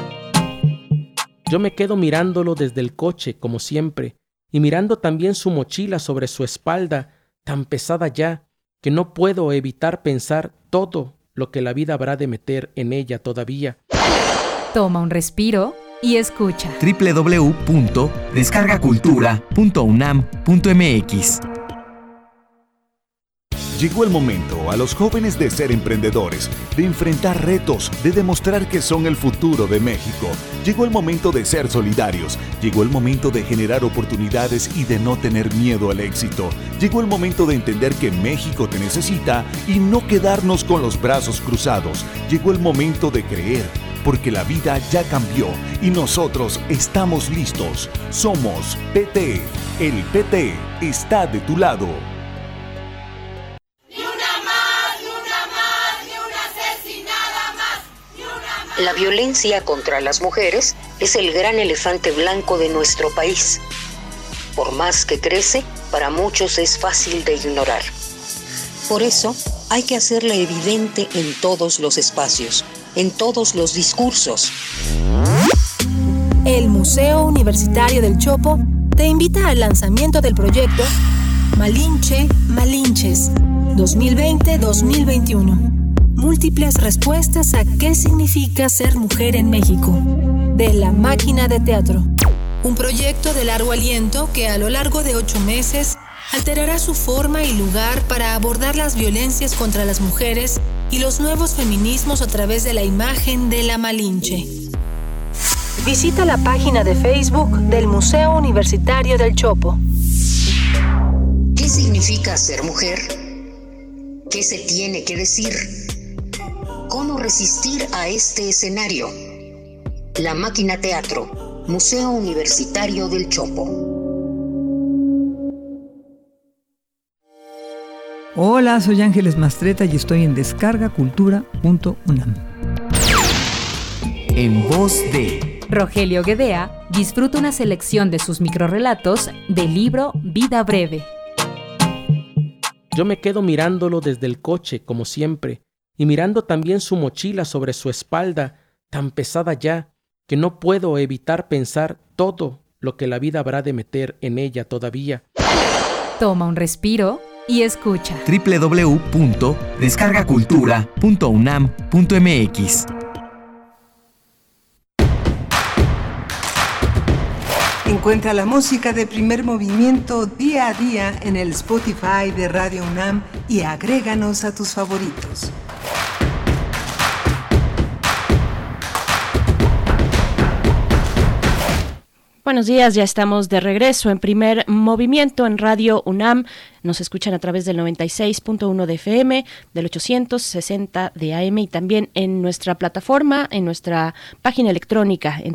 Yo me quedo mirándolo desde el coche, como siempre, y mirando también su mochila sobre su espalda, tan pesada ya, que no puedo evitar pensar todo lo que la vida habrá de meter en ella todavía. Toma un respiro y escucha. www.descargacultura.unam.mx. Llegó el momento a los jóvenes de ser emprendedores, de enfrentar retos, de demostrar que son el futuro de México. Llegó el momento de ser solidarios. Llegó el momento de generar oportunidades y de no tener miedo al éxito. Llegó el momento de entender que México te necesita y no quedarnos con los brazos cruzados. Llegó el momento de creer, porque la vida ya cambió y nosotros estamos listos. Somos PT. El PT está de tu lado. La violencia contra las mujeres es el gran elefante blanco de nuestro país. Por más que crece, para muchos es fácil de ignorar. Por eso, hay que hacerla evidente en todos los espacios, en todos los discursos. El Museo Universitario del Chopo te invita al lanzamiento del proyecto Malinche, Malinches 2020-2021. Múltiples respuestas a qué significa ser mujer en México, de La Máquina de Teatro. Un proyecto de largo aliento que a lo largo de 8 meses alterará su forma y lugar para abordar las violencias contra las mujeres y los nuevos feminismos a través de la imagen de la Malinche. Visita la página de Facebook del Museo Universitario del Chopo. ¿Qué significa ser mujer? ¿Qué se tiene que decir? ¿Cómo resistir a este escenario? La Máquina Teatro, Museo Universitario del Chopo. Hola, soy Ángeles Mastreta y estoy en descargacultura.unam. En voz de Rogelio Guedea disfruta una selección de sus microrrelatos del libro Vida Breve. Yo me quedo mirándolo desde el coche, como siempre, y mirando también su mochila sobre su espalda, tan pesada ya, que no puedo evitar pensar todo lo que la vida habrá de meter en ella todavía. Toma un respiro y escucha. www.descargacultura.unam.mx. Encuentra la música de Primer Movimiento día a día en el Spotify de Radio UNAM y agréganos a tus favoritos. Buenos días, ya estamos de regreso en Primer Movimiento en Radio UNAM. Nos escuchan a través del 96.1 de FM, del 860 de AM y también en nuestra plataforma, en nuestra página electrónica en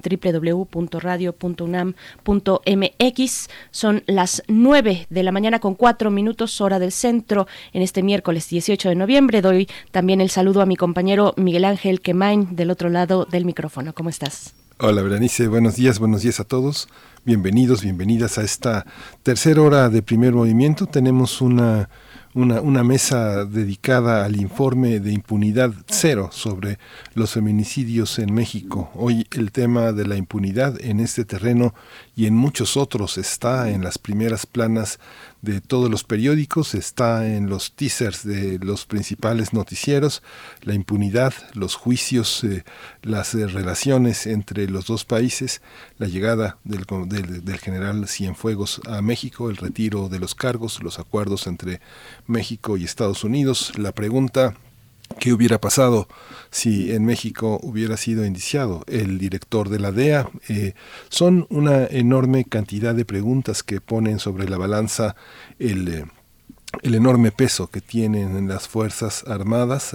www.radio.unam.mx. Son las 9 de la mañana con 4 minutos, hora del centro, en este miércoles 18 de noviembre. Doy también el saludo a mi compañero Miguel Ángel Quemain del otro lado del micrófono. ¿Cómo estás? Hola Berenice, buenos días a todos. Bienvenidos, bienvenidas a esta tercera hora de Primer Movimiento. Tenemos una mesa dedicada al informe de impunidad cero sobre los feminicidios en México. Hoy el tema de la impunidad en este terreno y en muchos otros está en las primeras planas de todos los periódicos, está en los teasers de los principales noticieros, la impunidad, los juicios, las relaciones entre los dos países, la llegada del general Cienfuegos a México, el retiro de los cargos, los acuerdos entre México y Estados Unidos, la pregunta: ¿qué hubiera pasado si en México hubiera sido indiciado el director de la DEA? Son una enorme cantidad de preguntas que ponen sobre la balanza el enorme peso que tienen las Fuerzas Armadas,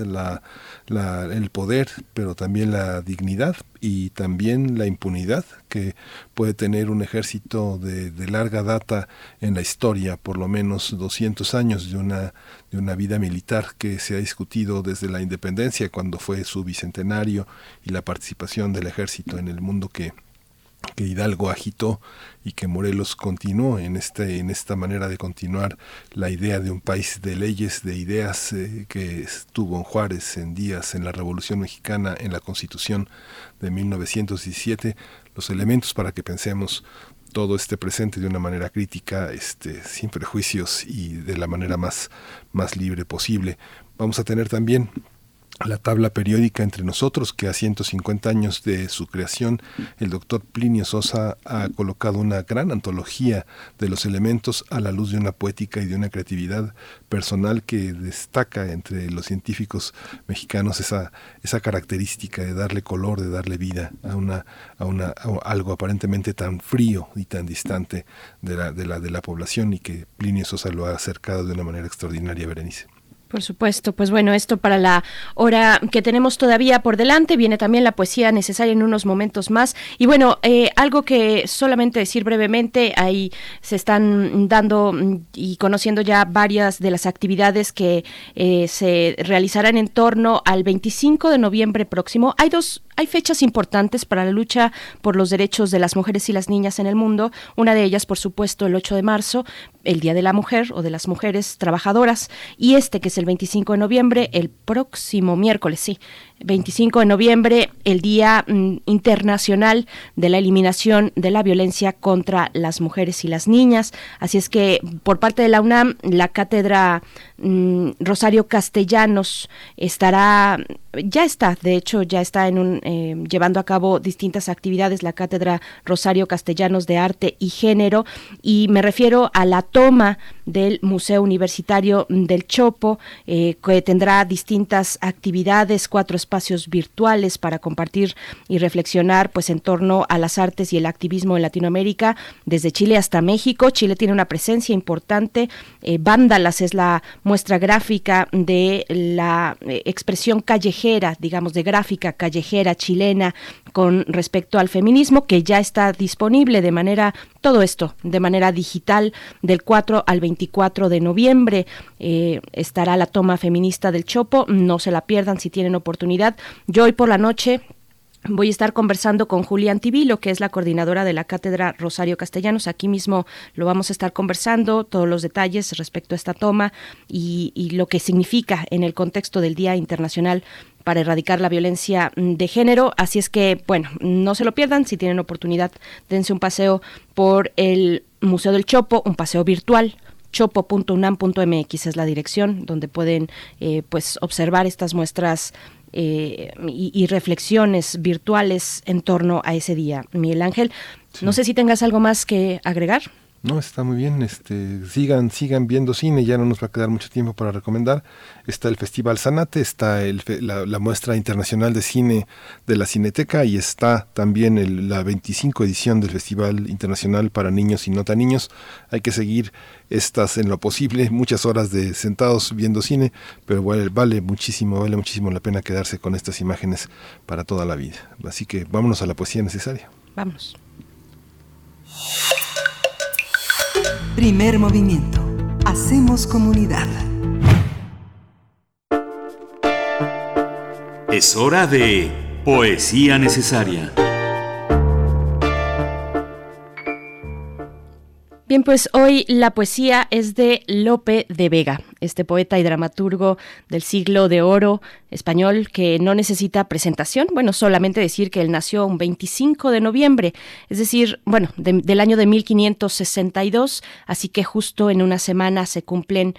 el poder, pero también la dignidad y también la impunidad que puede tener un ejército de larga data en la historia, por lo menos 200 años de una vida militar que se ha discutido desde la independencia, cuando fue su bicentenario, y la participación del ejército en el mundo que Hidalgo agitó y que Morelos continuó en esta manera de continuar la idea de un país de leyes, de ideas que estuvo en Juárez, en Díaz, en la Revolución Mexicana, en la Constitución de 1917, los elementos para que pensemos todo este presente de una manera crítica, sin prejuicios y de la manera más libre posible. Vamos a tener también la tabla periódica entre nosotros, que a 150 años de su creación, el doctor Plinio Sosa ha colocado una gran antología de los elementos a la luz de una poética y de una creatividad personal que destaca entre los científicos mexicanos esa característica de darle color, de darle vida a algo aparentemente tan frío y tan distante de la población, y que Plinio Sosa lo ha acercado de una manera extraordinaria, Berenice. Por supuesto, pues bueno, esto para la hora que tenemos todavía por delante. Viene también la poesía necesaria en unos momentos más. Y bueno, algo que solamente decir brevemente, ahí se están dando y conociendo ya varias de las actividades que se realizarán en torno al 25 de noviembre próximo. Hay fechas importantes para la lucha por los derechos de las mujeres y las niñas en el mundo. Una de ellas, por supuesto, el 8 de marzo, el Día de la Mujer o de las Mujeres Trabajadoras, y que es el 25 de noviembre, el próximo miércoles, 25 de noviembre, el Día Internacional de la Eliminación de la Violencia contra las Mujeres y las Niñas. Así es que por parte de la UNAM, la cátedra Rosario Castellanos ya está llevando a cabo distintas actividades, la cátedra Rosario Castellanos de Arte y Género, y me refiero a la toma del Museo Universitario del Chopo, que tendrá distintas actividades, 4 espacios virtuales para compartir y reflexionar pues en torno a las artes y el activismo en Latinoamérica, desde Chile hasta México. Chile tiene una presencia importante. Vándalas es la muestra gráfica de la expresión callejera, digamos, de gráfica callejera chilena con respecto al feminismo, que ya está disponible todo esto de manera digital. Del 4 al 24 de noviembre estará la toma feminista del Chopo. No se la pierdan si tienen oportunidad. Yo hoy por la noche Voy a estar conversando con Julia Antivilo, que es la coordinadora de la Cátedra Rosario Castellanos. Aquí mismo lo vamos a estar conversando, todos los detalles respecto a esta toma y lo que significa en el contexto del Día Internacional para erradicar la violencia de género. Así es que, bueno, no se lo pierdan. Si tienen oportunidad, dense un paseo por el Museo del Chopo, un paseo virtual. chopo.unam.mx es la dirección donde pueden pues observar estas muestras y reflexiones virtuales en torno a ese día. Miguel Ángel, sí. No sé si tengas algo más que agregar. No, está muy bien. Sigan viendo cine, ya no nos va a quedar mucho tiempo para recomendar. Está el Festival Zanate, está la muestra internacional de cine de la Cineteca y está también la 25 edición del Festival Internacional para Niños y No Tan Niños. Hay que seguir estas en lo posible, muchas horas de sentados viendo cine, pero vale muchísimo la pena quedarse con estas imágenes para toda la vida. Así que vámonos a la poesía necesaria. Vámonos. Primer movimiento. Hacemos comunidad. Es hora de poesía necesaria. Bien, pues hoy la poesía es de Lope de Vega, este poeta y dramaturgo del siglo de oro español que no necesita presentación. Bueno, solamente decir que él nació un 25 de noviembre, es decir, bueno, del año de 1562, así que justo en una semana se cumplen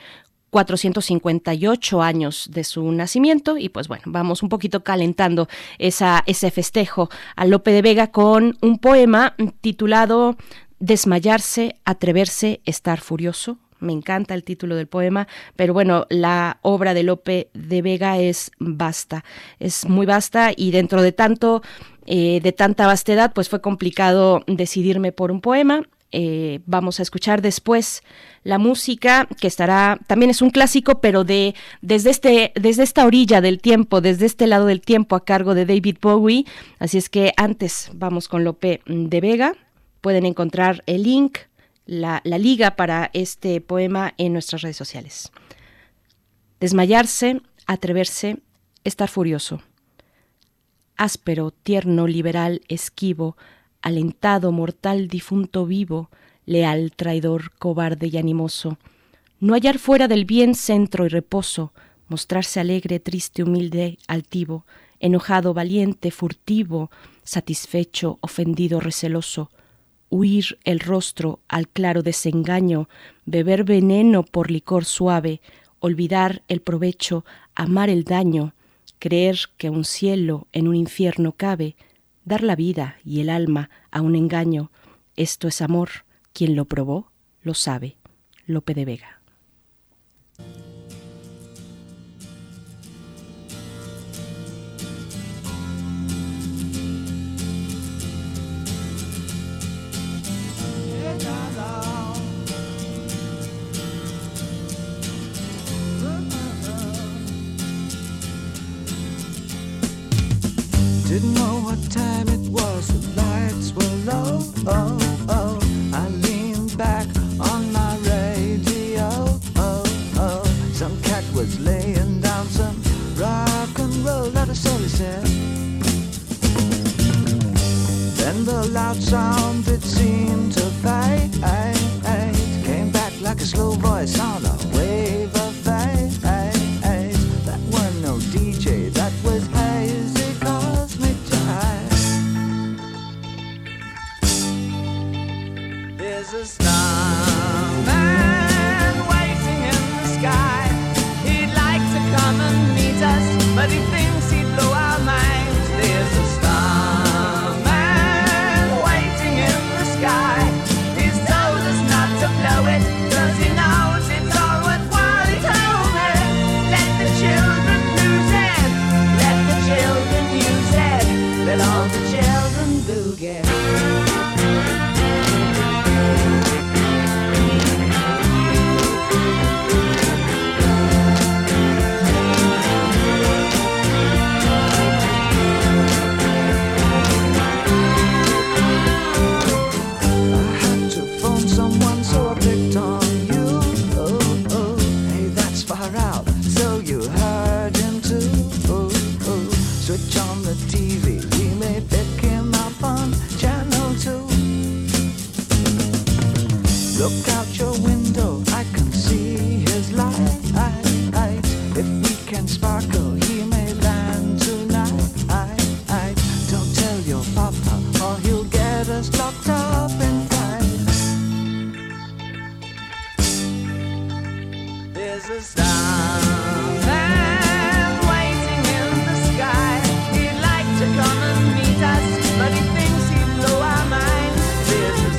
458 años de su nacimiento y pues bueno, vamos un poquito calentando ese festejo a Lope de Vega con un poema titulado Desmayarse, atreverse, estar furioso. Me encanta el título del poema, pero bueno, la obra de Lope de Vega es vasta, es muy vasta y dentro de tanta vastedad, pues fue complicado decidirme por un poema. Vamos a escuchar después la música que también es un clásico, pero desde esta orilla del tiempo, desde este lado del tiempo a cargo de David Bowie. Así es que antes vamos con Lope de Vega. Pueden encontrar el link, la liga para este poema en nuestras redes sociales. Desmayarse, atreverse, estar furioso. Áspero, tierno, liberal, esquivo, alentado, mortal, difunto, vivo, leal, traidor, cobarde y animoso. No hallar fuera del bien centro y reposo, mostrarse alegre, triste, humilde, altivo, enojado, valiente, furtivo, satisfecho, ofendido, receloso. Huir el rostro al claro desengaño, beber veneno por licor suave, olvidar el provecho, amar el daño, creer que un cielo en un infierno cabe, dar la vida y el alma a un engaño. Esto es amor, quien lo probó lo sabe. Lope de Vega. Didn't know what time it was, the lights were low. Oh, oh, I leaned back on my radio. Oh, oh, some cat was laying down some rock and roll that a soul said. Then the loud sound it seemed to fade, came back like a slow voice on a wave of fade. That wasn't no DJ, that was hazy cosmic jive. There's a starman waiting in the sky. He'd like to come and meet us, but he thinks he'd blow our minds. There's a starman waiting in the sky. He's told us not to blow it, 'cause he knows it's all worthwhile. He told me, let the children lose it, let the children use it, let all the children boogie. Look out your window, I can see his light. If we can sparkle, he may land tonight. Don't tell your papa, or he'll get us locked up and tight. There's a starman waiting in the sky. He'd like to come and meet us, but he thinks he'd blow our minds. There's a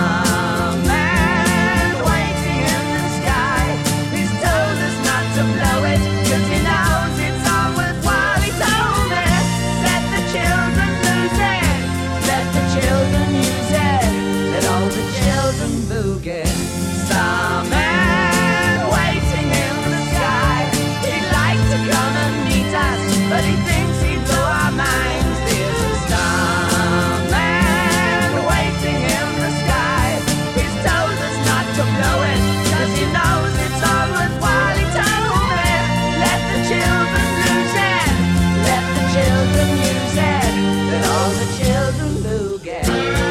starman waiting in the sky. He's told us not to blow it, 'cause he knows it's all worthwhile. He told me, let the children lose it, let the children use it, let all the children boogie. Starman waiting in the sky. He'd like to come and meet us, but he thinks he'd blow our minds. There's a starman waiting in the sky. He's told us not to blow it, 'cause he knows it's all worthwhile. He told me, let the children lose it, let the children use it, let all the children boogie.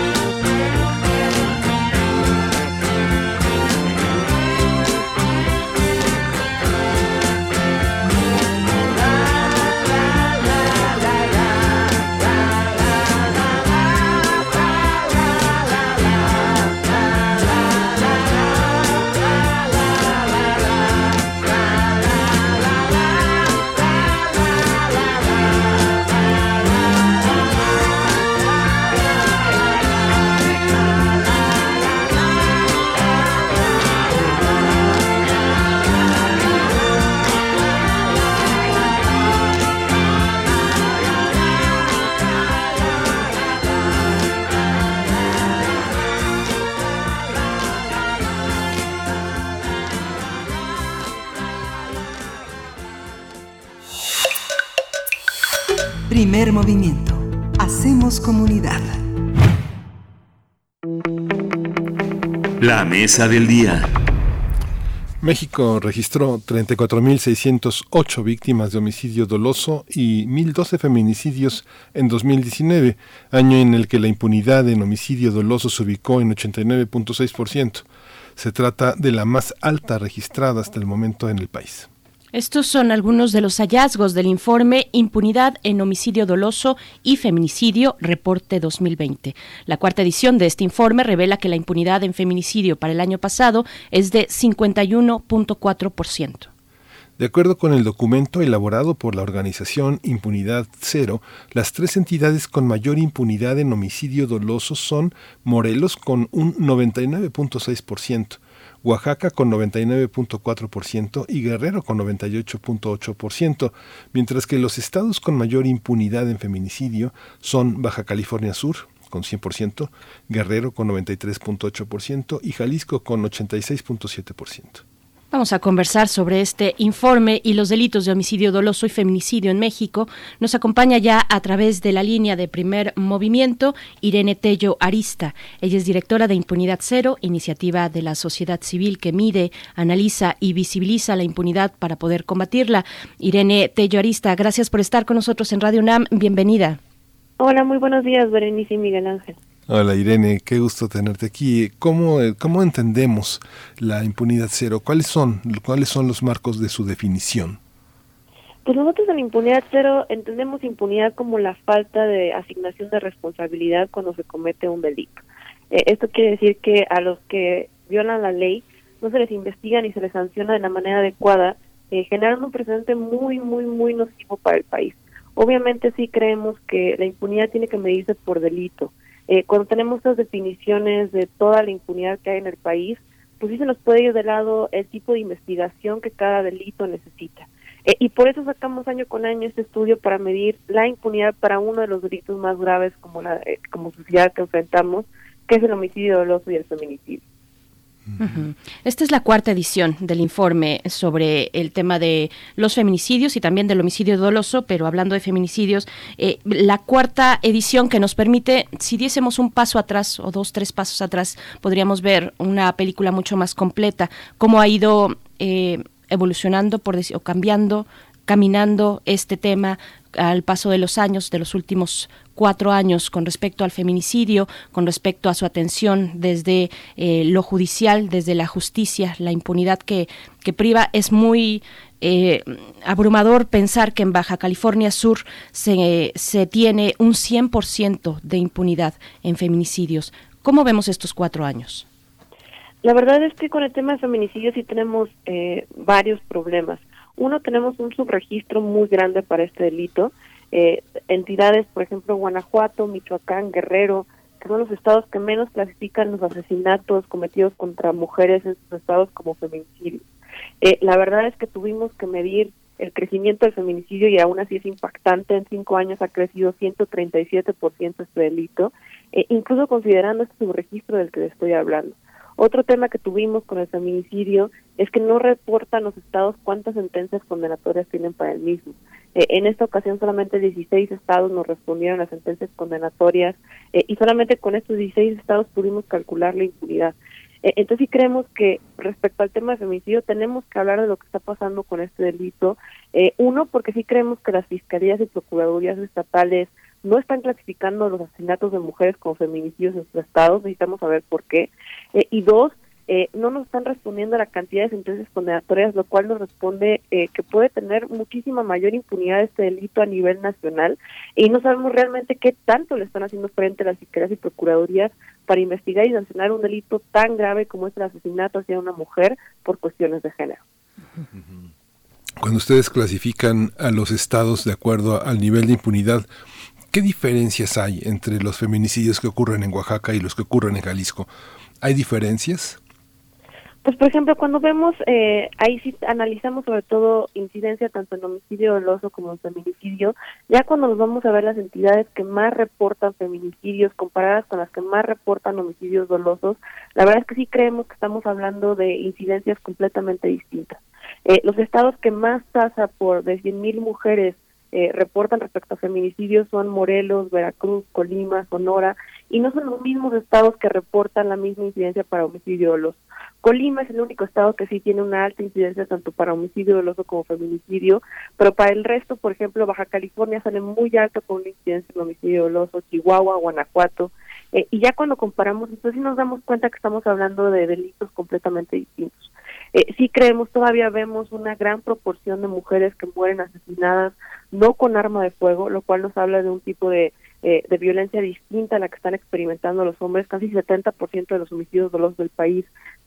Primer movimiento. Hacemos comunidad. La mesa del día. México registró 34.608 víctimas de homicidio doloso y 1.012 feminicidios en 2019, año en el que la impunidad en homicidio doloso se ubicó en 89.6%. Se trata de la más alta registrada hasta el momento en el país. Estos son algunos de los hallazgos del informe Impunidad en homicidio doloso y feminicidio, reporte 2020. La cuarta edición de este informe revela que la impunidad en feminicidio para el año pasado es de 51.4%. De acuerdo con el documento elaborado por la organización Impunidad Cero, las tres entidades con mayor impunidad en homicidio doloso son Morelos con un 99.6%, Oaxaca con 99.4% y Guerrero con 98.8%, mientras que los estados con mayor impunidad en feminicidio son Baja California Sur con 100%, Guerrero con 93.8% y Jalisco con 86.7%. Vamos a conversar sobre este informe y los delitos de homicidio doloso y feminicidio en México. Nos acompaña ya a través de la línea de Primer Movimiento Irene Tello Arista. Ella es directora de Impunidad Cero, iniciativa de la sociedad civil que mide, analiza y visibiliza la impunidad para poder combatirla. Irene Tello Arista, gracias por estar con nosotros en Radio UNAM. Bienvenida. Hola, muy buenos días, Berenice y Miguel Ángel. Hola Irene, qué gusto tenerte aquí. ¿Cómo entendemos la impunidad cero? ¿Cuáles son los marcos de su definición? Pues nosotros en impunidad cero entendemos impunidad como la falta de asignación de responsabilidad cuando se comete un delito. Esto quiere decir que a los que violan la ley no se les investiga ni se les sanciona de la manera adecuada, generando un precedente muy nocivo para el país. Obviamente sí creemos que la impunidad tiene que medirse por delito. Cuando tenemos estas definiciones de toda la impunidad que hay en el país, pues sí se nos puede ir de lado el tipo de investigación que cada delito necesita. Y por eso sacamos año con año este estudio para medir la impunidad para uno de los delitos más graves como sociedad que enfrentamos, que es el homicidio doloso y el feminicidio. Uh-huh. Esta es la cuarta edición del informe sobre el tema de los feminicidios y también del homicidio doloso, pero hablando de feminicidios, la cuarta edición que nos permite, si diésemos un paso atrás o 2-3 pasos atrás, podríamos ver una película mucho más completa, cómo ha ido evolucionando o cambiando, caminando este tema, al paso de los años, de los últimos 4 años, con respecto al feminicidio, con respecto a su atención desde lo judicial, desde la justicia, la impunidad que priva? Es muy abrumador pensar que en Baja California Sur se tiene un 100% de impunidad en feminicidios. ¿Cómo vemos estos 4 años? La verdad es que con el tema de feminicidio sí tenemos varios problemas. Uno, tenemos un subregistro muy grande para este delito. Entidades, por ejemplo, Guanajuato, Michoacán, Guerrero, que son los estados que menos clasifican los asesinatos cometidos contra mujeres en sus estados como feminicidios. La verdad es que tuvimos que medir el crecimiento del feminicidio y aún así es impactante. En 5 años ha crecido 137% este delito, incluso considerando este subregistro del que les estoy hablando. Otro tema que tuvimos con el feminicidio es que no reportan los estados cuántas sentencias condenatorias tienen para el mismo. En esta ocasión solamente 16 estados nos respondieron a sentencias condenatorias y solamente con estos 16 estados pudimos calcular la impunidad. Entonces sí creemos que respecto al tema de feminicidio tenemos que hablar de lo que está pasando con este delito. Uno, porque sí creemos que las fiscalías y procuradurías estatales no están clasificando los asesinatos de mujeres como feminicidios en sus estados, necesitamos saber por qué. Y 2, no nos están respondiendo a la cantidad de sentencias condenatorias, lo cual nos responde que puede tener muchísima mayor impunidad este delito a nivel nacional, y no sabemos realmente qué tanto le están haciendo frente a las fiscalías y procuradurías para investigar y sancionar un delito tan grave como es el asesinato hacia una mujer por cuestiones de género. Cuando ustedes clasifican a los estados de acuerdo al nivel de impunidad, ¿qué diferencias hay entre los feminicidios que ocurren en Oaxaca y los que ocurren en Jalisco? ¿Hay diferencias? Pues, por ejemplo, cuando vemos, ahí sí analizamos sobre todo incidencia tanto en homicidio doloso como en feminicidio. Ya cuando nos vamos a ver las entidades que más reportan feminicidios comparadas con las que más reportan homicidios dolosos, la verdad es que sí creemos que estamos hablando de incidencias completamente distintas. Los estados que más tasa por de 100,000 mujeres reportan respecto a feminicidios son Morelos, Veracruz, Colima, Sonora, y no son los mismos estados que reportan la misma incidencia para homicidio doloso. Colima es el único estado que sí tiene una alta incidencia tanto para homicidio doloso como feminicidio, pero para el resto, por ejemplo, Baja California sale muy alto con una incidencia en homicidio doloso, Chihuahua, Guanajuato, y ya cuando comparamos, entonces sí nos damos cuenta que estamos hablando de delitos completamente distintos. Sí creemos, todavía vemos una gran proporción de mujeres que mueren asesinadas no con arma de fuego, lo cual nos habla de un tipo de violencia distinta a la que están experimentando los hombres. Casi 70% de los homicidios dolosos del país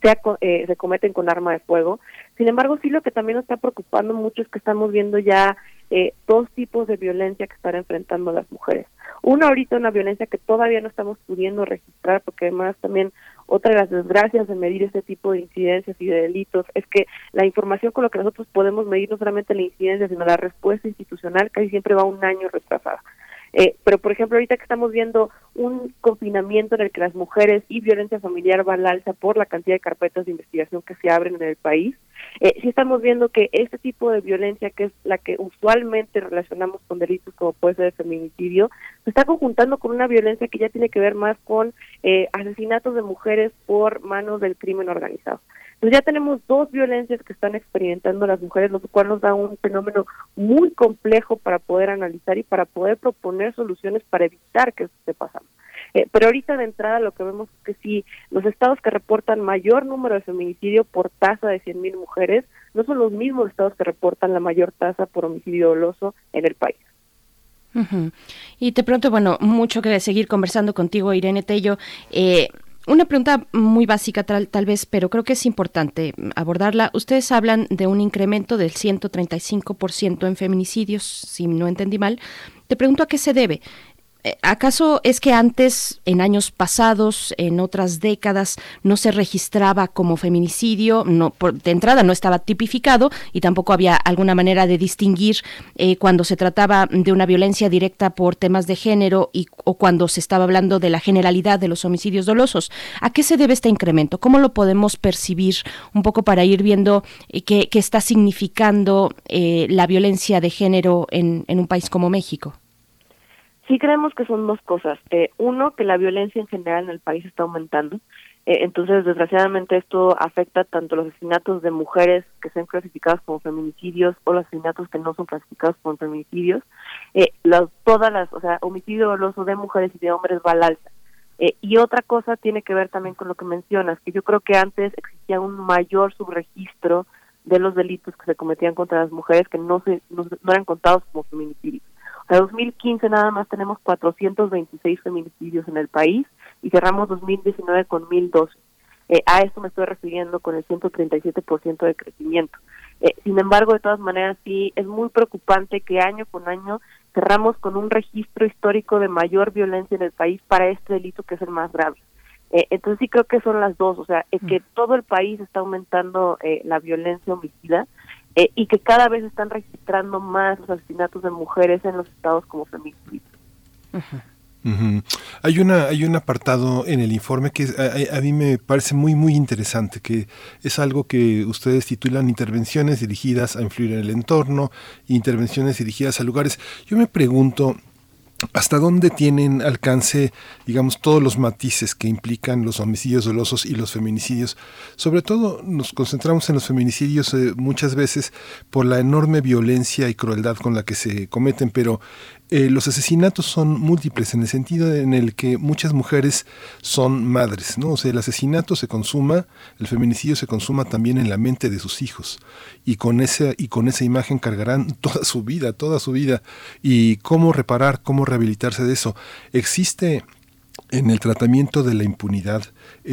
se cometen con arma de fuego. Sin embargo, sí lo que también nos está preocupando mucho es que estamos viendo ya 2 tipos de violencia que están enfrentando las mujeres. Uno, ahorita una violencia que todavía no estamos pudiendo registrar, porque además también otra de las desgracias de medir este tipo de incidencias y de delitos es que la información con lo que nosotros podemos medir no solamente la incidencia, sino la respuesta institucional casi siempre va 1 año retrasada. Pero, por ejemplo, ahorita que estamos viendo un confinamiento en el que las mujeres y violencia familiar va al alza por la cantidad de carpetas de investigación que se abren en el país, sí estamos viendo que este tipo de violencia, que es la que usualmente relacionamos con delitos como puede ser el feminicidio, se está conjuntando con una violencia que ya tiene que ver más con asesinatos de mujeres por manos del crimen organizado. Entonces ya tenemos 2 violencias que están experimentando las mujeres, lo cual nos da un fenómeno muy complejo para poder analizar y para poder proponer soluciones para evitar que esto esté pasando. Pero ahorita de entrada lo que vemos es que sí, los estados que reportan mayor número de feminicidio por tasa de 100,000 mujeres no son los mismos estados que reportan la mayor tasa por homicidio doloso en el país. Uh-huh. Y de pronto, bueno, mucho que seguir conversando contigo, Irene Tello. Una pregunta muy básica tal vez, pero creo que es importante abordarla. Ustedes hablan de un incremento del 135% en feminicidios, si no entendí mal. Te pregunto a qué se debe. ¿Acaso es que antes, en años pasados, en otras décadas, no se registraba como feminicidio? No, de entrada no estaba tipificado y tampoco había alguna manera de distinguir cuando se trataba de una violencia directa por temas de género o cuando se estaba hablando de la generalidad de los homicidios dolosos. ¿A qué se debe este incremento? ¿Cómo lo podemos percibir un poco para ir viendo qué está significando la violencia de género en un país como México? Sí creemos que son dos cosas. Uno, que la violencia en general en el país está aumentando. Entonces, desgraciadamente, esto afecta tanto los asesinatos de mujeres que sean clasificados como feminicidios o los asesinatos que no son clasificados como feminicidios. Homicidio doloso de mujeres y de hombres va al alza. Y otra cosa tiene que ver también con lo que mencionas, que yo creo que antes existía un mayor subregistro de los delitos que se cometían contra las mujeres que no eran contados como feminicidios. En 2015 nada más tenemos 426 feminicidios en el país y cerramos 2019 con 1,012. A esto me estoy refiriendo con el 137% de crecimiento. Sin embargo, de todas maneras, sí es muy preocupante que año con año cerramos con un registro histórico de mayor violencia en el país para este delito que es el más grave. Entonces sí creo que son las dos, o sea, es que todo el país está aumentando la violencia homicida y que cada vez están registrando más los asesinatos de mujeres en los estados como feminicidios. Uh-huh. Hay un apartado en el informe que a mí me parece muy muy interesante, que es algo que ustedes titulan intervenciones dirigidas a influir en el entorno, intervenciones dirigidas a lugares. Yo me pregunto ¿hasta dónde tienen alcance, digamos, todos los matices que implican los homicidios dolosos y los feminicidios? Sobre todo nos concentramos en los feminicidios muchas veces por la enorme violencia y crueldad con la que se cometen, pero los asesinatos son múltiples en el sentido en el que muchas mujeres son madres, ¿no? O sea, el asesinato se consuma, el feminicidio se consuma también en la mente de sus hijos y con esa imagen cargarán toda su vida. ¿Y cómo reparar, cómo rehabilitarse de eso? Existe en el tratamiento de la impunidad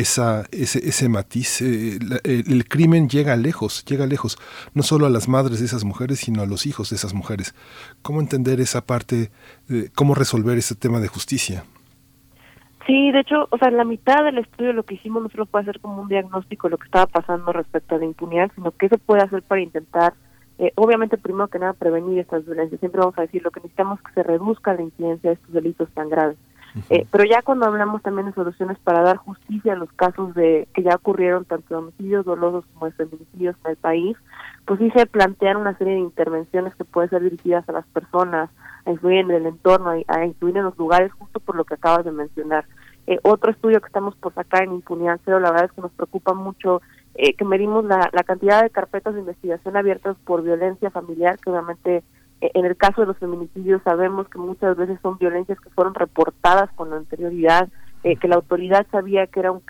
ese matiz. El crimen llega lejos, no solo a las madres de esas mujeres, sino a los hijos de esas mujeres. ¿Cómo entender esa parte, cómo resolver ese tema de justicia? Sí, de hecho, o sea, en la mitad del estudio lo que hicimos no solo fue hacer como un diagnóstico de lo que estaba pasando respecto a la impunidad, sino qué se puede hacer para intentar, obviamente, primero que nada, prevenir estas violencias. Siempre vamos a decir, lo que necesitamos es que se reduzca la incidencia de estos delitos tan graves. Pero ya cuando hablamos también de soluciones para dar justicia a los casos que ya ocurrieron, tanto de homicidios dolosos como de feminicidios en el país, pues sí se plantean una serie de intervenciones que pueden ser dirigidas a las personas, a influir en el entorno, a influir en los lugares, justo por lo que acabas de mencionar. Otro estudio que estamos por sacar en Impunidad Cero, la verdad es que nos preocupa mucho que medimos la cantidad de carpetas de investigación abiertas por violencia familiar, que obviamente en el caso de los feminicidios sabemos que muchas veces son violencias que fueron reportadas con anterioridad, que la autoridad sabía que era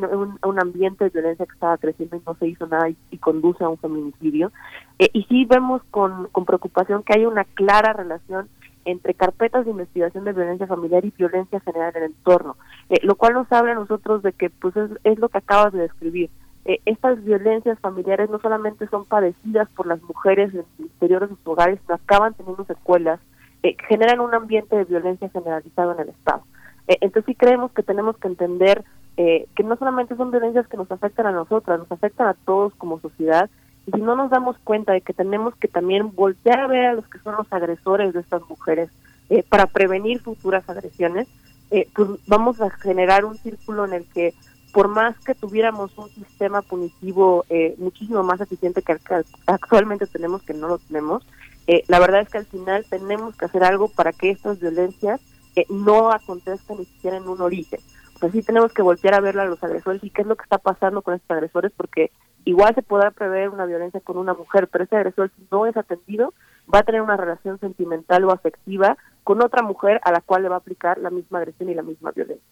un ambiente de violencia que estaba creciendo y no se hizo nada y conduce a un feminicidio. Y sí vemos con preocupación que hay una clara relación entre carpetas de investigación de violencia familiar y violencia general en el entorno, lo cual nos habla a nosotros de que pues es lo que acabas de describir. Estas violencias familiares no solamente son padecidas por las mujeres en el interior de sus hogares, sino acaban teniendo secuelas que generan un ambiente de violencia generalizado en el Estado. Entonces sí creemos que tenemos que entender que no solamente son violencias que nos afectan a nosotras, nos afectan a todos como sociedad, y si no nos damos cuenta de que tenemos que también voltear a ver a los que son los agresores de estas mujeres para prevenir futuras agresiones, pues vamos a generar un círculo en el que por más que tuviéramos un sistema punitivo muchísimo más eficiente que actualmente tenemos, que no lo tenemos, la verdad es que al final tenemos que hacer algo para que estas violencias no acontezcan ni siquiera en un origen. O sea, sí tenemos que voltear a ver a los agresores y qué es lo que está pasando con estos agresores, porque igual se podrá prever una violencia con una mujer, pero ese agresor, si no es atendido, va a tener una relación sentimental o afectiva con otra mujer a la cual le va a aplicar la misma agresión y la misma violencia.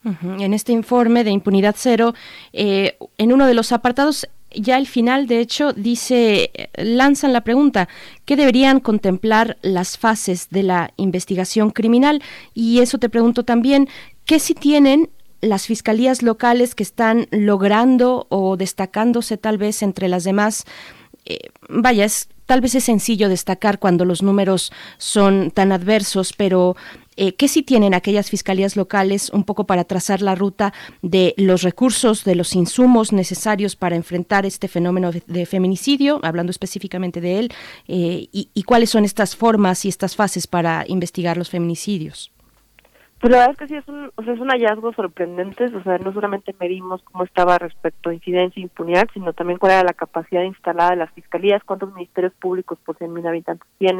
En este informe de Impunidad Cero, en uno de los apartados, ya al final, de hecho, lanzan la pregunta, ¿qué deberían contemplar las fases de la investigación criminal? Y eso te pregunto también, ¿qué si tienen las fiscalías locales que están logrando o destacándose tal vez entre las demás? Tal vez es sencillo destacar cuando los números son tan adversos, pero ¿qué sí tienen aquellas fiscalías locales un poco para trazar la ruta de los recursos, de los insumos necesarios para enfrentar este fenómeno de feminicidio, hablando específicamente de él, y cuáles son estas formas y estas fases para investigar los feminicidios? Pues la verdad es que sí es un hallazgo sorprendente, o sea, no solamente medimos cómo estaba respecto a incidencia e impunidad, sino también cuál era la capacidad instalada de las fiscalías, cuántos ministerios públicos por 100,000 habitantes tienen,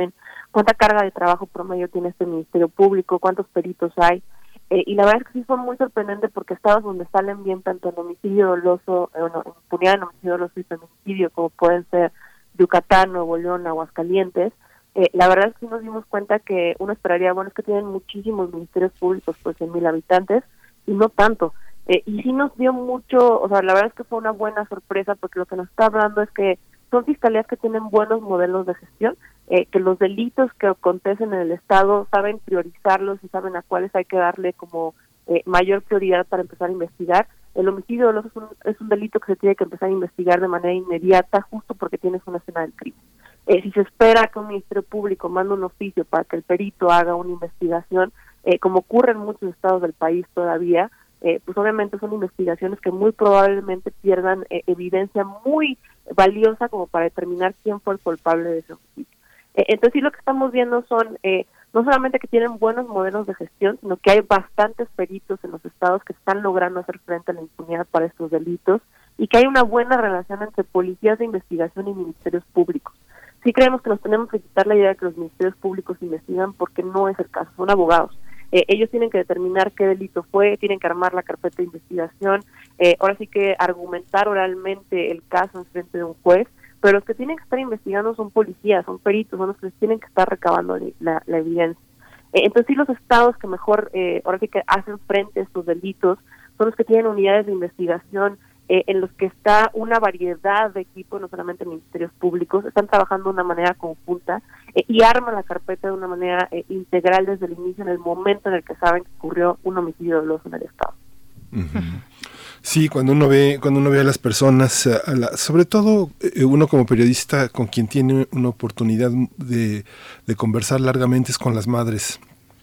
cuánta carga de trabajo promedio tiene este Ministerio Público, cuántos peritos hay. Y la verdad es que sí fue muy sorprendente porque estados donde salen bien tanto en homicidio doloso, en impunidad en homicidio doloso y feminicidio, como pueden ser Yucatán, Nuevo León, Aguascalientes, la verdad es que sí nos dimos cuenta que uno esperaría, bueno, es que tienen muchísimos ministerios públicos por 100,000 habitantes y no tanto. Y sí nos dio mucho, o sea, la verdad es que fue una buena sorpresa porque lo que nos está hablando es que son fiscalías que tienen buenos modelos de gestión, que los delitos que acontecen en el Estado saben priorizarlos y saben a cuáles hay que darle como mayor prioridad para empezar a investigar. El homicidio doloso es un delito que se tiene que empezar a investigar de manera inmediata justo porque tienes una escena del crimen. Si se espera que un Ministerio Público mande un oficio para que el perito haga una investigación, como ocurre en muchos estados del país todavía, pues obviamente son investigaciones que muy probablemente pierdan evidencia muy valiosa como para determinar quién fue el culpable de ese homicidio. Entonces sí, lo que estamos viendo son no solamente que tienen buenos modelos de gestión, sino que hay bastantes peritos en los estados que están logrando hacer frente a la impunidad para estos delitos y que hay una buena relación entre policías de investigación y ministerios públicos. Sí creemos que nos tenemos que quitar la idea de que los ministerios públicos investigan porque no es el caso, son abogados. Ellos tienen que determinar qué delito fue, tienen que armar la carpeta de investigación, ahora sí que argumentar oralmente el caso en frente de un juez, pero los que tienen que estar investigando son policías, son peritos, son los que tienen que estar recabando la evidencia. Entonces sí, los estados que mejor ahora sí que hacen frente a estos delitos son los que tienen unidades de investigación en los que está una variedad de equipos, no solamente ministerios públicos, están trabajando de una manera conjunta y arman la carpeta de una manera integral desde el inicio, en el momento en el que saben que ocurrió un homicidio doloso en el Estado. Uh-huh. Sí, cuando uno ve a las personas, sobre todo uno como periodista con quien tiene una oportunidad de conversar largamente es con las madres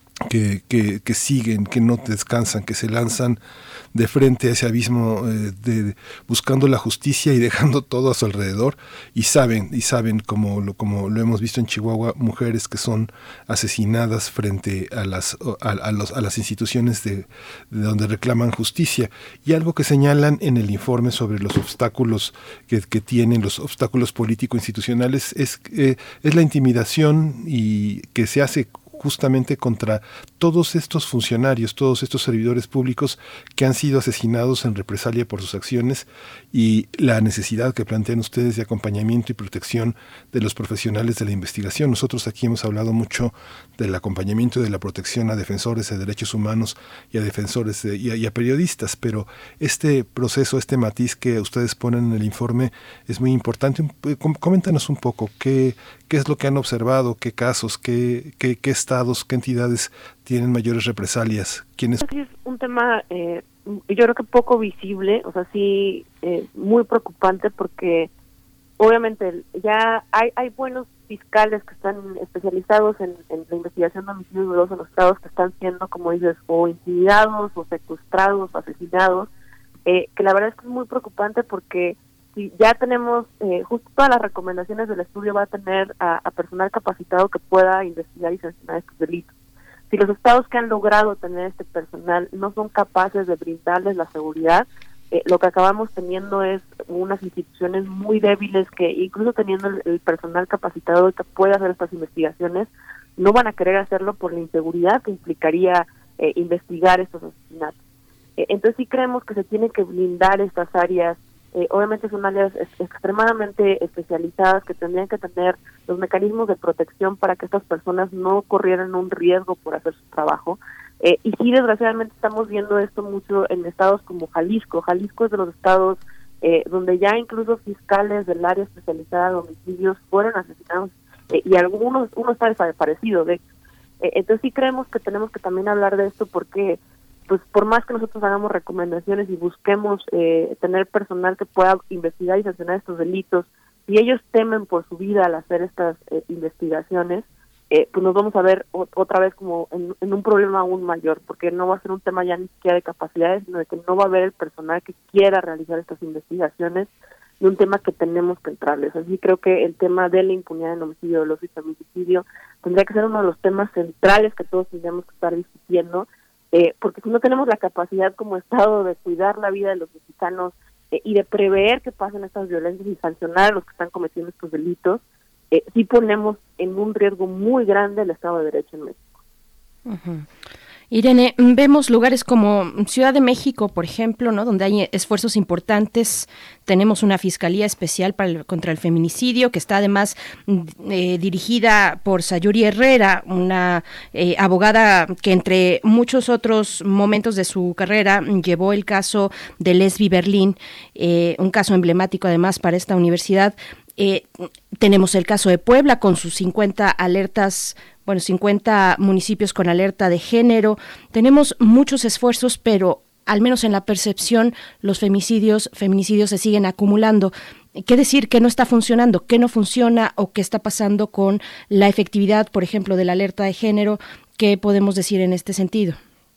que siguen, que no descansan, que se lanzan de frente a ese abismo buscando la justicia y dejando todo a su alrededor y saben como lo hemos visto en Chihuahua, mujeres que son asesinadas frente a las instituciones de donde reclaman justicia. Y algo que señalan en el informe sobre los obstáculos que tienen, los obstáculos político-institucionales, es la intimidación y que se hace justamente contra todos estos funcionarios, todos estos servidores públicos que han sido asesinados en represalia por sus acciones, y la necesidad que plantean ustedes de acompañamiento y protección de los profesionales de la investigación. Nosotros aquí hemos hablado mucho del acompañamiento y de la protección a defensores de derechos humanos y a defensores y a periodistas, pero este proceso, este matiz que ustedes ponen en el informe es muy importante. Coméntanos un poco qué es lo que han observado, qué casos, qué estados, qué entidades tienen mayores represalias. ¿Quiénes? Es un tema, yo creo que poco visible, o sea, sí, muy preocupante porque obviamente ya hay buenos fiscales que están especializados en la investigación de homicidios dolosos en los estados que están siendo, como dices, o intimidados, o secuestrados, o asesinados, que la verdad es que es muy preocupante porque si ya tenemos, justo todas las recomendaciones del estudio va a tener a personal capacitado que pueda investigar y sancionar estos delitos. Si los estados que han logrado tener este personal no son capaces de brindarles la seguridad, lo que acabamos teniendo es unas instituciones muy débiles que, incluso teniendo el personal capacitado que puede hacer estas investigaciones, no van a querer hacerlo por la inseguridad que implicaría investigar estos asesinatos. Entonces sí creemos que se tienen que blindar estas áreas. Obviamente son áreas extremadamente especializadas que tendrían que tener los mecanismos de protección para que estas personas no corrieran un riesgo por hacer su trabajo. Y sí, desgraciadamente estamos viendo esto mucho en estados como Jalisco. Jalisco es de los estados donde ya incluso fiscales del área especializada de homicidios fueron asesinados y uno está desaparecido. Entonces sí creemos que tenemos que también hablar de esto porque pues por más que nosotros hagamos recomendaciones y busquemos tener personal que pueda investigar y sancionar estos delitos, si ellos temen por su vida al hacer estas investigaciones, pues nos vamos a ver otra vez como en un problema aún mayor, porque no va a ser un tema ya ni siquiera de capacidades, sino de que no va a haber el personal que quiera realizar estas investigaciones, y un tema que tenemos que entrarles. Así creo que el tema de la impunidad en homicidio doloso y feminicidio tendría que ser uno de los temas centrales que todos tendríamos que estar discutiendo, porque si no tenemos la capacidad como Estado de cuidar la vida de los mexicanos y de prever que pasen estas violencias y sancionar a los que están cometiendo estos delitos, sí ponemos en un riesgo muy grande el Estado de Derecho en México. Uh-huh. Irene, vemos lugares como Ciudad de México, por ejemplo, ¿no?, donde hay esfuerzos importantes. Tenemos una Fiscalía Especial contra el Feminicidio, que está además dirigida por Sayuri Herrera, una abogada que entre muchos otros momentos de su carrera llevó el caso de Lesbi Berlín, un caso emblemático además para esta universidad. Tenemos el caso de Puebla con sus 50 municipios con alerta de género. Tenemos muchos esfuerzos, pero al menos en la percepción, los feminicidios se siguen acumulando. ¿Qué decir? ¿Qué no está funcionando? ¿Qué no funciona? ¿O qué está pasando con la efectividad, por ejemplo, de la alerta de género? ¿Qué podemos decir en este sentido?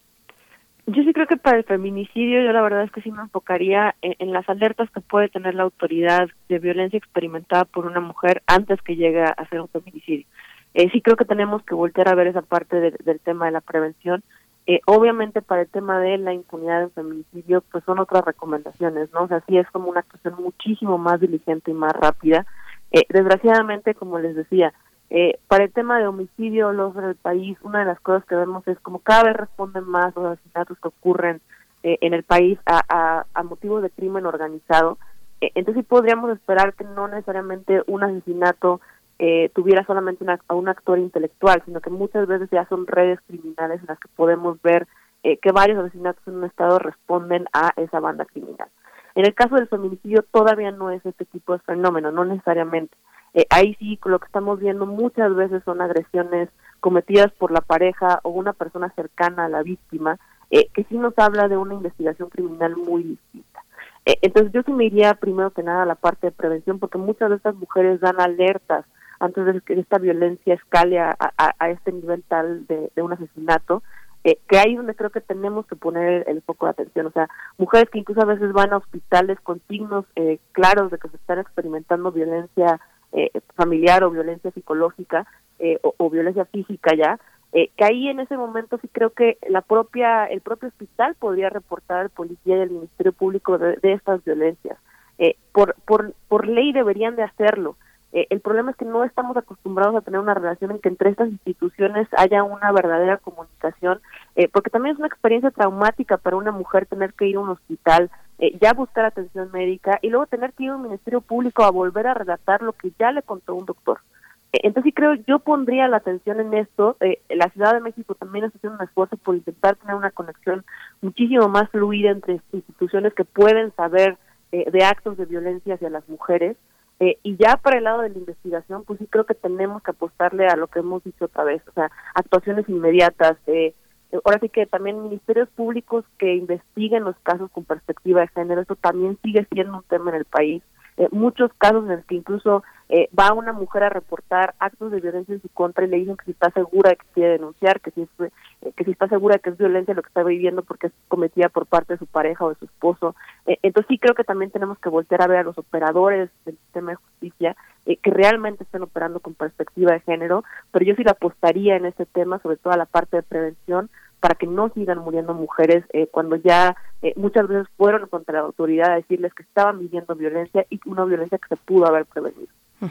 Yo sí creo que para el feminicidio, yo la verdad es que sí me enfocaría en las alertas que puede tener la autoridad de violencia experimentada por una mujer antes que llegue a hacer un feminicidio. Sí creo que tenemos que voltear a ver esa parte del tema de la prevención. Obviamente para el tema de la impunidad en feminicidio, pues son otras recomendaciones, ¿no? O sea, sí es como una actuación muchísimo más diligente y más rápida. Desgraciadamente, como les decía, para el tema de homicidio en el país, una de las cosas que vemos es como cada vez responden más los asesinatos que ocurren en el país a motivos de crimen organizado. Entonces sí podríamos esperar que no necesariamente un asesinato tuviera solamente a un actor intelectual, sino que muchas veces ya son redes criminales en las que podemos ver que varios asesinatos en un estado responden a esa banda criminal. En el caso del feminicidio todavía no es este tipo de fenómeno, no necesariamente. Ahí sí, lo que estamos viendo muchas veces son agresiones cometidas por la pareja o una persona cercana a la víctima, que sí nos habla de una investigación criminal muy distinta. Entonces yo sí me iría primero que nada a la parte de prevención, porque muchas de estas mujeres dan alertas antes de que esta violencia escale a este nivel tal de un asesinato, que ahí es donde creo que tenemos que poner el foco de atención. O sea, mujeres que incluso a veces van a hospitales con signos claros de que se están experimentando violencia familiar o violencia psicológica o violencia física ya, que ahí en ese momento sí creo que el propio hospital podría reportar al policía y al Ministerio Público de estas violencias. Por ley deberían de hacerlo. El problema es que no estamos acostumbrados a tener una relación en que entre estas instituciones haya una verdadera comunicación, porque también es una experiencia traumática para una mujer tener que ir a un hospital, ya buscar atención médica y luego tener que ir a un Ministerio Público a volver a relatar lo que ya le contó un doctor. Entonces sí creo, yo pondría la atención en esto. La Ciudad de México también está haciendo un esfuerzo por intentar tener una conexión muchísimo más fluida entre instituciones que pueden saber de actos de violencia hacia las mujeres. Y ya para el lado de la investigación, pues sí creo que tenemos que apostarle a lo que hemos dicho otra vez, o sea, actuaciones inmediatas. Ahora sí que también ministerios públicos que investiguen los casos con perspectiva de género, esto también sigue siendo un tema en el país. Muchos casos en los que incluso va una mujer a reportar actos de violencia en su contra y le dicen que si está segura de que quiere denunciar, que si está segura de que es violencia lo que está viviendo porque es cometida por parte de su pareja o de su esposo. Entonces sí creo que también tenemos que voltear a ver a los operadores del sistema de justicia que realmente estén operando con perspectiva de género, pero yo sí le apostaría en este tema, sobre todo a la parte de prevención, para que no sigan muriendo mujeres cuando ya muchas veces fueron contra la autoridad a decirles que estaban viviendo violencia y una violencia que se pudo haber prevenido.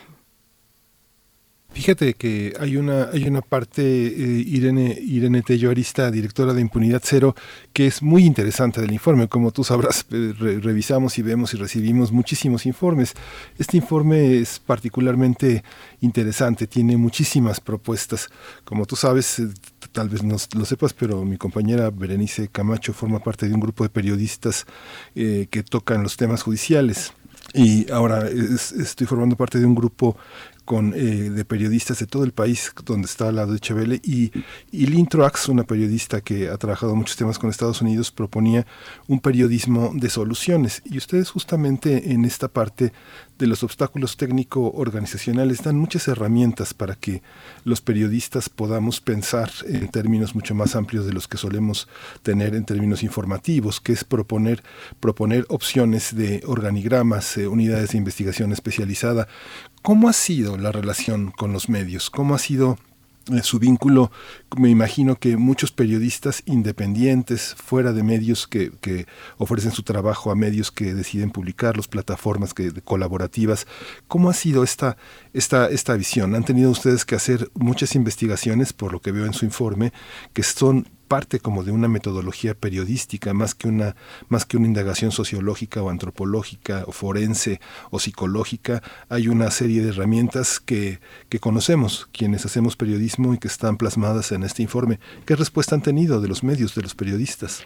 Fíjate que hay una parte, Irene Tello Arista, directora de Impunidad Cero, que es muy interesante del informe. Como tú sabrás, revisamos y vemos y recibimos muchísimos informes. Este informe es particularmente interesante, tiene muchísimas propuestas. Como tú sabes, tal vez no lo sepas, pero mi compañera Berenice Camacho forma parte de un grupo de periodistas que tocan los temas judiciales. Y ahora estoy formando parte de un grupo de periodistas de todo el país, donde está la Deutsche Welle, y Lynn Truax, una periodista que ha trabajado muchos temas con Estados Unidos, proponía un periodismo de soluciones. Y ustedes justamente en esta parte de los obstáculos técnico-organizacionales dan muchas herramientas para que los periodistas podamos pensar en términos mucho más amplios de los que solemos tener en términos informativos, que es proponer opciones de organigramas, unidades de investigación especializada. ¿Cómo ha sido la relación con los medios? ¿Cómo ha sido su vínculo, me imagino que muchos periodistas independientes, fuera de medios que ofrecen su trabajo a medios que deciden publicarlos, plataformas colaborativas. ¿Cómo ha sido esta visión? ¿Han tenido ustedes que hacer muchas investigaciones, por lo que veo en su informe, que son parte como de una metodología periodística, más que una indagación sociológica o antropológica o forense o psicológica? Hay una serie de herramientas que conocemos quienes hacemos periodismo y que están plasmadas en este informe. ¿Qué respuesta han tenido de los medios, de los periodistas?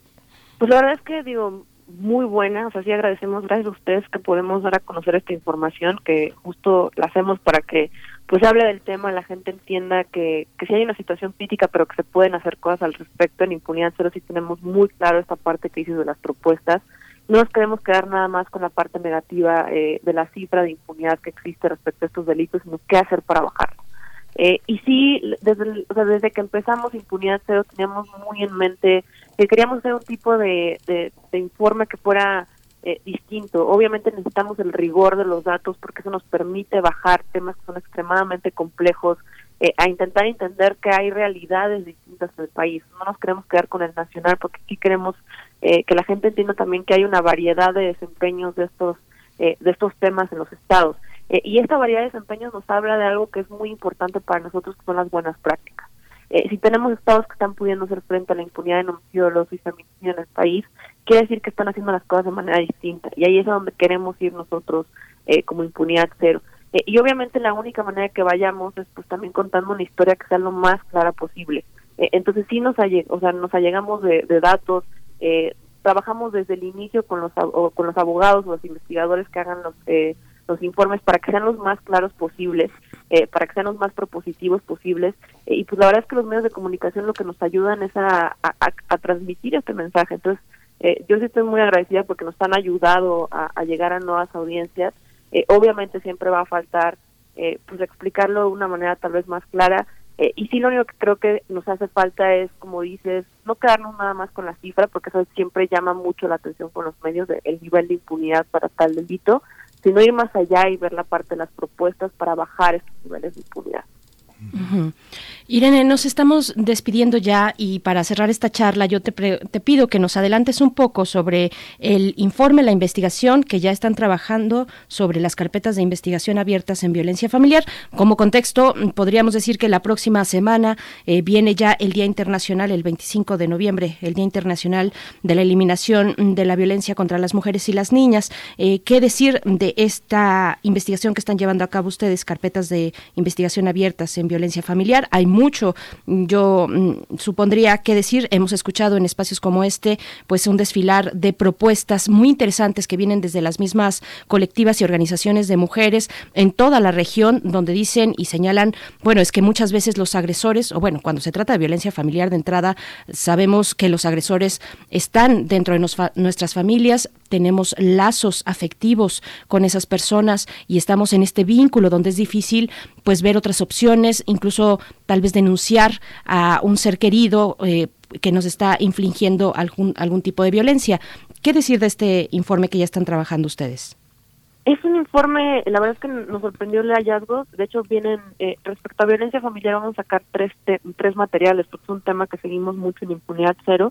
Pues la verdad es que muy buena, o sea, sí agradecemos, gracias a ustedes que podemos dar a conocer esta información, que justo la hacemos para que pues se hable del tema, la gente entienda que sí hay una situación crítica, pero que se pueden hacer cosas al respecto. En Impunidad Cero sí tenemos muy claro esta parte que dices de las propuestas. No nos queremos quedar nada más con la parte negativa de la cifra de impunidad que existe respecto a estos delitos, sino qué hacer para bajarlo. Y sí, desde que empezamos Impunidad Cero teníamos muy en mente que queríamos hacer un tipo de informe que fuera distinto. Obviamente necesitamos el rigor de los datos porque eso nos permite bajar temas que son extremadamente complejos, a intentar entender que hay realidades distintas en el país. No nos queremos quedar con el nacional porque aquí queremos que la gente entienda también que hay una variedad de desempeños de estos temas en los estados. Y esta variedad de desempeños nos habla de algo que es muy importante para nosotros, que son las buenas prácticas. Si tenemos estados que están pudiendo hacer frente a la impunidad en homicidio doloso y feminicidio en el país, quiere decir que están haciendo las cosas de manera distinta. Y ahí es a donde queremos ir nosotros como Impunidad Cero. Y obviamente la única manera que vayamos es pues también contando una historia que sea lo más clara posible. Entonces sí nos allegamos de datos, trabajamos desde el inicio con los abogados o los investigadores que hagan los informes para que sean los más claros posibles, para que sean los más propositivos posibles, y pues la verdad es que los medios de comunicación lo que nos ayudan es a transmitir este mensaje. Entonces yo sí estoy muy agradecida porque nos han ayudado a llegar a nuevas audiencias. Obviamente siempre va a faltar pues explicarlo de una manera tal vez más clara, y sí, lo único que creo que nos hace falta es, como dices, no quedarnos nada más con la cifra, porque eso siempre llama mucho la atención con los medios, el nivel de impunidad para tal delito, sino ir más allá y ver la parte de las propuestas para bajar estos niveles de impunidad. Uh-huh. Irene, nos estamos despidiendo ya y para cerrar esta charla yo te pido que nos adelantes un poco sobre el informe, la investigación que ya están trabajando sobre las carpetas de investigación abiertas en violencia familiar. Como contexto, podríamos decir que la próxima semana viene ya el Día Internacional, el 25 de noviembre, el Día Internacional de la Eliminación de la Violencia contra las Mujeres y las Niñas. ¿Qué decir de esta investigación que están llevando a cabo ustedes, carpetas de investigación abiertas en violencia familiar? Hay mucho, yo supondría que decir. Hemos escuchado en espacios como este pues un desfilar de propuestas muy interesantes que vienen desde las mismas colectivas y organizaciones de mujeres en toda la región, donde dicen y señalan, bueno, es que muchas veces los agresores, o bueno, cuando se trata de violencia familiar de entrada, sabemos que los agresores están dentro de nuestras familias, tenemos lazos afectivos con esas personas y estamos en este vínculo donde es difícil pues ver otras opciones, incluso tal vez denunciar a un ser querido que nos está infligiendo algún tipo de violencia. ¿Qué decir de este informe que ya están trabajando ustedes? Es un informe, la verdad es que nos sorprendió el hallazgo. De hecho, vienen, respecto a violencia familiar, vamos a sacar tres materiales, porque es un tema que seguimos mucho en Impunidad Cero.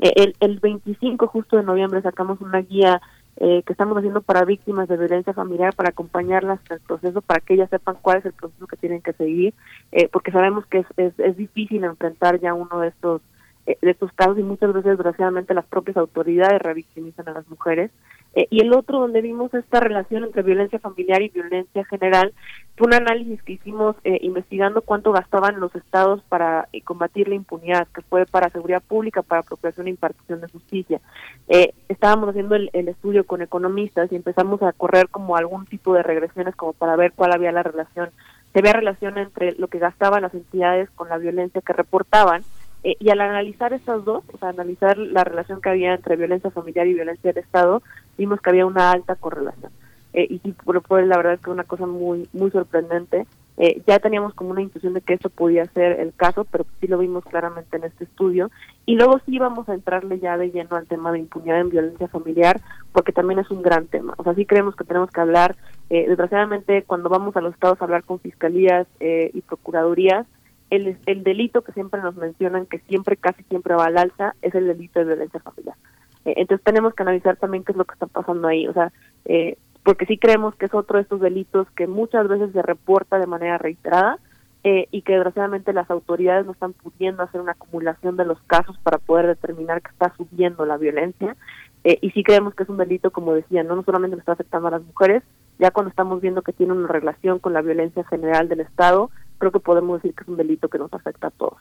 El 25 justo de noviembre sacamos una guía que estamos haciendo para víctimas de violencia familiar, para acompañarlas en el proceso, para que ellas sepan cuál es el proceso que tienen que seguir, porque sabemos que es difícil enfrentar ya uno de estos casos, y muchas veces, desgraciadamente, las propias autoridades revictimizan a las mujeres. Y el otro, donde vimos esta relación entre violencia familiar y violencia general, fue un análisis que hicimos investigando cuánto gastaban los estados para combatir la impunidad, que fue para seguridad pública, para apropiación e impartición de justicia. Estábamos haciendo el estudio con economistas y empezamos a correr como algún tipo de regresiones como para ver cuál había la relación. Se veía relación entre lo que gastaban las entidades con la violencia que reportaban, y al analizar estas dos, o sea, analizar la relación que había entre violencia familiar y violencia del Estado, vimos que había una alta correlación. Y sí, fue la verdad es que una cosa muy muy sorprendente. Ya teníamos como una intuición de que esto podía ser el caso, pero sí lo vimos claramente en este estudio. Y luego sí vamos a entrarle ya de lleno al tema de impunidad en violencia familiar, porque también es un gran tema. O sea, sí creemos que tenemos que hablar, desgraciadamente, cuando vamos a los estados a hablar con fiscalías y procuradurías, el delito que siempre nos mencionan, que casi siempre va al alza, es el delito de violencia familiar. Entonces tenemos que analizar también qué es lo que está pasando ahí, o sea, porque sí creemos que es otro de estos delitos que muchas veces se reporta de manera reiterada, y que desgraciadamente las autoridades no están pudiendo hacer una acumulación de los casos para poder determinar que está subiendo la violencia, y sí creemos que es un delito, como decía, no solamente le está afectando a las mujeres, ya cuando estamos viendo que tiene una relación con la violencia general del Estado, creo que podemos decir que es un delito que nos afecta a todos.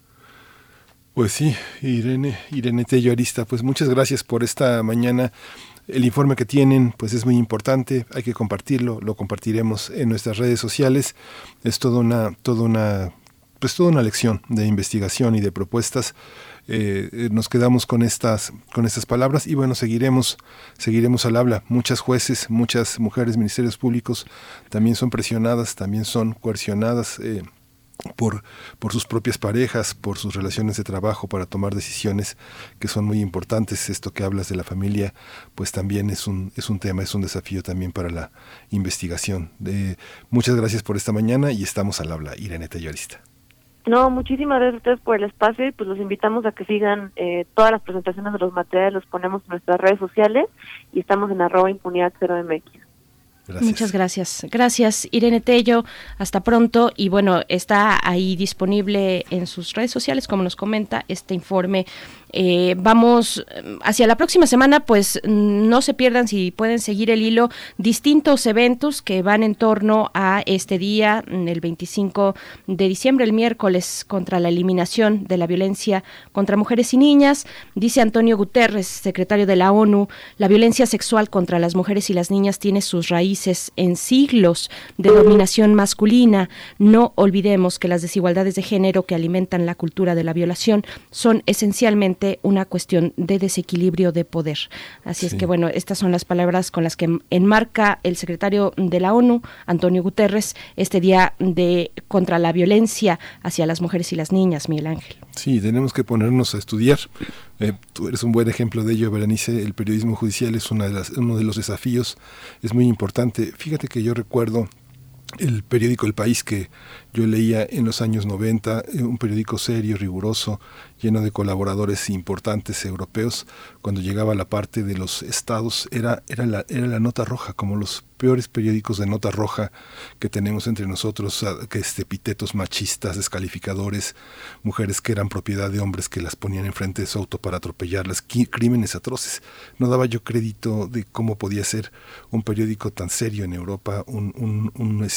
Pues sí, Irene Tello Arista, pues muchas gracias por esta mañana. El informe que tienen pues es muy importante, hay que compartirlo, lo compartiremos en nuestras redes sociales. Es toda una lección de investigación y de propuestas. Nos quedamos con estas palabras y bueno, seguiremos al habla. Muchas jueces, muchas mujeres, ministerios públicos también son presionadas, también son coercionadas por sus propias parejas, por sus relaciones de trabajo, para tomar decisiones que son muy importantes. Esto que hablas de la familia, pues también es un tema, es un desafío también para la investigación. Muchas gracias por esta mañana y estamos al habla. Irene Tello Arista. No, muchísimas gracias a ustedes por el espacio y pues los invitamos a que sigan todas las presentaciones de los materiales, los ponemos en nuestras redes sociales y estamos en @impunidad0mx. Gracias. Muchas gracias. Gracias, Irene Tello. Hasta pronto. Y bueno, está ahí disponible en sus redes sociales, como nos comenta, este informe. Vamos hacia la próxima semana, pues no se pierdan, si pueden seguir el hilo, distintos eventos que van en torno a este día, el 25 de diciembre, el miércoles, contra la eliminación de la violencia contra mujeres y niñas. Dice Antonio Guterres, secretario de la ONU, la violencia sexual contra las mujeres y las niñas tiene sus raíces en siglos de dominación masculina. No olvidemos que las desigualdades de género que alimentan la cultura de la violación son esencialmente una cuestión de desequilibrio de poder. Así es que bueno, estas son las palabras con las que enmarca el secretario de la ONU, Antonio Guterres, este día contra la violencia hacia las mujeres y las niñas, Miguel Ángel. Sí, tenemos que ponernos a estudiar. Tú eres un buen ejemplo de ello, Berenice. El periodismo judicial es uno de los desafíos, es muy importante. Fíjate que yo recuerdo el periódico El País que yo leía en los años 90, un periódico serio, riguroso, lleno de colaboradores importantes europeos. Cuando llegaba la parte de los estados era la nota roja, como los peores periódicos de nota roja que tenemos entre nosotros, que epítetos machistas, descalificadores, mujeres que eran propiedad de hombres que las ponían enfrente de su auto para atropellarlas, crímenes atroces. No daba yo crédito de cómo podía ser un periódico tan serio en Europa, un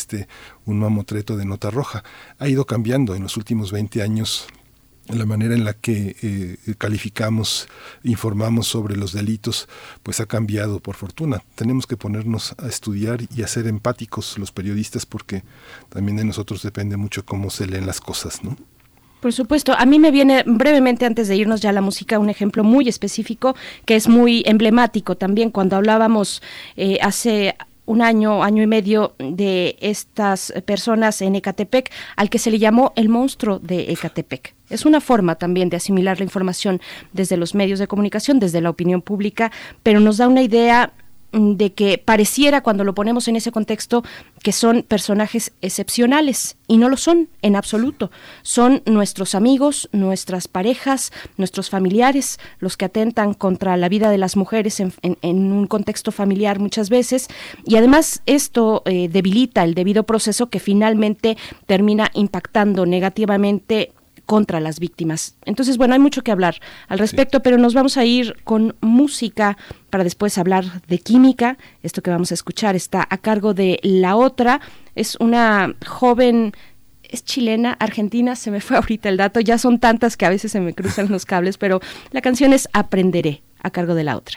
mamotreto de nota roja. Ha ido cambiando en los últimos 20 años la manera en la que calificamos, informamos sobre los delitos, pues ha cambiado, por fortuna. Tenemos que ponernos a estudiar y a ser empáticos los periodistas, porque también de nosotros depende mucho cómo se leen las cosas, ¿no? Por supuesto. A mí me viene brevemente, antes de irnos ya a la música, un ejemplo muy específico que es muy emblemático también. Cuando hablábamos hace un año y medio de estas personas en Ecatepec, al que se le llamó el monstruo de Ecatepec. Es una forma también de asimilar la información desde los medios de comunicación, desde la opinión pública, pero nos da una idea de que pareciera, cuando lo ponemos en ese contexto, que son personajes excepcionales, y no lo son en absoluto. Son nuestros amigos, nuestras parejas, nuestros familiares, los que atentan contra la vida de las mujeres en un contexto familiar muchas veces, y además esto debilita el debido proceso que finalmente termina impactando negativamente contra las víctimas. Entonces, bueno, hay mucho que hablar al respecto, pero nos vamos a ir con música para después hablar de química. Esto que vamos a escuchar está a cargo de La Otra. Es una joven, es chilena, argentina, se me fue ahorita el dato, ya son tantas que a veces se me cruzan los cables, pero la canción es Aprenderé, a cargo de La Otra.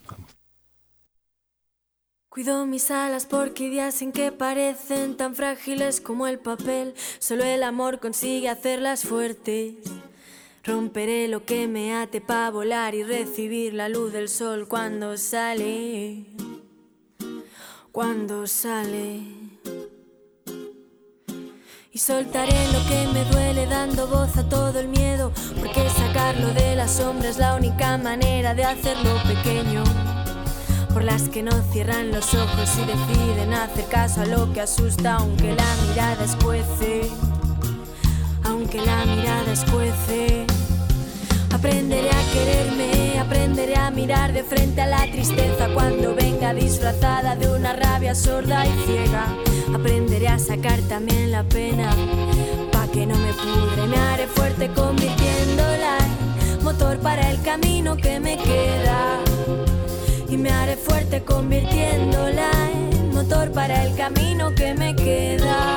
Cuido mis alas porque días en que parecen tan frágiles como el papel, solo el amor consigue hacerlas fuertes. Romperé lo que me ate para volar y recibir la luz del sol cuando sale. Y soltaré lo que me duele dando voz a todo el miedo, porque sacarlo de la sombra es la única manera de hacerlo pequeño. Por las que no cierran los ojos y deciden hacer caso a lo que asusta, aunque la mirada escuece, aunque que la mirada escuece. Aprenderé a quererme, aprenderé a mirar de frente a la tristeza cuando venga disfrazada de una rabia sorda y ciega. Aprenderé a sacar también la pena, pa' que no me pudre. Me haré fuerte convirtiéndola en motor para el camino que me queda. Y me haré fuerte convirtiéndola en motor para el camino que me queda.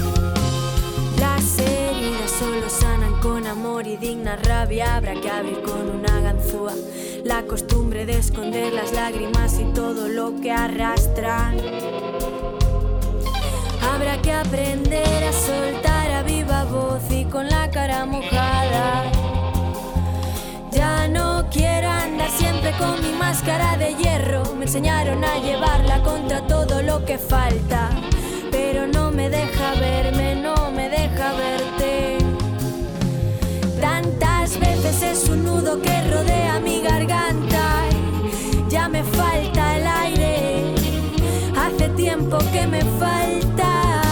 Las heridas solo sanan con amor y digna rabia. Habrá que abrir con una ganzúa la costumbre de esconder las lágrimas y todo lo que arrastran. Habrá que aprender a soltar a viva voz y con la cara mojada. Ya no quiero andar siempre con mi máscara de hierro. Me enseñaron a llevarla contra todo lo que falta, pero no me deja verme, no me deja verte. Tantas veces es un nudo que rodea mi garganta y ya me falta el aire. Hace tiempo que me falta.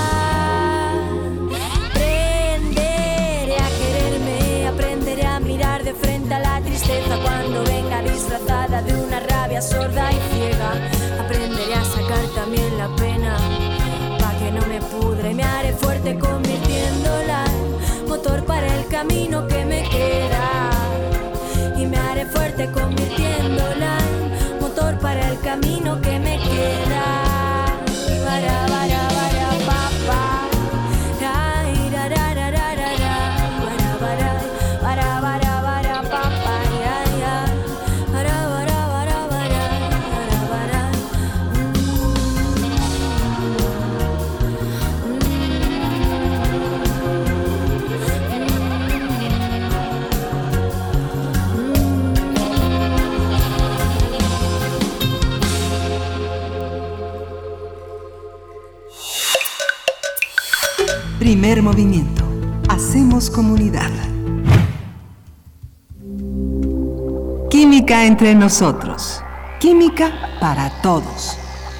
Aprenderé a quererme, aprenderé a mirar de frente a la tristeza cuando venga disfrazada de una rabia sorda y ciega. Aprenderé a sacar también la pena, que no me pudre. Me haré fuerte convirtiéndola en motor para el camino que me queda. Y me haré fuerte convirtiéndola en motor para el camino que me queda. Para, pa, pa. Ay, ra, ra, ra, ra, ra, ra. Para, pa, pa. Ya, ya. Para, Primer movimiento. Hacemos comunidad. Química entre nosotros. Química para todos.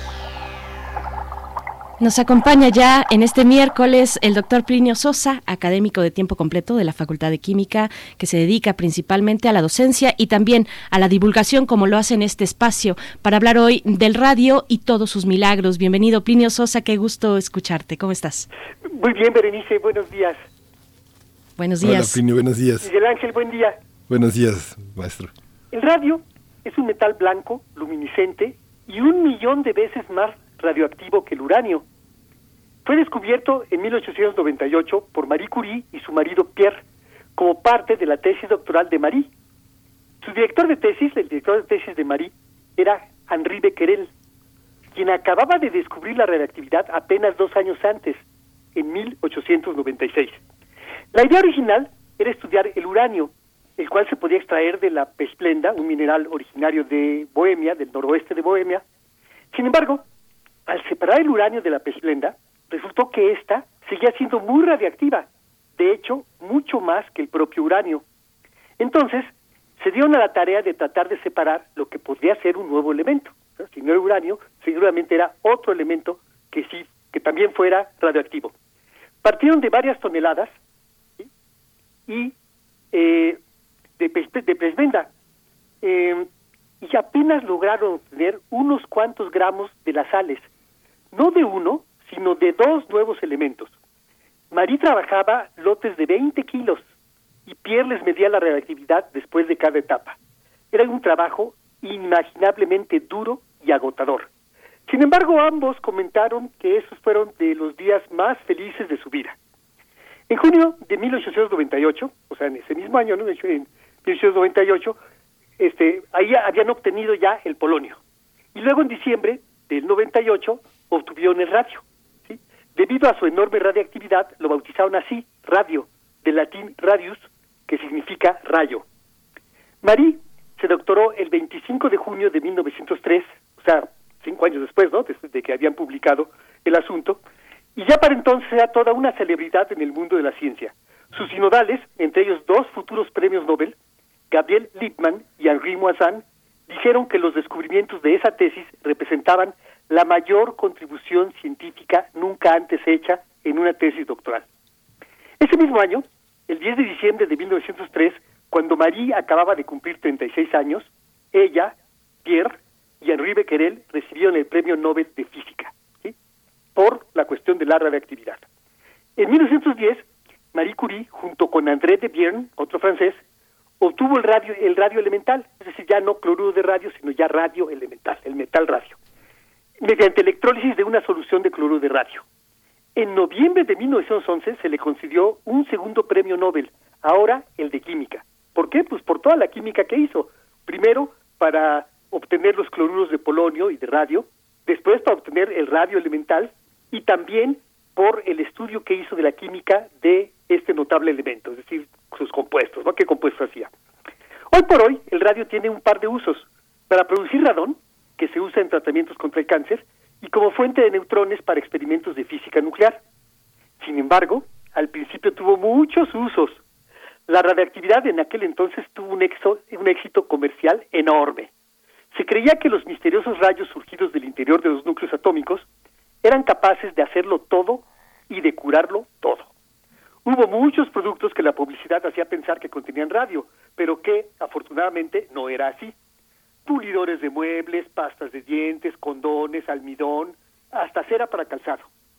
Nos acompaña ya en este miércoles el doctor Plinio Sosa, académico de tiempo completo de la Facultad de Química, que se dedica principalmente a la docencia y también a la divulgación, como lo hace en este espacio, para hablar hoy del radio y todos sus milagros. Bienvenido, Plinio Sosa, qué gusto escucharte. ¿Cómo estás? Muy bien, Berenice, buenos días. Buenos días. Hola, Plinio, buenos días. Miguel Ángel, buen día. Buenos días, maestro. El radio es un metal blanco, luminiscente y 1.000.000 de veces más radioactivo que el uranio. Fue descubierto en 1898 por Marie Curie y su marido Pierre como parte de la tesis doctoral de Marie. Su director de tesis, el director de tesis de Marie, era Henri Becquerel, quien acababa de descubrir la radioactividad apenas 2 años antes, en 1896. La idea original era estudiar el uranio, el cual se podía extraer de la pechblenda, un mineral originario de Bohemia, del noroeste de Bohemia. Sin embargo, al separar el uranio de la pechblenda, resultó que ésta seguía siendo muy radiactiva, de hecho, mucho más que el propio uranio. Entonces, se dieron a la tarea de tratar de separar lo que podría ser un nuevo elemento. Si no era uranio, seguramente era otro elemento que sí, que también fuera radioactivo. Partieron de varias toneladas, ¿sí? Y de pechblenda, y apenas lograron obtener unos cuantos gramos de las sales, no de uno, sino de 2 nuevos elementos. Marie trabajaba lotes de 20 kilos y Pierre les medía la radioactividad después de cada etapa. Era un trabajo inimaginablemente duro y agotador. Sin embargo, ambos comentaron que esos fueron de los días más felices de su vida. En junio de 1898, o sea, en ese mismo año, ¿no? En 1898, ahí habían obtenido ya el polonio. Y luego en diciembre del 98 obtuvieron el radio. ¿Sí? Debido a su enorme radiactividad, lo bautizaron así, radio, del latín radius, que significa rayo. Marie se doctoró el 25 de junio de 1903, o sea, 5 años después, ¿no?, después de que habían publicado el asunto, y ya para entonces era toda una celebridad en el mundo de la ciencia. Sus sinodales, entre ellos 2 futuros premios Nobel, Gabriel Lippmann y Henri Moissan, dijeron que los descubrimientos de esa tesis representaban la mayor contribución científica nunca antes hecha en una tesis doctoral. Ese mismo año, el 10 de diciembre de 1903, cuando Marie acababa de cumplir 36 años, ella, Pierre y Henri Becquerel recibieron el Premio Nobel de Física, ¿sí?, por la cuestión de la radioactividad. En 1910, Marie Curie, junto con André de Bierne, otro francés, obtuvo el radio elemental, es decir, ya no cloruro de radio, sino ya radio elemental, el metal radio, mediante electrólisis de una solución de cloruro de radio. En noviembre de 1911 se le concedió un segundo premio Nobel, ahora el de química. ¿Por qué? Pues por toda la química que hizo. Primero, para obtener los cloruros de polonio y de radio, después para obtener el radio elemental y también por el estudio que hizo de la química de este notable elemento, es decir, sus compuestos, ¿no? ¿Qué compuestos hacía? Hoy por hoy, el radio tiene un par de usos. Para producir radón, que se usa en tratamientos contra el cáncer, y como fuente de neutrones para experimentos de física nuclear. Sin embargo, al principio tuvo muchos usos. La radioactividad en aquel entonces tuvo un éxito comercial enorme. Se creía que los misteriosos rayos surgidos del interior de los núcleos atómicos eran capaces de hacerlo todo y de curarlo todo. Hubo muchos productos que la publicidad hacía pensar que contenían radio, pero que, afortunadamente, no era así. Pulidores de muebles, pastas de dientes, condones, almidón, hasta cera para calzado.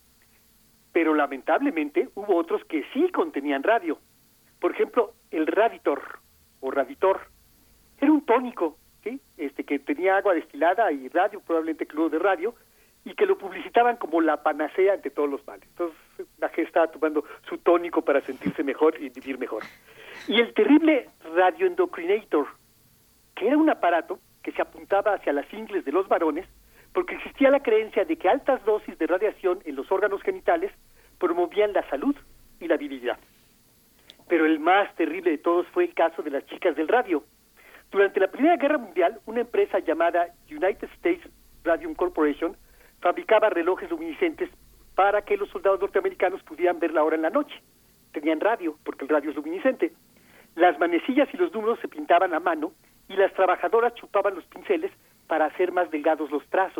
Pero lamentablemente hubo otros que sí contenían radio. Por ejemplo, el Raditor o Raditor era un tónico, ¿sí?, que tenía agua destilada y radio, probablemente cloruro de radio, y que lo publicitaban como la panacea ante todos los males. Entonces la gente estaba tomando su tónico para sentirse mejor y vivir mejor. Y el terrible Radioendocrinator, que era un aparato que se apuntaba hacia las ingles de los varones, porque existía la creencia de que altas dosis de radiación en los órganos genitales promovían la salud y la virilidad. Pero el más terrible de todos fue el caso de las chicas del radio. Durante la Primera Guerra Mundial, una empresa llamada United States Radium Corporation fabricaba relojes luminiscentes para que los soldados norteamericanos pudieran ver la hora en la noche. Tenían radio, porque el radio es luminiscente. Las manecillas y los números se pintaban a mano y las trabajadoras chupaban los pinceles para hacer más delgados los trazos.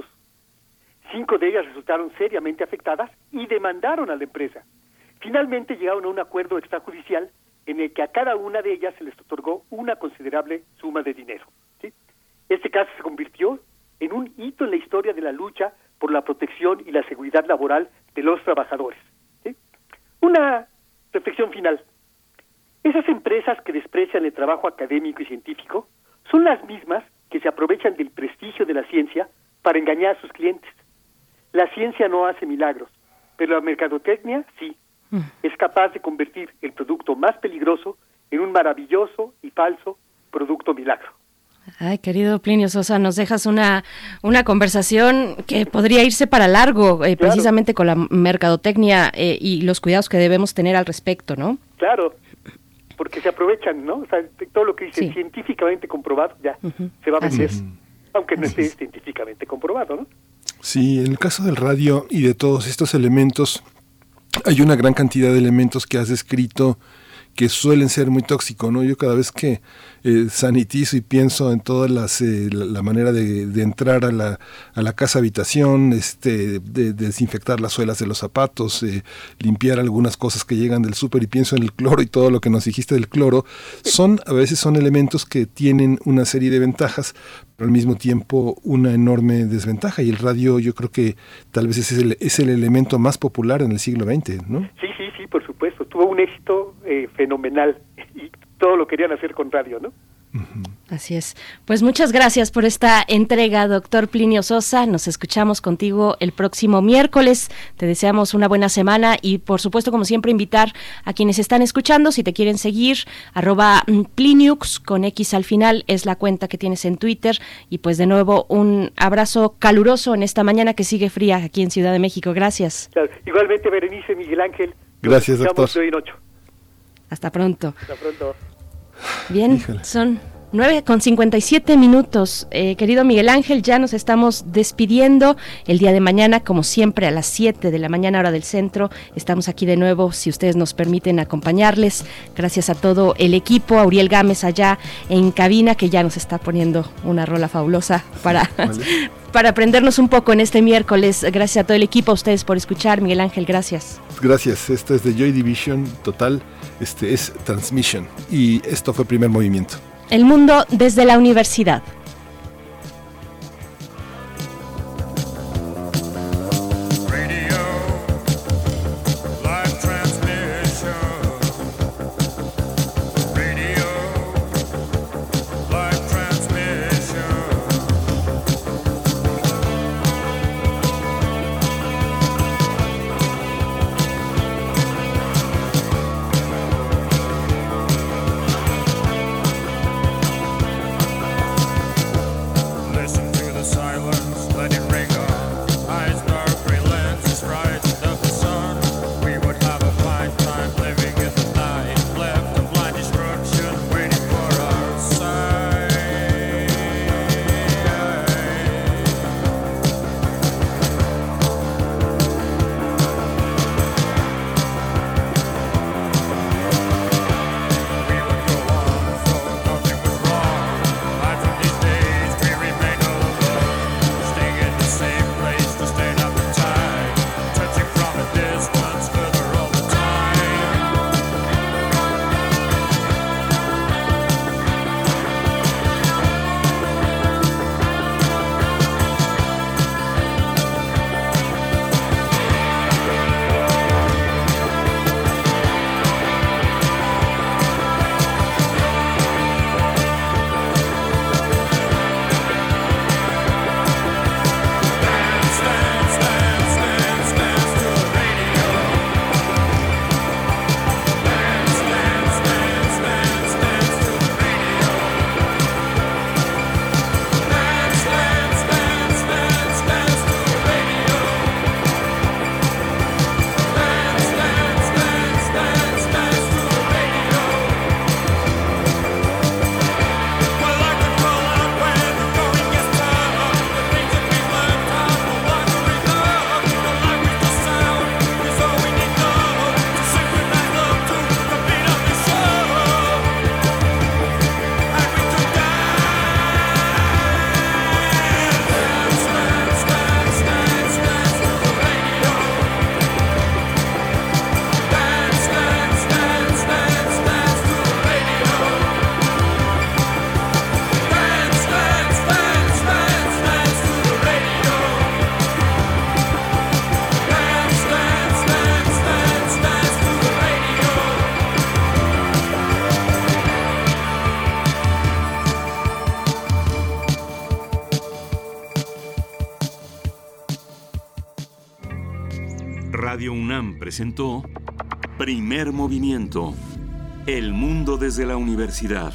5 de ellas resultaron seriamente afectadas y demandaron a la empresa. Finalmente llegaron a un acuerdo extrajudicial en el que a cada una de ellas se les otorgó una considerable suma de dinero, ¿sí? Este caso se convirtió en un hito en la historia de la lucha por la protección y la seguridad laboral de los trabajadores, ¿sí? Una reflexión final. Esas empresas que desprecian el trabajo académico y científico son las mismas que se aprovechan del prestigio de la ciencia para engañar a sus clientes. La ciencia no hace milagros, pero la mercadotecnia sí. Es capaz de convertir el producto más peligroso en un maravilloso y falso producto milagro. Ay, querido Plinio Sosa, nos dejas una conversación que podría irse para largo, claro, precisamente con la mercadotecnia y los cuidados que debemos tener al respecto, ¿no? Claro, porque se aprovechan, ¿no? O sea, todo lo que dice científicamente comprobado ya se va a vender, aunque no esté científicamente comprobado, ¿no? Sí, en el caso del radio y de todos estos elementos, hay una gran cantidad de elementos que has descrito que suelen ser muy tóxicos, ¿no? Yo cada vez que sanitizo y pienso en todas la manera de entrar a la casa habitación, de desinfectar las suelas de los zapatos, limpiar algunas cosas que llegan del súper, y pienso en el cloro y todo lo que nos dijiste del cloro, a veces son elementos que tienen una serie de ventajas, pero al mismo tiempo una enorme desventaja, y el radio yo creo que tal vez es el elemento más popular en el siglo XX, ¿no? Sí, por supuesto, tuvo un éxito fenomenal y todo lo querían hacer con radio, ¿no? Así es. Pues muchas gracias por esta entrega, doctor Plinio Sosa. Nos escuchamos contigo el próximo miércoles. Te deseamos una buena semana y, por supuesto, como siempre, invitar a quienes están escuchando, si te quieren seguir, @Pliniux con X al final es la cuenta que tienes en Twitter. Y pues de nuevo un abrazo caluroso en esta mañana que sigue fría aquí en Ciudad de México. Gracias. Claro. Igualmente, Berenice, Miguel Ángel. Gracias, doctor. Hasta pronto. Hasta pronto. Bien, son 9:57. Querido Miguel Ángel, ya nos estamos despidiendo. El día de mañana, como siempre, a las 7 de la mañana, hora del centro, estamos aquí de nuevo, si ustedes nos permiten acompañarles. Gracias a todo el equipo, a Uriel Gámez allá en cabina, que ya nos está poniendo una rola fabulosa para aprendernos un poco en este miércoles. Gracias a todo el equipo, a ustedes por escuchar. Miguel Ángel, gracias. Gracias, esto es de Joy Division total, es Transmission, y esto fue Primer Movimiento. El mundo desde la universidad. Radio UNAM presentó Primer Movimiento. El mundo desde la universidad.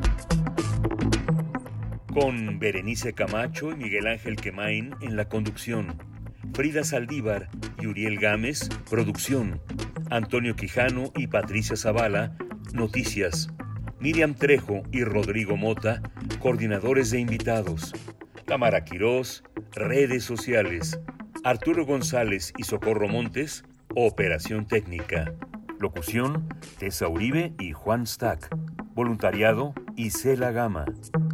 Con Berenice Camacho y Miguel Ángel Quemain en la conducción. Frida Saldívar y Uriel Gámez, producción. Antonio Quijano y Patricia Zavala, noticias. Miriam Trejo y Rodrigo Mota, coordinadores de invitados. Tamara Quirós, redes sociales. Arturo González y Socorro Montes, operación técnica. Locución, Tessa Uribe y Juan Stack. Voluntariado, Isela Gama.